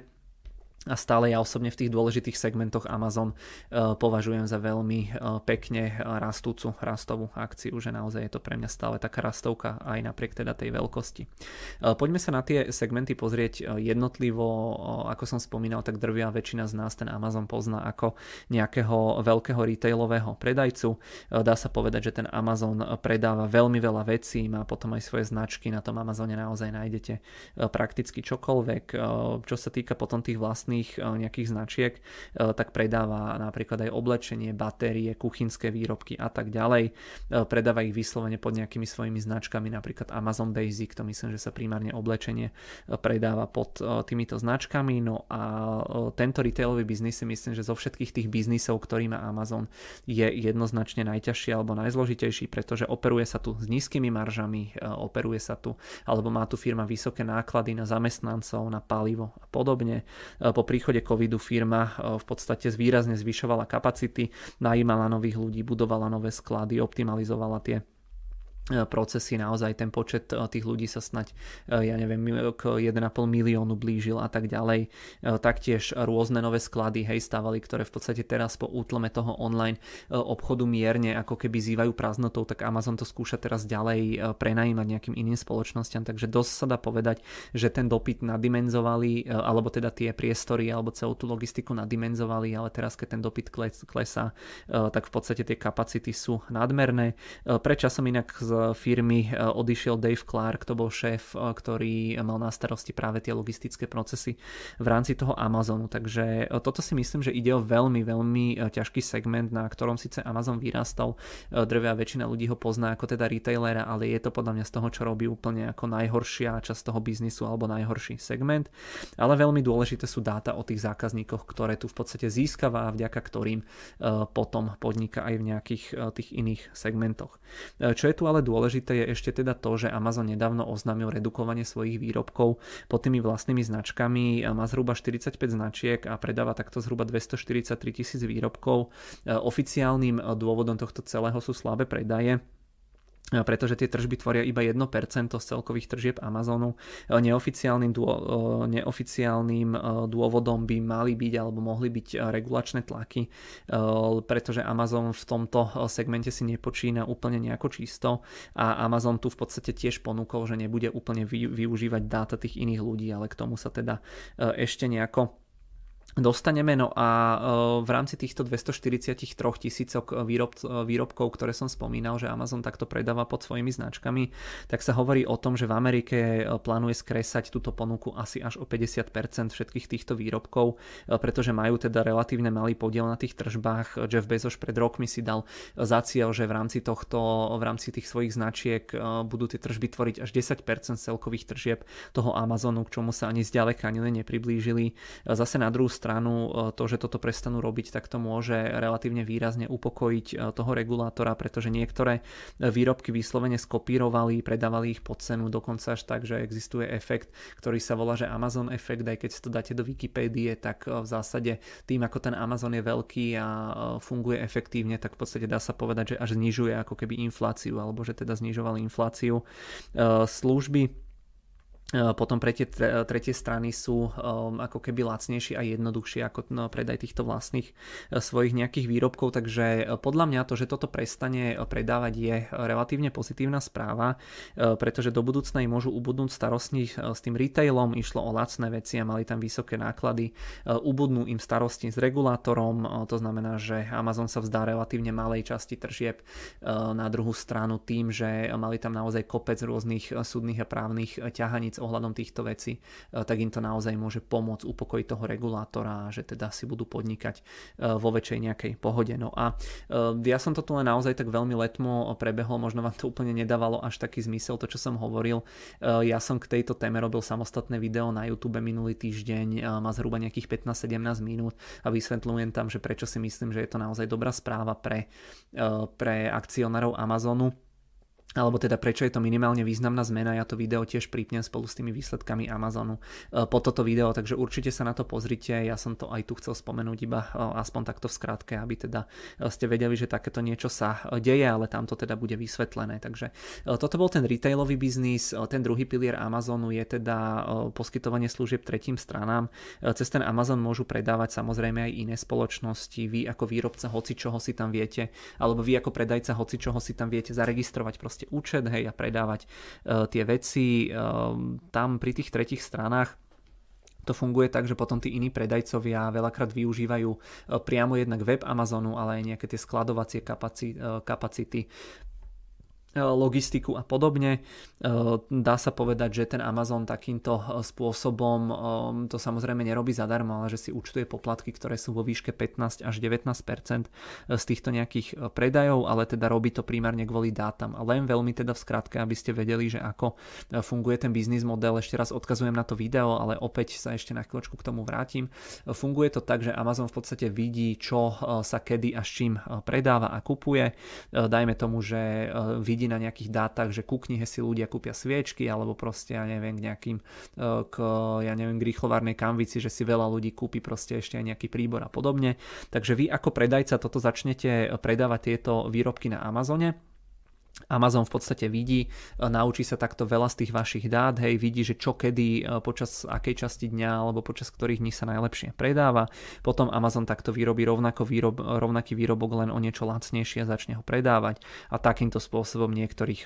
A stále ja osobne v tých dôležitých segmentoch Amazon uh, považujem za veľmi uh, pekne rastúcu rastovú akciu, že naozaj je to pre mňa stále taká rastovka aj napriek teda tej veľkosti. Uh, poďme sa na tie segmenty pozrieť uh, jednotlivo. Uh, ako som spomínal, tak drvia väčšina z nás ten Amazon pozná ako nejakého veľkého retailového predajcu. Uh, dá sa povedať, že ten Amazon predáva veľmi veľa vecí, má potom aj svoje značky, na tom Amazone naozaj nájdete uh, prakticky čokoľvek. Uh, čo sa týka potom tých vlastných nejakých značiek, tak predáva napríklad aj oblečenie, batérie, kuchynské výrobky a tak ďalej. Predáva ich vyslovene pod nejakými svojimi značkami, napríklad Amazon Basic, to myslím, že sa primárne oblečenie predáva pod týmito značkami. No a tento retailový biznis si myslím, že zo všetkých tých biznisov, ktorý má Amazon, je jednoznačne najťažší alebo najzložitejší, pretože operuje sa tu s nízkymi maržami, operuje sa tu, alebo má tu firma vysoké náklady na zamestnancov, na palivo a podobne. Po príchode covidu firma v podstate výrazne zvyšovala kapacity, najímala nových ľudí, budovala nové sklady, optimalizovala tie procesy, naozaj ten počet tých ľudí sa snať, ja neviem, k jeden a pol miliónu blížil a tak ďalej. Taktiež rôzne nové sklady, hej, stávali, ktoré v podstate teraz po útlme toho online obchodu mierne ako keby zývajú prázdnotou, tak Amazon to skúša teraz ďalej prenajímať nejakým iným spoločnosťam, takže dosť sa dá povedať, že ten dopyt nadimenzovali, alebo teda tie priestory alebo celú tú logistiku nadimenzovali, ale teraz keď ten dopyt klesá, tak v podstate tie kapacity sú nadmerné. Prečasom inak z firmy odišiel Dave Clark, to bol šéf, ktorý mal na starosti práve tie logistické procesy v rámci toho Amazonu, takže toto si myslím, že ide o veľmi, veľmi ťažký segment, na ktorom síce Amazon vyrastal, drvia väčšina ľudí ho pozná ako teda retailera, ale je to podľa mňa z toho, čo robí úplne ako najhoršia časť toho biznisu alebo najhorší segment, ale veľmi dôležité sú dáta o tých zákazníkoch, ktoré tu v podstate získava a vďaka ktorým potom podniká aj v nejakých tých iných segmentoch. Čo je tu ale dôležité je ešte teda to, že Amazon nedávno oznámil redukovanie svojich výrobkov pod tými vlastnými značkami. Má zhruba štyridsaťpäť značiek a predáva takto zhruba dvestoštyridsaťtri tisíc výrobkov. Oficiálnym dôvodom tohto celého sú slabé predaje, pretože tie tržby tvoria iba jedno percento z celkových tržieb Amazonu. Neoficiálnym, dô, neoficiálnym dôvodom by mali byť alebo mohli byť regulačné tlaky, pretože Amazon v tomto segmente si nepočína úplne nejako čisto a Amazon tu v podstate tiež ponúkol, že nebude úplne využívať dáta tých iných ľudí, ale k tomu sa teda ešte nejako dostaneme. No a v rámci týchto dvestoštyridsaťtri tisícok výrob, výrobkov, ktoré som spomínal, že Amazon takto predáva pod svojimi značkami, tak sa hovorí o tom, že v Amerike plánuje skresať túto ponuku asi až o päťdesiat percent všetkých týchto výrobkov, pretože majú teda relatívne malý podiel na tých tržbách. Jeff Bezos pred rokmi si dal za cieľ, že v rámci tohto, v rámci tých svojich značiek budú tie tržby tvoriť až desať percent celkových tržieb toho Amazonu, k čomu sa ani zďaleka ani len nepriblížili. Zase na druhú stranu stranu to, že toto prestanú robiť, tak to môže relatívne výrazne upokojiť toho regulátora, pretože niektoré výrobky vyslovene skopírovali, predávali ich pod cenu, dokonca až tak, že existuje efekt, ktorý sa volá, že Amazon efekt, aj keď si to dáte do Wikipédie, tak v zásade tým, ako ten Amazon je veľký a funguje efektívne, tak v podstate dá sa povedať, že až znižuje ako keby infláciu, alebo že teda znižovali infláciu. Služby Potom pre tie tretie strany sú um, ako keby lacnejšie a jednoduchšie ako no, predaj týchto vlastných uh, svojich nejakých výrobkov, takže uh, podľa mňa to, že toto prestane predávať je relatívne pozitívna správa, uh, pretože do budúcna im môžu ubudnúť starosti uh, s tým retailom, išlo o lacné veci a mali tam vysoké náklady, uh, ubudnú im starosti s regulátorom, uh, to znamená, že Amazon sa vzdá relatívne malej časti tržieb uh, na druhú stranu tým, že mali tam naozaj kopec rôznych uh, súdnych a právnych uh, ťahaníc ohľadom týchto vecí, tak im to naozaj môže pomôcť upokojiť toho regulátora, že teda si budú podnikať vo väčšej nejakej pohode. No a ja som to tu len naozaj tak veľmi letmo prebehol, možno vám to úplne nedávalo až taký zmysel, to čo som hovoril. Ja som k tejto téme robil samostatné video na YouTube minulý týždeň, má zhruba nejakých pätnásť sedemnásť minút a vysvetľujem tam, že prečo si myslím, že je to naozaj dobrá správa pre, pre akcionárov Amazonu. Alebo teda prečo je to minimálne významná zmena, ja to video tiež pripnem spolu s tými výsledkami Amazonu po toto video, takže určite sa na to pozrite, ja som to aj tu chcel spomenúť iba aspoň takto v skratke, aby teda ste vedeli, že takéto niečo sa deje, ale tam to teda bude vysvetlené, takže toto bol ten retailový biznis, ten druhý pilier Amazonu je teda poskytovanie služieb tretím stranám, cez ten Amazon môžu predávať samozrejme aj iné spoločnosti, vy ako výrobca hoci čoho si tam viete, alebo vy ako predajca hoci čoho si tam viete zaregistrovať proste účet, hej, a predávať uh, tie veci. Uh, tam pri tých tretích stranách to funguje tak, že potom tí iní predajcovia veľakrát využívajú uh, priamo jednak web Amazonu, ale aj nejaké tie skladovacie kapaci- uh, kapacity, logistiku a podobne. Dá sa povedať, že ten Amazon takýmto spôsobom to samozrejme nerobí zadarmo, ale že si účtuje poplatky, ktoré sú vo výške pätnásť až devätnásť percent z týchto nejakých predajov, ale teda robí to primárne kvôli dátam. A len veľmi teda v skratke, aby ste vedeli, že ako funguje ten biznis model. Ešte raz odkazujem na to video, ale opäť sa ešte na chvíľočku k tomu vrátim. Funguje to tak, že Amazon v podstate vidí, čo sa kedy a s čím predáva a kupuje. Dajme tomu, že vidí na nejakých dátach, že ku knihe si ľudia kúpia sviečky alebo proste, ja neviem, k nejakým k, ja neviem, k rýchlovárnej kanvici, že si veľa ľudí kúpi proste ešte aj nejaký príbor a podobne. Takže vy ako predajca toto začnete predávať tieto výrobky na Amazone. Amazon v podstate vidí, naučí sa takto veľa z tých vašich dát, hej, vidí, že čo kedy, počas akej časti dňa alebo počas ktorých dní sa najlepšie predáva. Potom Amazon takto vyrobí rovnako výrob, rovnaký výrobok len o niečo lacnejšie a začne ho predávať a takýmto spôsobom niektorých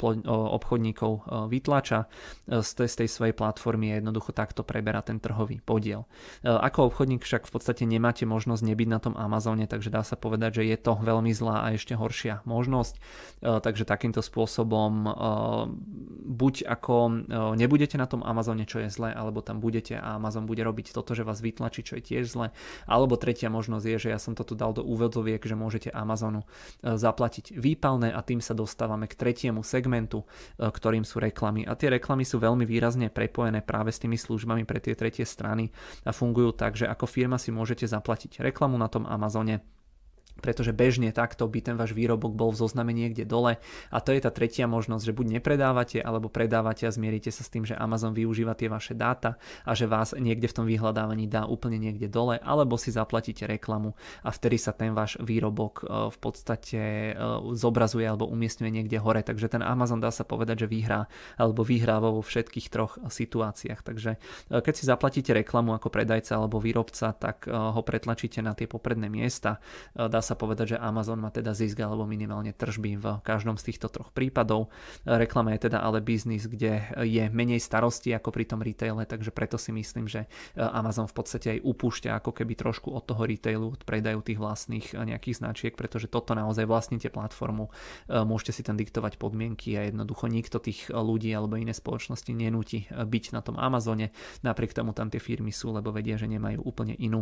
obchodníkov vytlača z tej, z tej svojej platformy a jednoducho takto preberá ten trhový podiel. Ako obchodník však v podstate nemáte možnosť nebyť na tom Amazone, takže dá sa povedať, že je to veľmi zlá a ešte horšia možnosť. Takže že takýmto spôsobom uh, buď ako uh, nebudete na tom Amazone, čo je zlé, alebo tam budete a Amazon bude robiť toto, že vás vytlačí, čo je tiež zlé. Alebo tretia možnosť je, že ja som to tu dal do úvodzoviek, že môžete Amazonu uh, zaplatiť výpalné a tým sa dostávame k tretiemu segmentu, uh, ktorým sú reklamy. A tie reklamy sú veľmi výrazne prepojené práve s tými službami pre tie tretie strany a fungujú tak, že ako firma si môžete zaplatiť reklamu na tom Amazone, pretože bežne takto by ten váš výrobok bol v zozname niekde dole a to je tá tretia možnosť, že buď nepredávate alebo predávate a zmierite sa s tým, že Amazon využíva tie vaše dáta a že vás niekde v tom vyhľadávaní dá úplne niekde dole, alebo si zaplatíte reklamu a vtedy sa ten váš výrobok v podstate zobrazuje alebo umiestňuje niekde hore, takže ten Amazon dá sa povedať, že vyhrá alebo vyhrá vo všetkých troch situáciách, takže keď si zaplatíte reklamu ako predajca alebo výrobca, tak ho pretlačíte na tie popredné miesta. Dá sa povedať, že Amazon má teda zisk alebo minimálne tržby v každom z týchto troch prípadov. Reklama je teda ale biznis, kde je menej starosti ako pri tom retaile, takže preto si myslím, že Amazon v podstate aj upúšťa ako keby trošku od toho retailu, od predaju tých vlastných nejakých značiek, pretože toto naozaj vlastníte platformu, môžete si tam diktovať podmienky a jednoducho nikto tých ľudí alebo iné spoločnosti nenúti byť na tom Amazone, napriek tomu tam tie firmy sú, lebo vedia, že nemajú úplne inú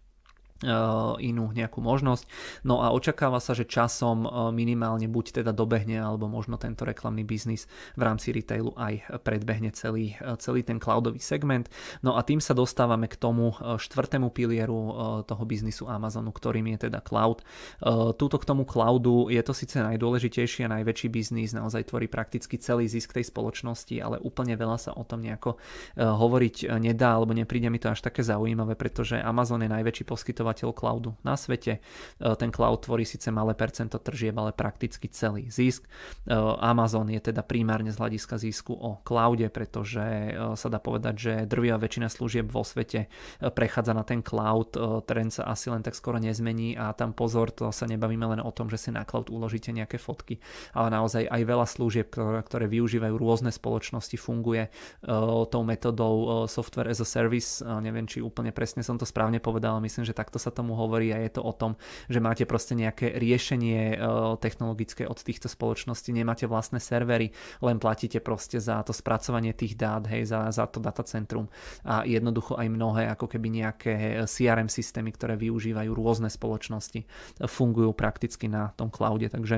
inú nejakú možnosť. No a očakáva sa, že časom minimálne buď teda dobehne, alebo možno tento reklamný biznis v rámci retailu aj predbehne celý, celý ten cloudový segment. No a tým sa dostávame k tomu štvrtému pilieru toho biznisu Amazonu, ktorým je teda cloud. Túto k tomu cloudu je to síce najdôležitejší a najväčší biznis, naozaj tvorí prakticky celý zisk tej spoločnosti, ale úplne veľa sa o tom nejako hovoriť nedá, alebo nepríde mi to až také zaujímavé, pretože Amazon je najväčší poskytovateľ poskytovateľ cloudu na svete. Ten cloud tvorí síce malé percento tržieb, ale prakticky celý zisk. Amazon je teda primárne z hľadiska zisku o cloude, pretože sa dá povedať, že drvivá väčšina služieb vo svete prechádza na ten cloud. Trend sa asi len tak skoro nezmení a tam pozor, to sa nebavíme len o tom, že si na cloud uložíte nejaké fotky, ale naozaj aj veľa služieb, ktoré, ktoré využívajú rôzne spoločnosti, funguje tou metodou software as a service. Neviem, či úplne presne som to správne povedal, myslím, že takto sa tomu hovorí a je to o tom, že máte proste nejaké riešenie technologické od týchto spoločností, nemáte vlastné servery, len platíte proste za to spracovanie tých dát, hej, za, za to datacentrum a jednoducho aj mnohé ako keby nejaké C R M systémy, ktoré využívajú rôzne spoločnosti, fungujú prakticky na tom cloude, takže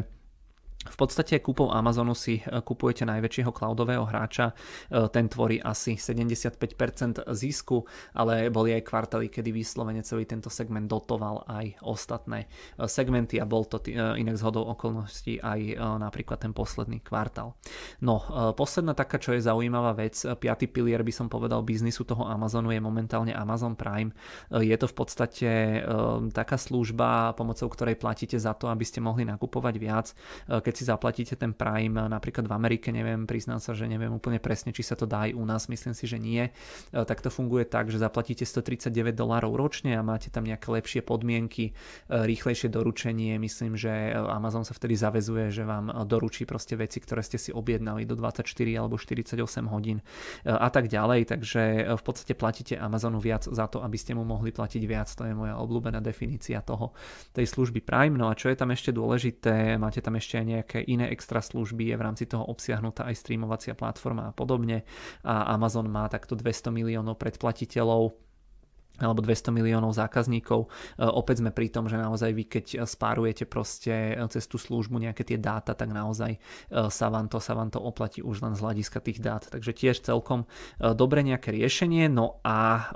v podstate kúpou Amazonu si kupujete najväčšieho cloudového hráča, ten tvorí asi sedemdesiatpäť percent zisku, ale boli aj kvartály, kedy vyslovene celý tento segment dotoval aj ostatné segmenty a bol to inak zhodou okolností aj napríklad ten posledný kvartál. No, posledná taká, čo je zaujímavá vec, piaty pilier by som povedal biznisu toho Amazonu je momentálne Amazon Prime. Je to v podstate taká služba, pomocou ktorej platíte za to, aby ste mohli nakupovať viac. Keď si zaplatíte ten Prime napríklad v Amerike, neviem, priznám sa, že neviem úplne presne, či sa to dá aj u nás, myslím si, že nie, tak to funguje tak, že zaplatíte stotridsaťdeväť dolárov ročne a máte tam nejaké lepšie podmienky, rýchlejšie doručenie, myslím, že Amazon sa vtedy zaväzuje, že vám doručí proste veci, ktoré ste si objednali do dvadsaťštyri alebo štyridsaťosem hodín a tak ďalej, takže v podstate platíte Amazonu viac za to, aby ste mu mohli platiť viac, to je moja obľúbená definícia toho, tej služby Prime. No a čo je tam ešte dôležité, máte tam ešte aj nejaké iné extra služby, je v rámci toho obsiahnutá aj streamovacia platforma a podobne a Amazon má takto dvesto miliónov predplatiteľov alebo dvesto miliónov zákazníkov. Opäť sme pri tom, že naozaj vy keď spárujete proste cez tú službu nejaké tie dáta, tak naozaj sa vám to, sa vám to oplatí už len z hľadiska tých dát. Takže tiež celkom dobre nejaké riešenie. No a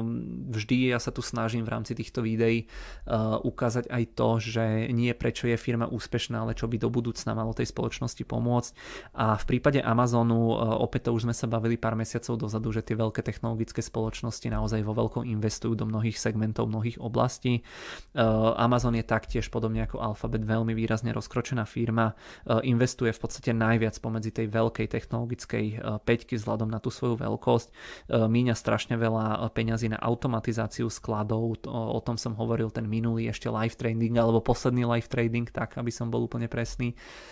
vždy ja sa tu snažím v rámci týchto videí ukázať aj to, že nie prečo je firma úspešná, ale čo by do budúcna malo tej spoločnosti pomôcť. A v prípade Amazonu, opäť to už sme sa bavili pár mesiacov dozadu, že tie veľké technologické spoločnosti naozaj vo veľkom investujú do mnohých segmentov, mnohých oblastí. Amazon je taktiež podobne ako Alphabet veľmi výrazne rozkročená firma. Investuje v podstate najviac pomedzi tej veľkej technologickej päťky vzhľadom na tú svoju veľkosť. Míňa strašne veľa peňazí na automatizáciu skladov. O tom som hovoril ten minulý ešte live trading alebo posledný live trading, tak aby som bol úplne presný.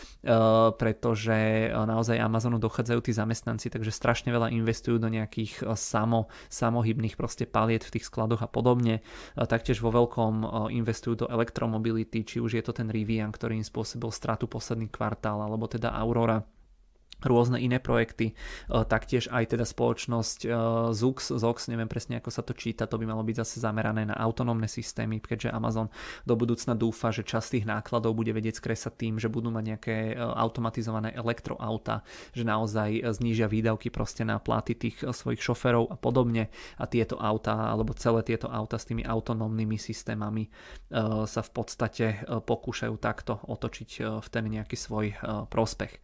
Pretože naozaj Amazonu dochádzajú tí zamestnanci, takže strašne veľa investujú do nejakých samo, samohybných proste paliet v tých skladoch a podobne. Taktiež vo veľkom investujú do elektromobility, či už je to ten Rivian, ktorý im spôsobil stratu posledný kvartál, alebo teda Aurora, rôzne iné projekty, taktiež aj teda spoločnosť Zoox, Zoox, neviem presne ako sa to číta, to by malo byť zase zamerané na autonómne systémy, keďže Amazon do budúcna dúfa, že časť tých nákladov bude vedieť skresať tým, že budú mať nejaké automatizované elektroauta, že naozaj znížia výdavky proste na platy tých svojich šoférov a podobne a tieto auta, alebo celé tieto auta s tými autonómnymi systémami sa v podstate pokúšajú takto otočiť v ten nejaký svoj prospech.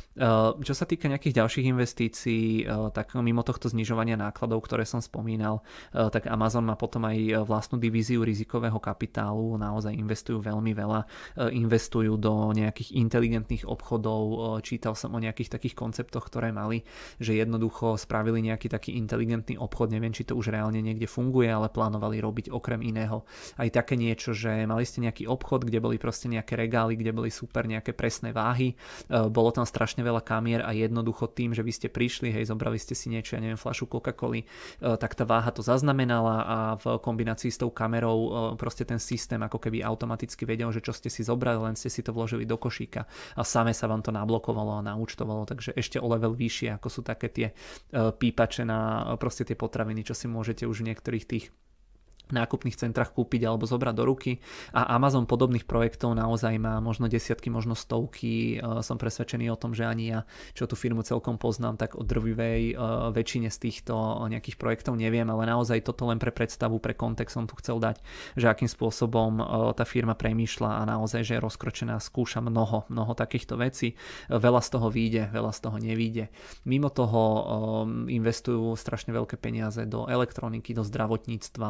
Čo sa týka nejakých ďalších investícií, tak mimo tohto znižovania nákladov, ktoré som spomínal, tak Amazon má potom aj vlastnú divíziu rizikového kapitálu, naozaj investujú veľmi veľa, investujú do nejakých inteligentných obchodov, čítal som o nejakých takých konceptoch, ktoré mali, že jednoducho spravili nejaký taký inteligentný obchod, neviem, či to už reálne niekde funguje, ale plánovali robiť okrem iného aj také niečo, že mali ste nejaký obchod, kde boli proste nejaké regály, kde boli super nejaké presné váhy, bolo tam strašne veľa kamier a jednoducho tým, že vy ste prišli, hej, zobrali ste si niečo, ja neviem, fľašu Coca-Coly, tak tá váha to zaznamenala a v kombinácii s tou kamerou proste ten systém ako keby automaticky vedel, že čo ste si zobrali, len ste si to vložili do košíka a same sa vám to nablokovalo a naúčtovalo, takže ešte o level vyššie, ako sú také tie pípače na proste tie potraviny, čo si môžete už v niektorých tých nákupných centrách kúpiť alebo zobrať do ruky a Amazon podobných projektov naozaj má možno desiatky, možno stovky. Som presvedčený o tom, že ani ja, čo tú firmu celkom poznám, tak o drvivej väčšine z týchto nejakých projektov neviem, ale naozaj toto len pre predstavu, pre kontext som tu chcel dať, že akým spôsobom tá firma premýšľa a naozaj, že je rozkročená, skúša mnoho, mnoho takýchto vecí. Veľa z toho vyjde, veľa z toho nevyjde. Mimo toho investujú strašne veľké peniaze do elektroniky, do zdravotníctva, do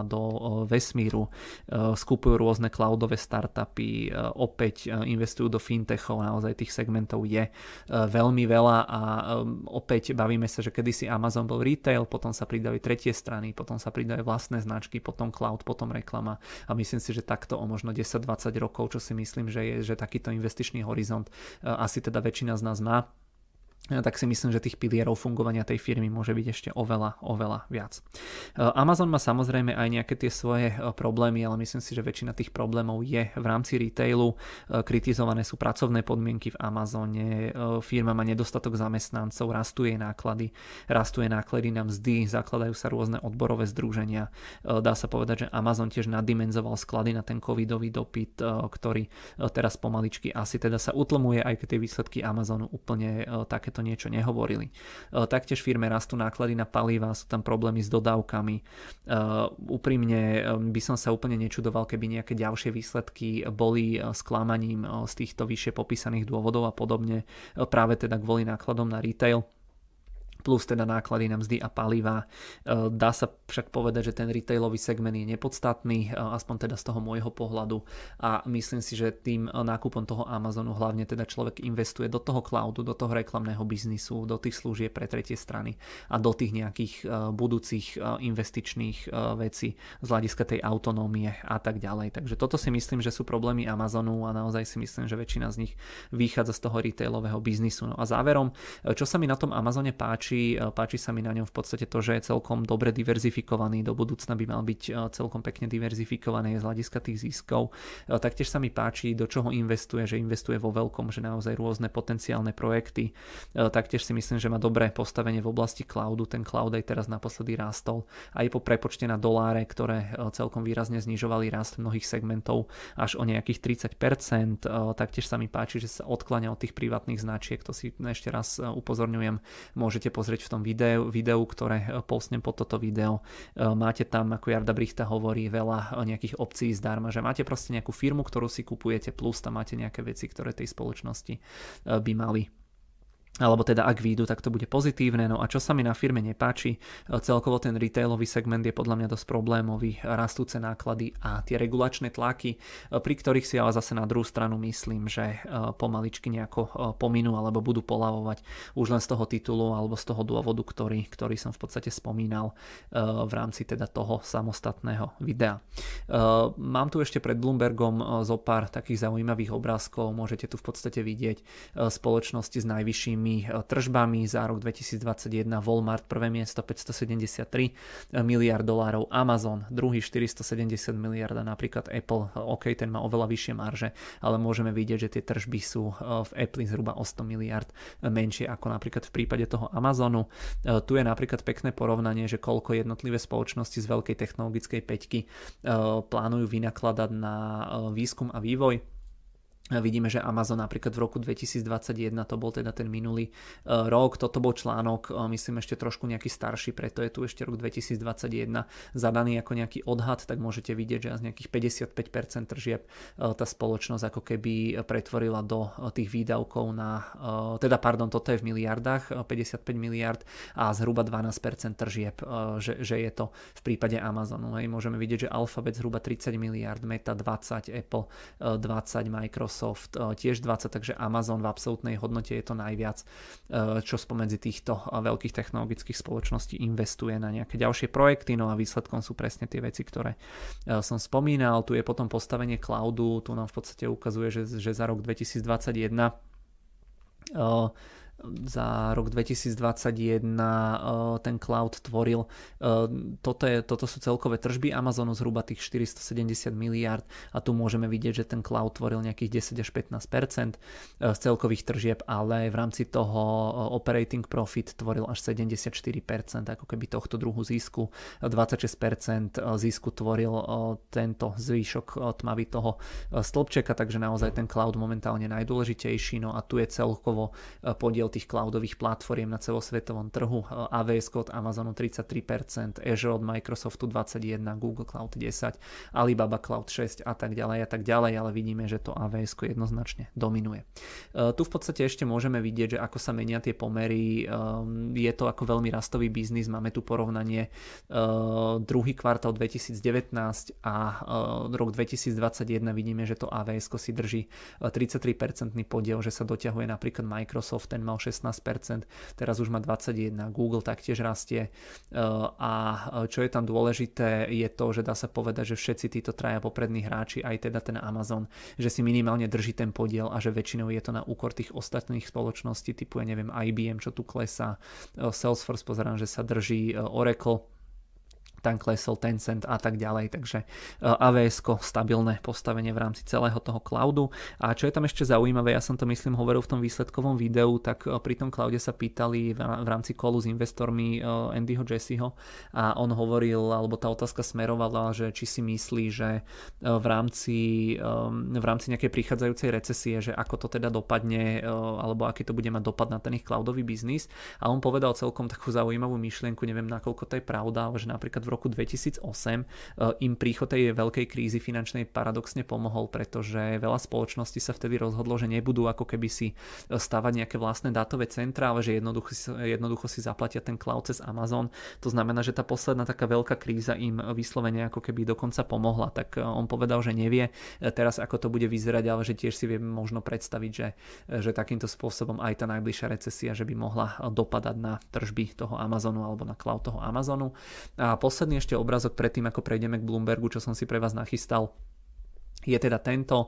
vesmíru, skupujú rôzne cloudové startupy, opäť investujú do fintechov, naozaj tých segmentov je veľmi veľa a opäť bavíme sa, že kedysi Amazon bol retail, potom sa pridali tretie strany, potom sa pridali vlastné značky, potom cloud, potom reklama a myslím si, že takto o možno desať dvadsať rokov, čo si myslím, že je, že takýto investičný horizont asi teda väčšina z nás má, tak si myslím, že tých pilierov fungovania tej firmy môže byť ešte oveľa, oveľa viac. Amazon má samozrejme aj nejaké tie svoje problémy, ale myslím si, že väčšina tých problémov je v rámci retailu. Kritizované sú pracovné podmienky v Amazone, firma má nedostatok zamestnancov, rastú jej náklady, rastú jej náklady na mzdy, zakladajú sa rôzne odborové združenia. Dá sa povedať, že Amazon tiež nadimenzoval sklady na ten covidový dopyt, ktorý teraz pomaličky asi teda sa utlmuje, aj keď tie výsledky Amazonu úplne také to niečo nehovorili. Taktiež firme rastú náklady na palíva, sú tam problémy s dodávkami. Úprimne by som sa úplne nečudoval, keby nejaké ďalšie výsledky boli sklamaním z týchto vyššie popísaných dôvodov a podobne, práve teda kvôli nákladom na retail, plus teda náklady na mzdy a paliva. Dá sa však povedať, že ten retailový segment je nepodstatný, aspoň teda z toho môjho pohľadu a myslím si, že tým nákupom toho Amazonu hlavne teda človek investuje do toho cloudu, do toho reklamného biznisu, do tých služieb pre tretie strany a do tých nejakých budúcich investičných vecí z hľadiska tej autonómie a tak ďalej. Takže toto si myslím, že sú problémy Amazonu a naozaj si myslím, že väčšina z nich vychádza z toho retailového biznisu. No a záverom, čo sa mi na tom Amazone páči, Páči sa mi na ňom v podstate to, že je celkom dobre diverzifikovaný, do budúcna by mal byť celkom pekne diverzifikovaný z hľadiska tých ziskov. Taktiež sa mi páči, do čoho investuje, že investuje vo veľkom, že naozaj rôzne potenciálne projekty. Taktiež si myslím, že má dobré postavenie v oblasti cloudu, ten cloud aj teraz naposledy rástol. Aj po prepočte na doláre, ktoré celkom výrazne znižovali rast mnohých segmentov až o nejakých tridsať percent. Taktiež sa mi páči, že sa odkláňa od tých privátnych značiek, to si ešte raz upozorňujem, môžete pozrieť v tom videu, videu, ktoré postnem pod toto video. Máte tam, ako Jarda Brichta hovorí, veľa nejakých opcií zdarma, že máte proste nejakú firmu, ktorú si kupujete, plus tam máte nejaké veci, ktoré tej spoločnosti by mali, alebo teda ak výjdu, tak to bude pozitívne. No a čo sa mi na firme nepáči, celkovo ten retailový segment je podľa mňa dosť problémový, rastúce náklady a tie regulačné tlaky, pri ktorých si ale zase na druhú stranu myslím, že pomaličky nejako pominú alebo budú poľavovať už len z toho titulu alebo z toho dôvodu, ktorý, ktorý som v podstate spomínal v rámci teda toho samostatného videa. Mám tu ešte pred Bloombergom zo pár takých zaujímavých obrázkov, môžete tu v podstate vidieť spoločnosti s najvyššími tržbami za rok dvetisícdvadsaťjeden. Walmart prvé miesto päťstosedemdesiattri miliárd dolárov, Amazon druhý štyristosedemdesiat miliárd a napríklad Apple, ok, ten má oveľa vyššie marže, ale môžeme vidieť, že tie tržby sú v Apple zhruba o sto miliárd menšie ako napríklad v prípade toho Amazonu. Tu je napríklad pekné porovnanie, že koľko jednotlivé spoločnosti z veľkej technologickej päťky plánujú vynakladať na výskum a vývoj. Vidíme, že Amazon napríklad v roku dvetisícdvadsaťjeden, to bol teda ten minulý rok, toto bol článok, myslím ešte trošku nejaký starší, preto je tu ešte rok dvetisícdvadsaťjeden zadaný ako nejaký odhad, tak môžete vidieť, že z nejakých päťdesiatpäť percent tržieb tá spoločnosť ako keby pretvorila do tých výdavkov na, teda pardon, toto je v miliardách, päťdesiatpäť miliárd a zhruba dvanásť percent tržieb, že, že je to v prípade Amazonu. Hej. Môžeme vidieť, že Alphabet zhruba tridsať miliárd, Meta dvadsať, Apple dvadsať, Microsoft Microsoft tiež dvadsať, takže Amazon v absolútnej hodnote je to najviac, čo spomedzi týchto veľkých technologických spoločností investuje na nejaké ďalšie projekty, no a výsledkom sú presne tie veci, ktoré som spomínal. Tu je potom postavenie cloudu, tu nám v podstate ukazuje, že, že za rok dvetisícdvadsaťjeden za rok dvetisícdvadsaťjeden ten cloud tvoril, toto, je, toto sú celkové tržby Amazonu zhruba tých štyristosedemdesiat miliárd a tu môžeme vidieť, že ten cloud tvoril nejakých desať až pätnásť percent z celkových tržieb, ale v rámci toho operating profit tvoril až sedemdesiatštyri percent ako keby tohto druhu zisku, dvadsaťšesť percent zisku tvoril tento zvýšok tmavý toho stĺpčeka, takže naozaj ten cloud momentálne najdôležitejší, no a tu je celkovo podiel tých cloudových platform na celosvetovom trhu. á vé es od Amazonu tridsaťtri percent, Azure od Microsoftu dvadsaťjeden percent, Google Cloud desať percent, Alibaba Cloud šesť percent a tak ďalej a tak ďalej, ale vidíme, že to á vé es jednoznačne dominuje. Tu v podstate ešte môžeme vidieť, že ako sa menia tie pomery. Je to ako veľmi rastový biznis, máme tu porovnanie druhý kvartál dvetisícdevätnásť a rok dvetisícdvadsaťjeden, vidíme, že to á vé es si drží tridsaťtri percent podiel, že sa doťahuje napríklad Microsoft, ten mal šestnásť percent, teraz už má dvadsaťjeden percent, Google taktiež rastie a čo je tam dôležité je to, že dá sa povedať, že všetci títo traja poprední hráči, aj teda ten Amazon, že si minimálne drží ten podiel a že väčšinou je to na úkor tých ostatných spoločností typu, ja neviem, í bí em, čo tu klesá, Salesforce pozerám, že sa drží, Oracle tam klesol, Tencent a tak ďalej, takže á vé es stabilné postavenie v rámci celého toho cloudu. A čo je tam ešte zaujímavé, ja som to myslím hovoril v tom výsledkovom videu, tak pri tom cloude sa pýtali v rámci callu s investormi Andyho Jesseho a on hovoril, alebo tá otázka smerovala, že či si myslí, že v rámci, v rámci nejakej prichádzajúcej recesie, že ako to teda dopadne, alebo aký to bude mať dopad na ten ich cloudový biznis. A on povedal celkom takú zaujímavú myšlienku, neviem nakoľko to je pravda, ale že napríklad v roku dvetisícosem im príchod tej veľkej krízy finančnej paradoxne pomohol, pretože veľa spoločností sa vtedy rozhodlo, že nebudú ako keby si stavať nejaké vlastné dátové centra, ale že jednoducho, jednoducho si zaplatia ten cloud cez Amazon. To znamená, že tá posledná taká veľká kríza im vyslovene ako keby dokonca pomohla. Tak on povedal, že nevie teraz ako to bude vyzerať, ale že tiež si vie možno predstaviť, že, že takýmto spôsobom aj tá najbližšia recesia, že by mohla dopadať na tržby toho Amazonu alebo na cloud toho Amazonu. A posledný ešte obrázok predtým, ako prejdeme k Bloombergu, čo som si pre vás nachystal, je teda tento.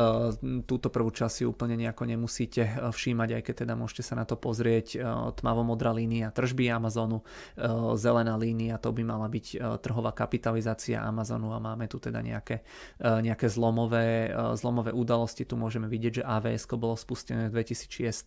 Túto prvú časť si úplne nejako nemusíte všímať, aj keď teda môžete sa na to pozrieť. Tmavo-modrá línia tržby Amazonu, zelená línia to by mala byť trhová kapitalizácia Amazonu a máme tu teda nejaké, nejaké zlomové, zlomové udalosti. Tu môžeme vidieť, že á vé es bolo spustené v dvetisícšesť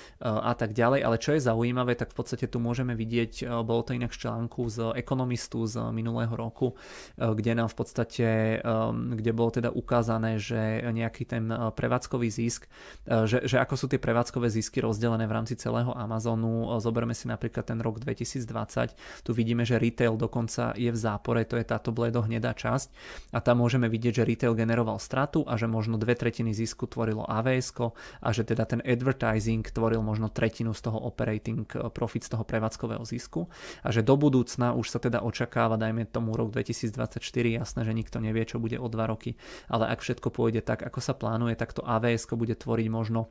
a tak ďalej, ale čo je zaujímavé, tak v podstate tu môžeme vidieť, bolo to inak v článku z Economistu z minulého roku, kde nám v podstate, kde bolo teda ukázané, ukázané, že nejaký ten prevádzkový zisk, že, že ako sú tie prevádzkové zisky rozdelené v rámci celého Amazonu. Zoberme si napríklad ten rok dvetisícdvadsať. Tu vidíme, že retail dokonca je v zápore, to je táto bledohnedá časť a tam môžeme vidieť, že retail generoval stratu a že možno dve tretiny zisku tvorilo á vé es a že teda ten advertising tvoril možno tretinu z toho operating profit, z toho prevádzkového zisku a že do budúcna už sa teda očakáva, dajme tomu rok dvetisícdvadsaťštyri, jasné, že nikto nevie, čo bude o dva roky, ale ak všetko pôjde tak, ako sa plánuje, tak to á vé es bude tvoriť možno,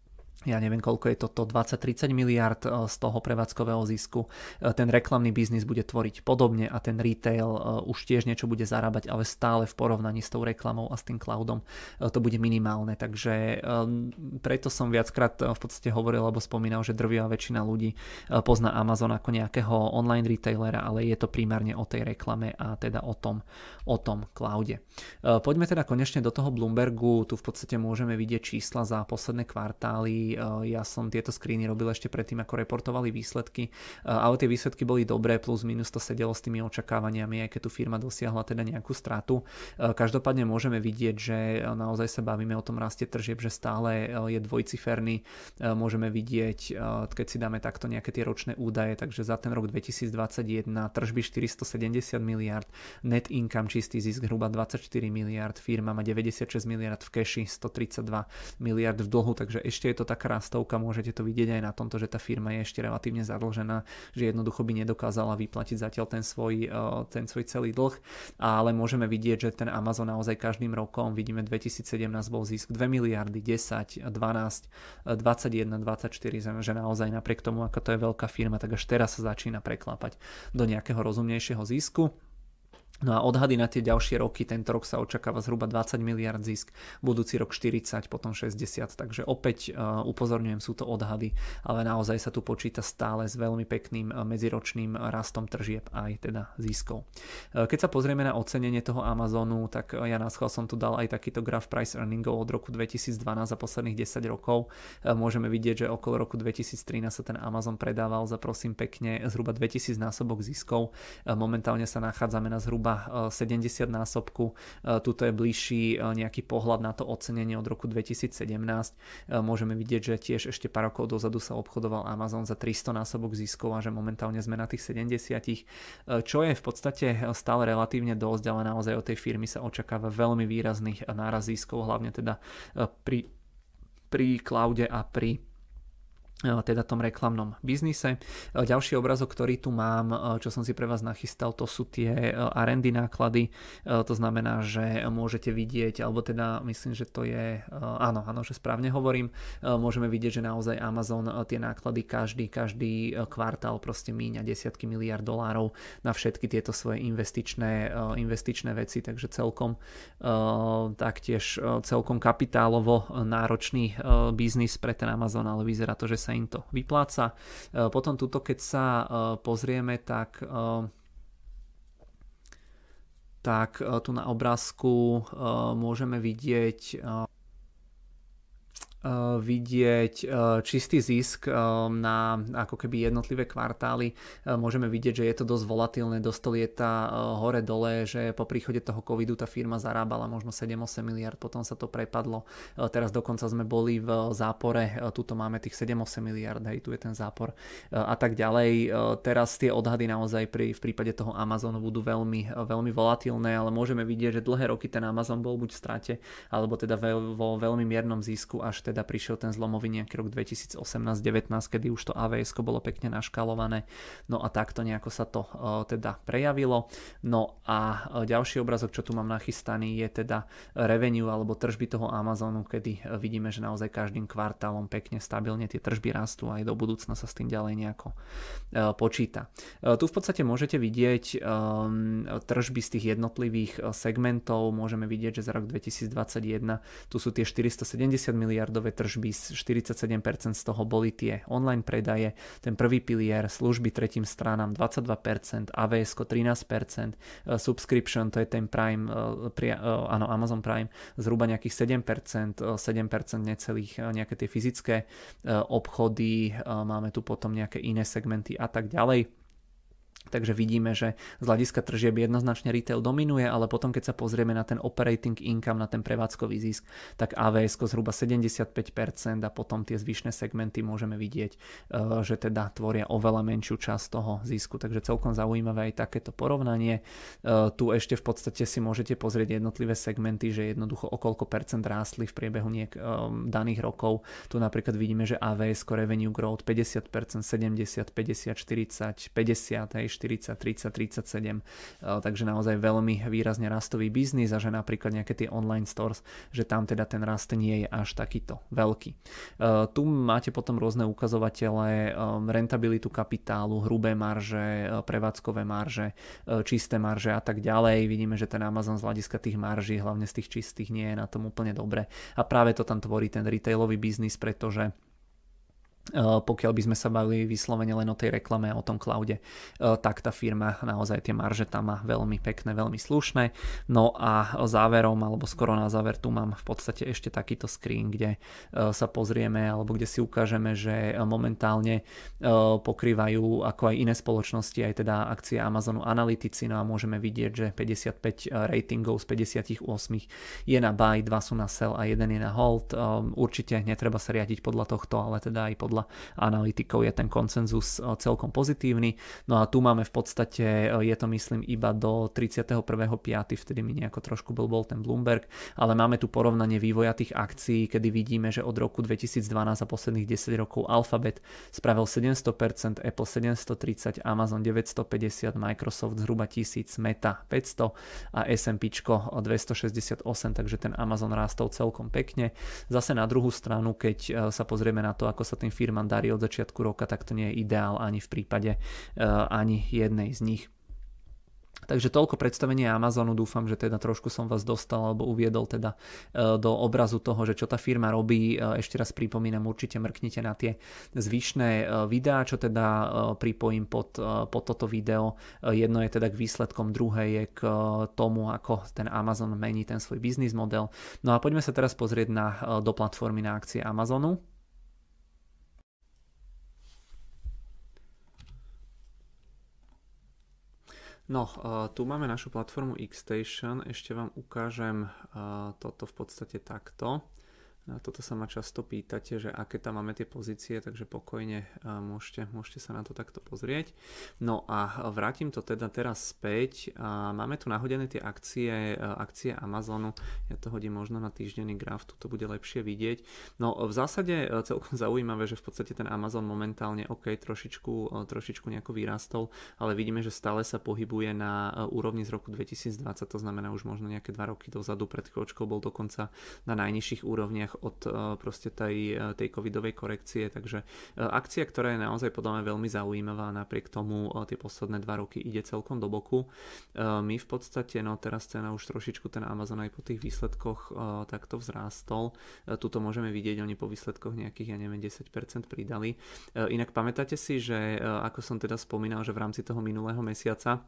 ja neviem, koľko je toto, dvadsať tridsať miliárd z toho prevádzkového zisku. Ten reklamný biznis bude tvoriť podobne a ten retail už tiež niečo bude zarábať, ale stále v porovnaní s tou reklamou a s tým cloudom to bude minimálne. Takže preto som viackrát v podstate hovoril alebo spomínal, že drvivá väčšina ľudí pozná Amazon ako nejakého online retailera, ale je to primárne o tej reklame a teda o tom, o tom cloude. Poďme teda konečne do toho Bloombergu. Tu v podstate môžeme vidieť čísla za posledné kvartály. Ja som tieto screeny robil ešte predtým, ako reportovali výsledky, ale tie výsledky boli dobré, plus minus to sedelo s tými očakávaniami, aj keď tu firma dosiahla teda nejakú stratu. Každopádne môžeme vidieť, že naozaj sa bavíme o tom raste tržieb, že stále je dvojciferný. Môžeme vidieť, keď si dáme takto nejaké tie ročné údaje, takže za ten rok dvetisícdvadsaťjeden tržby štyristosedemdesiat miliárd, net income čistý zisk hruba dvadsaťštyri miliárd, firma má deväťdesiatšesť miliárd v keši, stotridsaťdva miliárd v dlhu, takže ešte je to taká rastovka, môžete to vidieť aj na tomto, že tá firma je ešte relatívne zadlžená, že jednoducho by nedokázala vyplatiť zatiaľ ten svoj, ten svoj celý dlh, ale môžeme vidieť, že ten Amazon naozaj každým rokom, vidíme dvetisícsedemnásť bol zisk dve miliardy, desať, dvanásť, dvadsaťjeden, dvadsaťštyri, že naozaj napriek tomu, ako to je veľká firma, tak až teraz sa začína preklapať do nejakého rozumnejšieho zisku. No a odhady na tie ďalšie roky, tento rok sa očakáva zhruba dvadsať miliárd zisk, budúci rok štyridsať, potom šesťdesiat, takže opäť uh, upozorňujem, sú to odhady, ale naozaj sa tu počíta stále s veľmi pekným uh, medziročným rastom tržieb aj teda ziskov. Uh, keď sa pozrieme na ocenenie toho Amazonu, tak uh, ja na schvál som tu dal aj takýto graf price earningov od roku dvetisícdvanásť za posledných desať rokov. Uh, môžeme vidieť, že okolo roku dvetisíctrinásť sa ten Amazon predával za prosím pekne zhruba dvetisíc násobok ziskov. Uh, momentálne sa nachádzame na zhruba zhruba sedemdesiat násobku. Tuto je bližší nejaký pohľad na to ocenenie od roku dvetisícsedemnásť. Môžeme vidieť, že tiež ešte pár rokov dozadu sa obchodoval Amazon za tristo násobok ziskov a že momentálne sme na tých sedemdesiat, čo je v podstate stále relatívne dosť, ale naozaj od tej firmy sa očakáva veľmi výrazný náraz ziskov, hlavne teda pri, pri cloude a pri teda tom reklamnom biznise. Ďalší obrazok, ktorý tu mám, čo som si pre vás nachystal, to sú tie er end dé náklady. To znamená, že môžete vidieť, alebo teda myslím, že to je, áno, áno, že správne hovorím, môžeme vidieť, že naozaj Amazon tie náklady každý, každý kvartál proste míňa desiatky miliárd dolárov na všetky tieto svoje investičné, investičné veci, takže celkom taktiež celkom kapitálovo náročný biznis pre ten Amazon, ale vyzerá to, že sa im to vypláca. Potom tuto, keď sa pozrieme, tak tak tu na obrázku môžeme vidieť vidieť čistý zisk na ako keby jednotlivé kvartály. Môžeme vidieť, že je to dosť volatilné, dosť to lieta hore dole, že po príchode toho covidu tá firma zarábala možno sedem osem miliard, potom sa to prepadlo. Teraz dokonca sme boli v zápore, tuto máme tých sedem osem miliard, hej, tu je ten zápor a tak ďalej. Teraz tie odhady naozaj pri, v prípade toho Amazonu budú veľmi, veľmi volatilné, ale môžeme vidieť, že dlhé roky ten Amazon bol buď v strate, alebo teda vo veľmi miernom zisku, až teda prišiel ten zlomový nejaký rok dvetisícosemnásť devätnásť, kedy už to á vé esko bolo pekne naškalované. No a takto nejako sa to uh, teda prejavilo. No a ďalší obrazok, čo tu mám nachystaný, je teda revenue alebo tržby toho Amazonu, kedy vidíme, že naozaj každým kvartálom pekne stabilne tie tržby rastú a aj do budúcna sa s tým ďalej nejako uh, počíta. Uh, tu v podstate môžete vidieť um, tržby z tých jednotlivých segmentov. Môžeme vidieť, že za rok dvetisícdvadsaťjeden tu sú tie štyristosedemdesiat miliárd tržby, štyridsaťsedem percent z toho boli tie online predaje, ten prvý pilier, služby tretím stranám dvadsaťdva percent, á vé esko trinásť percent, subscription, to je ten Prime, pri, áno, Amazon Prime, zhruba nejakých sedem percent, sedem percent necelých nejaké tie fyzické obchody, máme tu potom nejaké iné segmenty a tak ďalej. Takže vidíme, že z hľadiska tržieb jednoznačne retail dominuje, ale potom keď sa pozrieme na ten operating income, na ten prevádzkový zisk, tak á vé esko zhruba sedemdesiatpäť percent a potom tie zvyšné segmenty môžeme vidieť, že teda tvoria oveľa menšiu časť toho zisku. Takže celkom zaujímavé aj takéto porovnanie. Tu ešte v podstate si môžete pozrieť jednotlivé segmenty, že jednoducho o koľko percent rástli v priebehu niek- daných rokov. Tu napríklad vidíme, že á vé esko revenue growth päťdesiat percent, sedemdesiat, päťdesiat, štyridsať, päťdesiat, hej, štyridsať, tridsať, tridsaťsedem, takže naozaj veľmi výrazne rastový biznis a že napríklad nejaké tie online stores, že tam teda ten rast nie je až takýto veľký. Tu máte potom rôzne ukazovatele, rentabilitu kapitálu, hrubé marže, prevádzkové marže, čisté marže a tak ďalej. Vidíme, že ten Amazon z hľadiska tých marží, hlavne z tých čistých, nie je na tom úplne dobre a práve to tam tvorí ten retailový biznis, pretože pokiaľ by sme sa bavili vyslovene len o tej reklame a o tom cloude, tak tá firma naozaj tie marže tam má veľmi pekné, veľmi slušné. No a záverom, alebo skoro na záver tu mám v podstate ešte takýto screen, kde sa pozrieme, alebo kde si ukážeme, že momentálne pokrývajú ako aj iné spoločnosti, aj teda akcie Amazonu analytici, no a môžeme vidieť, že päťdesiatpäť ratingov z päťdesiatosem je na buy, dva sú na sell a jeden je na hold. Určite netreba sa riadiť podľa tohto, ale teda aj podľa analytikov je ten konsenzus celkom pozitívny. No a tu máme v podstate, je to myslím iba do tridsiateho prvého piateho vtedy mi nejako trošku bol, bol ten Bloomberg, ale máme tu porovnanie vývoja tých akcií, kedy vidíme, že od roku dvetisícdvanásť a posledných desať rokov Alphabet spravil sedemsto percent, Apple sedemstotridsať, Amazon deväťstopäťdesiat, Microsoft zhruba tisíc, Meta päťsto a es and pé dvestošesťdesiatosem, takže ten Amazon rástol celkom pekne. Zase na druhú stranu, keď sa pozrieme na to, ako sa tým firmám darí od začiatku roka, tak to nie je ideál ani v prípade uh, ani jednej z nich. Takže toľko predstavenie Amazonu, dúfam, že teda trošku som vás dostal alebo uviedol teda do obrazu toho, že čo tá firma robí. Ešte raz pripomínam, určite mrknite na tie zvyšné videá, čo teda pripojím pod, pod toto video. Jedno je teda k výsledkom, druhé je k tomu, ako ten Amazon mení ten svoj biznis model. No a poďme sa teraz pozrieť na, do platformy na akcie Amazonu. No, uh, tu máme našu platformu Xstation, ešte vám ukážem uh, toto v podstate takto. Na toto sa ma často pýtate, že aké tam máme tie pozície, takže pokojne môžete, môžete sa na to takto pozrieť. No a vrátim to teda teraz späť. Máme tu nahodené tie akcie, akcie Amazonu. Ja to hodím možno na týždenný graf, tu to bude lepšie vidieť. No v zásade celkom zaujímavé, že v podstate ten Amazon momentálne OK, trošičku, trošičku nejako vyrastol, ale vidíme, že stále sa pohybuje na úrovni z roku dvetisícdvadsať, to znamená už možno nejaké dva roky dozadu, pred chvíľočkou bol dokonca na najnižších úrovniach od proste tej, tej covidovej korekcie, takže akcia, ktorá je naozaj podľa mňa veľmi zaujímavá, napriek tomu tie posledné dva roky ide celkom do boku. My v podstate, no teraz cena už trošičku ten Amazon aj po tých výsledkoch takto vzrástol. Tuto môžeme vidieť, oni po výsledkoch nejakých, ja neviem, desať percent pridali. Inak pamätáte si, že ako som teda spomínal, že v rámci toho minulého mesiaca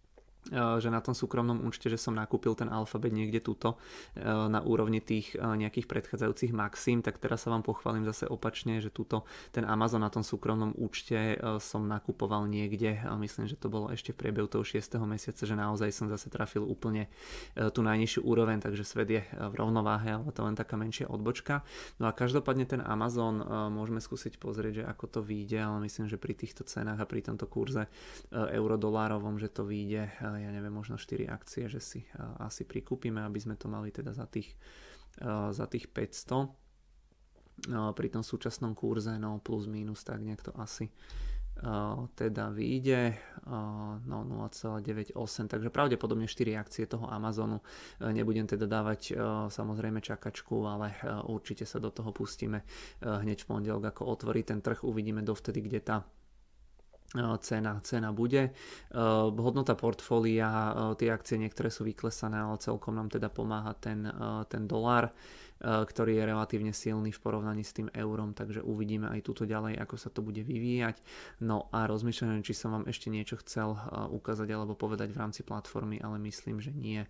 že na tom súkromnom účte, že som nakúpil ten Alphabet niekde tuto na úrovni tých nejakých predchádzajúcich maxim, tak teraz sa vám pochválim zase opačne, že tuto ten Amazon na tom súkromnom účte som nakupoval niekde, myslím, že to bolo ešte v priebehu toho šiesteho mesiaca, že naozaj som zase trafil úplne tú najnižšiu úroveň, takže svet je v rovnováhe, ale to len taká menšia odbočka. No a každopádne ten Amazon môžeme skúsiť pozrieť, že ako to vyjde, ale myslím, že pri týchto cenách a pri tomto kurze eurodolárovom, že to vyjde, ja neviem, možno štyri akcie, že si uh, asi prikúpime, aby sme to mali teda za tých, uh, za tých päťsto. Uh, pri tom súčasnom kurze, no plus minus, tak nejak to asi uh, teda vyjde, uh, no nula celá deväťdesiatosem, takže pravdepodobne štyri akcie toho Amazonu. Uh, nebudem teda dávať uh, samozrejme čakačku, ale uh, určite sa do toho pustíme uh, hneď v pondelok, ako otvorí ten trh, uvidíme dovtedy, kde tá Cena, cena bude. Hodnota portfólia, tie akcie niektoré sú vyklesané, ale celkom nám teda pomáha ten, ten dolár, ktorý je relatívne silný v porovnaní s tým eurom, takže uvidíme aj túto ďalej, ako sa to bude vyvíjať. No a rozmýšľam, či som vám ešte niečo chcel ukázať alebo povedať v rámci platformy, ale myslím, že nie.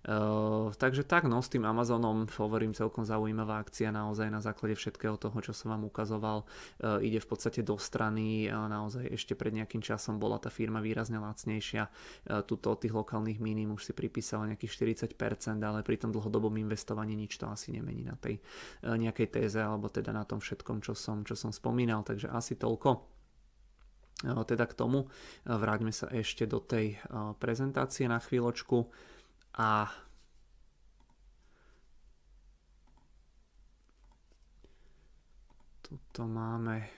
Takže tak, no s tým Amazonom hovorím, celkom zaujímavá akcia, naozaj na základe všetkého toho, čo som vám ukazoval, ide v podstate do strany, naozaj ešte pred nejakým časom bola tá firma výrazne lacnejšia, tuto od tých lokálnych mínim už si pripísala nejakých štyridsať percent, ale pri tom dlhodobom investovaní nič to asi nemení na tej nejakej téze alebo teda na tom všetkom, čo som, čo som spomínal, takže asi toľko teda k tomu. Vráťme sa ešte do tej prezentácie na chvíľočku a tuto máme.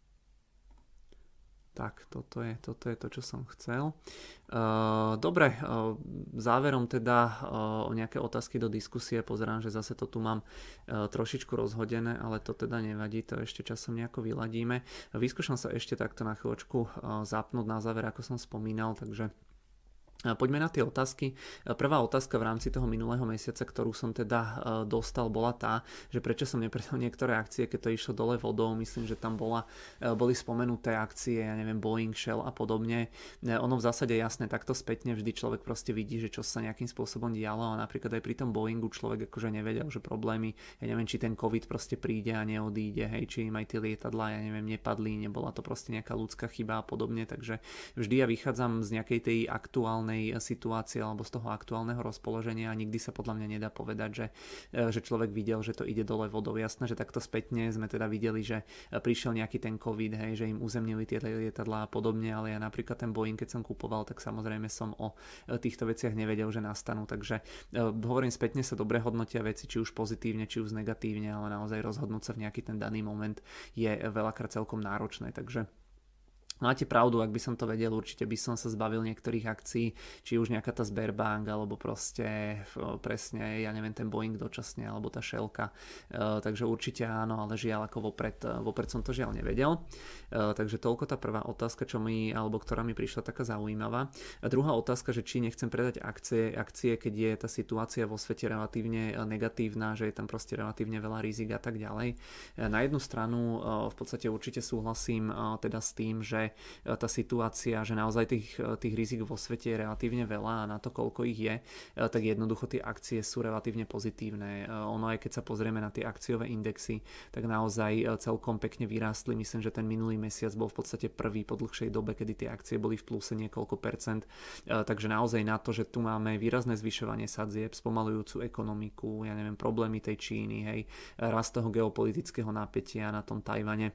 Tak, toto je, toto je to, čo som chcel. Dobre, záverom teda o nejaké otázky do diskusie. Pozerám, že zase to tu mám trošičku rozhodené, ale to teda nevadí, to ešte časom nejako vyladíme. Vyskúšam sa ešte takto na chvíľočku zapnúť na záver, ako som spomínal, takže poďme na tie otázky. Prvá otázka v rámci toho minulého mesiaca, ktorú som teda dostal, bola tá, že prečo som nepredal niektoré akcie, keď to išlo dole vodou. Myslím, že tam bola, boli spomenuté akcie, ja neviem, Boeing, Shell a podobne. Ono v zásade jasné, takto spätne vždy človek proste vidí, že čo sa nejakým spôsobom dialo, a napríklad aj pri tom Boeingu človek akože nevedel, že problémy, ja neviem, či ten COVID proste príde a neodíde, hej, či im aj tie lietadlá, ja neviem, nepadli, nebola to proste nejaká ľudská chyba a podobne, takže vždy ja vychádzam z nejakej tej aktuálnej situácie alebo z toho aktuálneho rozpoloženia a nikdy sa podľa mňa nedá povedať, že, že človek videl, že to ide dole vodou. Jasné, že takto spätne sme teda videli, že prišiel nejaký ten COVID, hej, že im uzemnili tie lietadlá a podobne, ale ja napríklad ten Boeing, keď som kupoval, tak samozrejme som o týchto veciach nevedel, že nastanú, takže hovorím, spätne sa dobre hodnotia veci, či už pozitívne, či už negatívne, ale naozaj rozhodnúť sa v nejaký ten daný moment je veľakrát celkom náročné, takže máte pravdu, ak by som to vedel, určite by som sa zbavil niektorých akcií, či už nejaká tá Sberbank, alebo proste presne, ja neviem, ten Boeing dočasne, alebo tá Shellka. Uh, takže určite áno, ale žiaľ, ako vopred, vopred som to žiaľ nevedel. Uh, takže toľko tá prvá otázka, čo mi, alebo ktorá mi prišla taká zaujímavá. A druhá otázka, že či nechcem predať akcie, akcie, keď je tá situácia vo svete relatívne negatívna, že je tam proste relatívne veľa rizik a tak ďalej. Na jednu stranu uh, v podstate určite súhlasím uh, teda s tým, že že tá situácia, že naozaj tých, tých rizik vo svete je relatívne veľa a na to, koľko ich je, tak jednoducho tie akcie sú relatívne pozitívne. Ono aj keď sa pozrieme na tie akciové indexy, tak naozaj celkom pekne vyrástli. Myslím, že ten minulý mesiac bol v podstate prvý po dlhšej dobe, kedy tie akcie boli v pluse niekoľko percent. Takže naozaj na to, že tu máme výrazné zvyšovanie sadzieb, spomalujúcu ekonomiku, ja neviem, problémy tej Číny, hej, rast toho geopolitického napätia na tom Tajvane,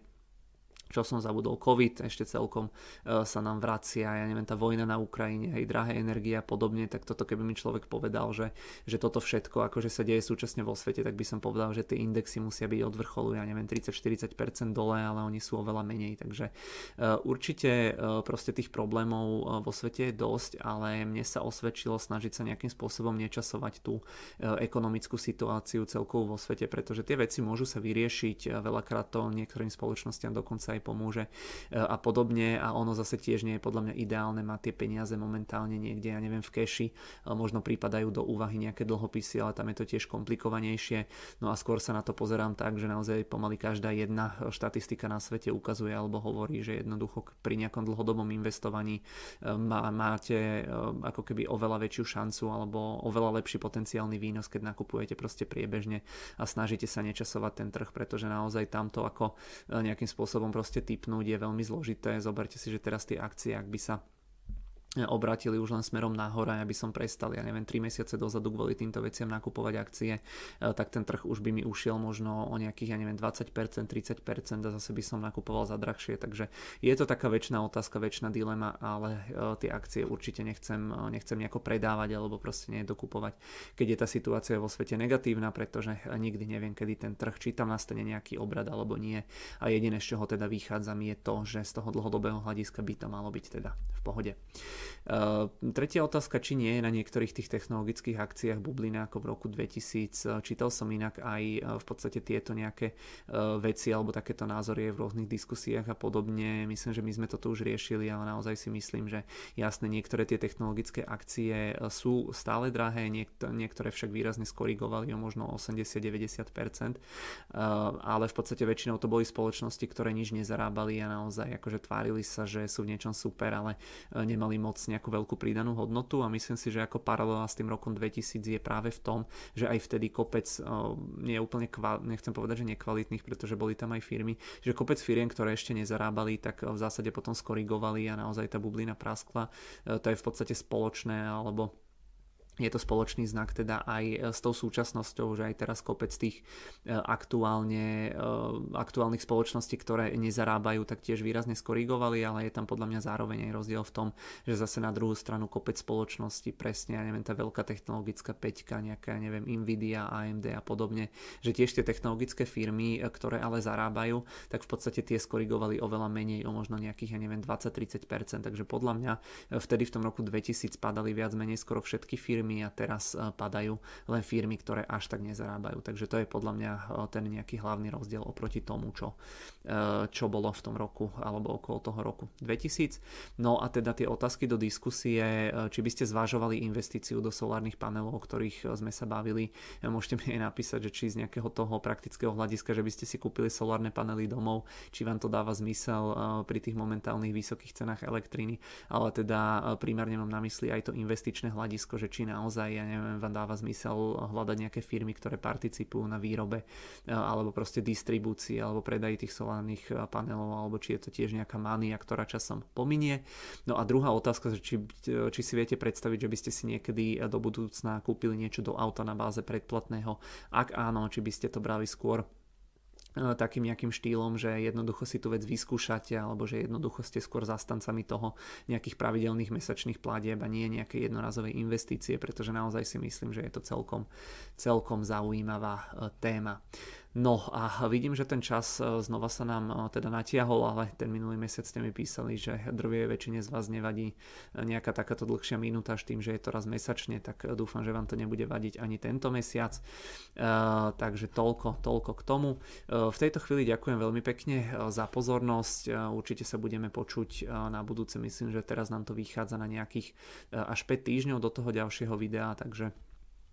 čo som zabudol, COVID ešte celkom uh, sa nám vracia, ja neviem, tá vojna na Ukrajine, hej, drahé energie a podobne, tak toto keby mi človek povedal, že, že toto všetko akože sa deje súčasne vo svete, tak by som povedal, že tie indexy musia byť od vrcholu, ja neviem, tridsať až štyridsať percent dole, ale oni sú oveľa menej, takže uh, určite uh, proste tých problémov uh, vo svete je dosť, ale mne sa osvedčilo snažiť sa nejakým spôsobom nečasovať tú uh, ekonomickú situáciu celkovo vo svete, pretože tie veci môžu sa vyriešiť, uh, veľakrát to niektorým spoločnostiam dokonca aj pomôže a podobne a ono zase tiež nie je podľa mňa ideálne mať tie peniaze momentálne niekde, ja neviem, v keši, možno prípadajú do úvahy nejaké dlhopisy, ale tam je to tiež komplikovanejšie, no a skôr sa na to pozerám tak, že naozaj pomaly každá jedna štatistika na svete ukazuje alebo hovorí, že jednoducho pri nejakom dlhodobom investovaní má, máte ako keby oveľa väčšiu šancu alebo oveľa lepší potenciálny výnos, keď nakupujete proste priebežne a snažíte sa nečasovať ten trh, pretože naozaj tamto ako nejakým spôsobom proste tipnúť je veľmi zložité. Zoberte si, že teraz tie akcie, ak by sa obrátili už len smerom nahor a ja by som prestal, ja neviem, tri mesiace dozadu kvôli týmto veciam nakupovať akcie, tak ten trh už by mi ušiel možno o nejakých, ja neviem, dvadsať percent, tridsať percent a zase by som nakupoval za drahšie, takže je to taká väčšiná otázka, väčšiná dilema, ale tie akcie určite nechcem, nechcem nejako predávať alebo proste nedokupovať, keď je tá situácia vo svete negatívna, pretože nikdy neviem, kedy ten trh, či tam nastane nejaký obrad alebo nie a jediné, z čoho teda vychádzam, je to, že z toho dlhodobého hľadiska by to malo byť teda v pohode. Uh, tretia otázka, či nie je na niektorých tých technologických akciách bublina ako v roku dvetisíc. Čítal som inak aj uh, v podstate tieto nejaké uh, veci alebo takéto názory v rôznych diskusiách a podobne. Myslím, že my sme toto už riešili, ale naozaj si myslím, že jasne niektoré tie technologické akcie uh, sú stále drahé, niekt- niektoré však výrazne skorigovali o možno osemdesiat až deväťdesiat percent, uh, ale v podstate väčšinou to boli spoločnosti, ktoré nič nezarábali a naozaj akože tvárili sa, že sú v niečom super, ale uh, nemali moc nejakú veľkú pridanú hodnotu a myslím si, že ako paralela s tým rokom dvetisíc je práve v tom, že aj vtedy kopec uh, nie je úplne kval, nechcem povedať, že nekvalitných, pretože boli tam aj firmy, že kopec firiem, ktoré ešte nezarábali, tak v zásade potom skorigovali a naozaj tá bublina praskla. Uh, to je v podstate spoločné, alebo je to spoločný znak teda aj s tou súčasnosťou, že aj teraz kopec tých aktuálne, aktuálnych spoločností, ktoré nezarábajú, tak tiež výrazne skorigovali, ale je tam podľa mňa zároveň aj rozdiel v tom, že zase na druhú stranu kopec spoločností, presne, ja neviem, tá veľká technologická päťka, nejaká, neviem, Nvidia, á em dé a podobne, že tiež tie technologické firmy, ktoré ale zarábajú, tak v podstate tie skorigovali oveľa menej, o možno nejakých, ja neviem, dvadsať až tridsať percent, takže podľa mňa vtedy v tom roku dvetisíc padali viac menej skoro všetky firmy a teraz padajú len firmy, ktoré až tak nezarábajú. Takže to je podľa mňa ten nejaký hlavný rozdiel oproti tomu, čo, čo bolo v tom roku alebo okolo toho roku dvetisíc. No a teda tie otázky do diskusie, či by ste zvažovali investíciu do solárnych panelov, o ktorých sme sa bavili. Môžete mi aj napísať, že či z nejakého toho praktického hľadiska, že by ste si kúpili solárne panely domov, či vám to dáva zmysel pri tých momentálnych vysokých cenách elektriny, ale teda primárne mám na mysli aj to investičné hľadisko, že či na naozaj, ja neviem, vám dáva zmysel hľadať nejaké firmy, ktoré participujú na výrobe alebo proste distribúcii alebo predaji tých solárnych panelov, alebo či je to tiež nejaká mania, ktorá časom pominie. No a druhá otázka, či, či si viete predstaviť, že by ste si niekedy do budúcna kúpili niečo do auta na báze predplatného. Ak áno, či by ste to brali skôr takým nejakým štýlom, že jednoducho si tú vec vyskúšate, alebo že jednoducho ste skôr zastancami toho nejakých pravidelných mesačných platieb a nie nejaké jednorazové investície, pretože naozaj si myslím, že je to celkom, celkom zaujímavá téma. No a vidím, že ten čas znova sa nám teda natiahol, ale ten minulý mesiac ste mi písali, že drvivej väčšine z vás nevadí nejaká takáto dlhšia minúta s tým, že je to raz mesačne, tak dúfam, že vám to nebude vadiť ani tento mesiac. Uh, takže toľko, toľko k tomu. Uh, v tejto chvíli ďakujem veľmi pekne za pozornosť. Uh, určite sa budeme počuť uh, na budúce. Myslím, že teraz nám to vychádza na nejakých uh, až päť týždňov do toho ďalšieho videa, takže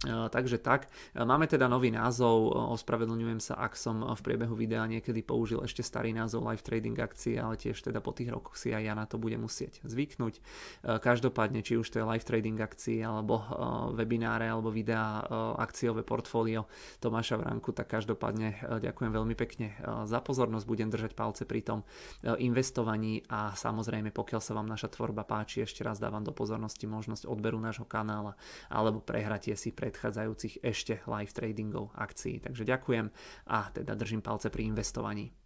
Takže tak, máme teda nový názov, ospravedlňujem sa, ak som v priebehu videa niekedy použil ešte starý názov live trading akcie, ale tiež teda po tých rokoch si aj ja na to budem musieť zvyknúť. Každopádne, či už to je live trading akcie, alebo webináre, alebo videá akciové portfólio Tomáša Vránku, tak každopádne ďakujem veľmi pekne za pozornosť, budem držať palce pri tom investovaní a samozrejme, pokiaľ sa vám naša tvorba páči, ešte raz dávam do pozornosti možnosť odberu nášho kanála alebo prehratie si pred predchádzajúcich ešte live tradingov akcií. Takže ďakujem a teda držím palce pri investovaní.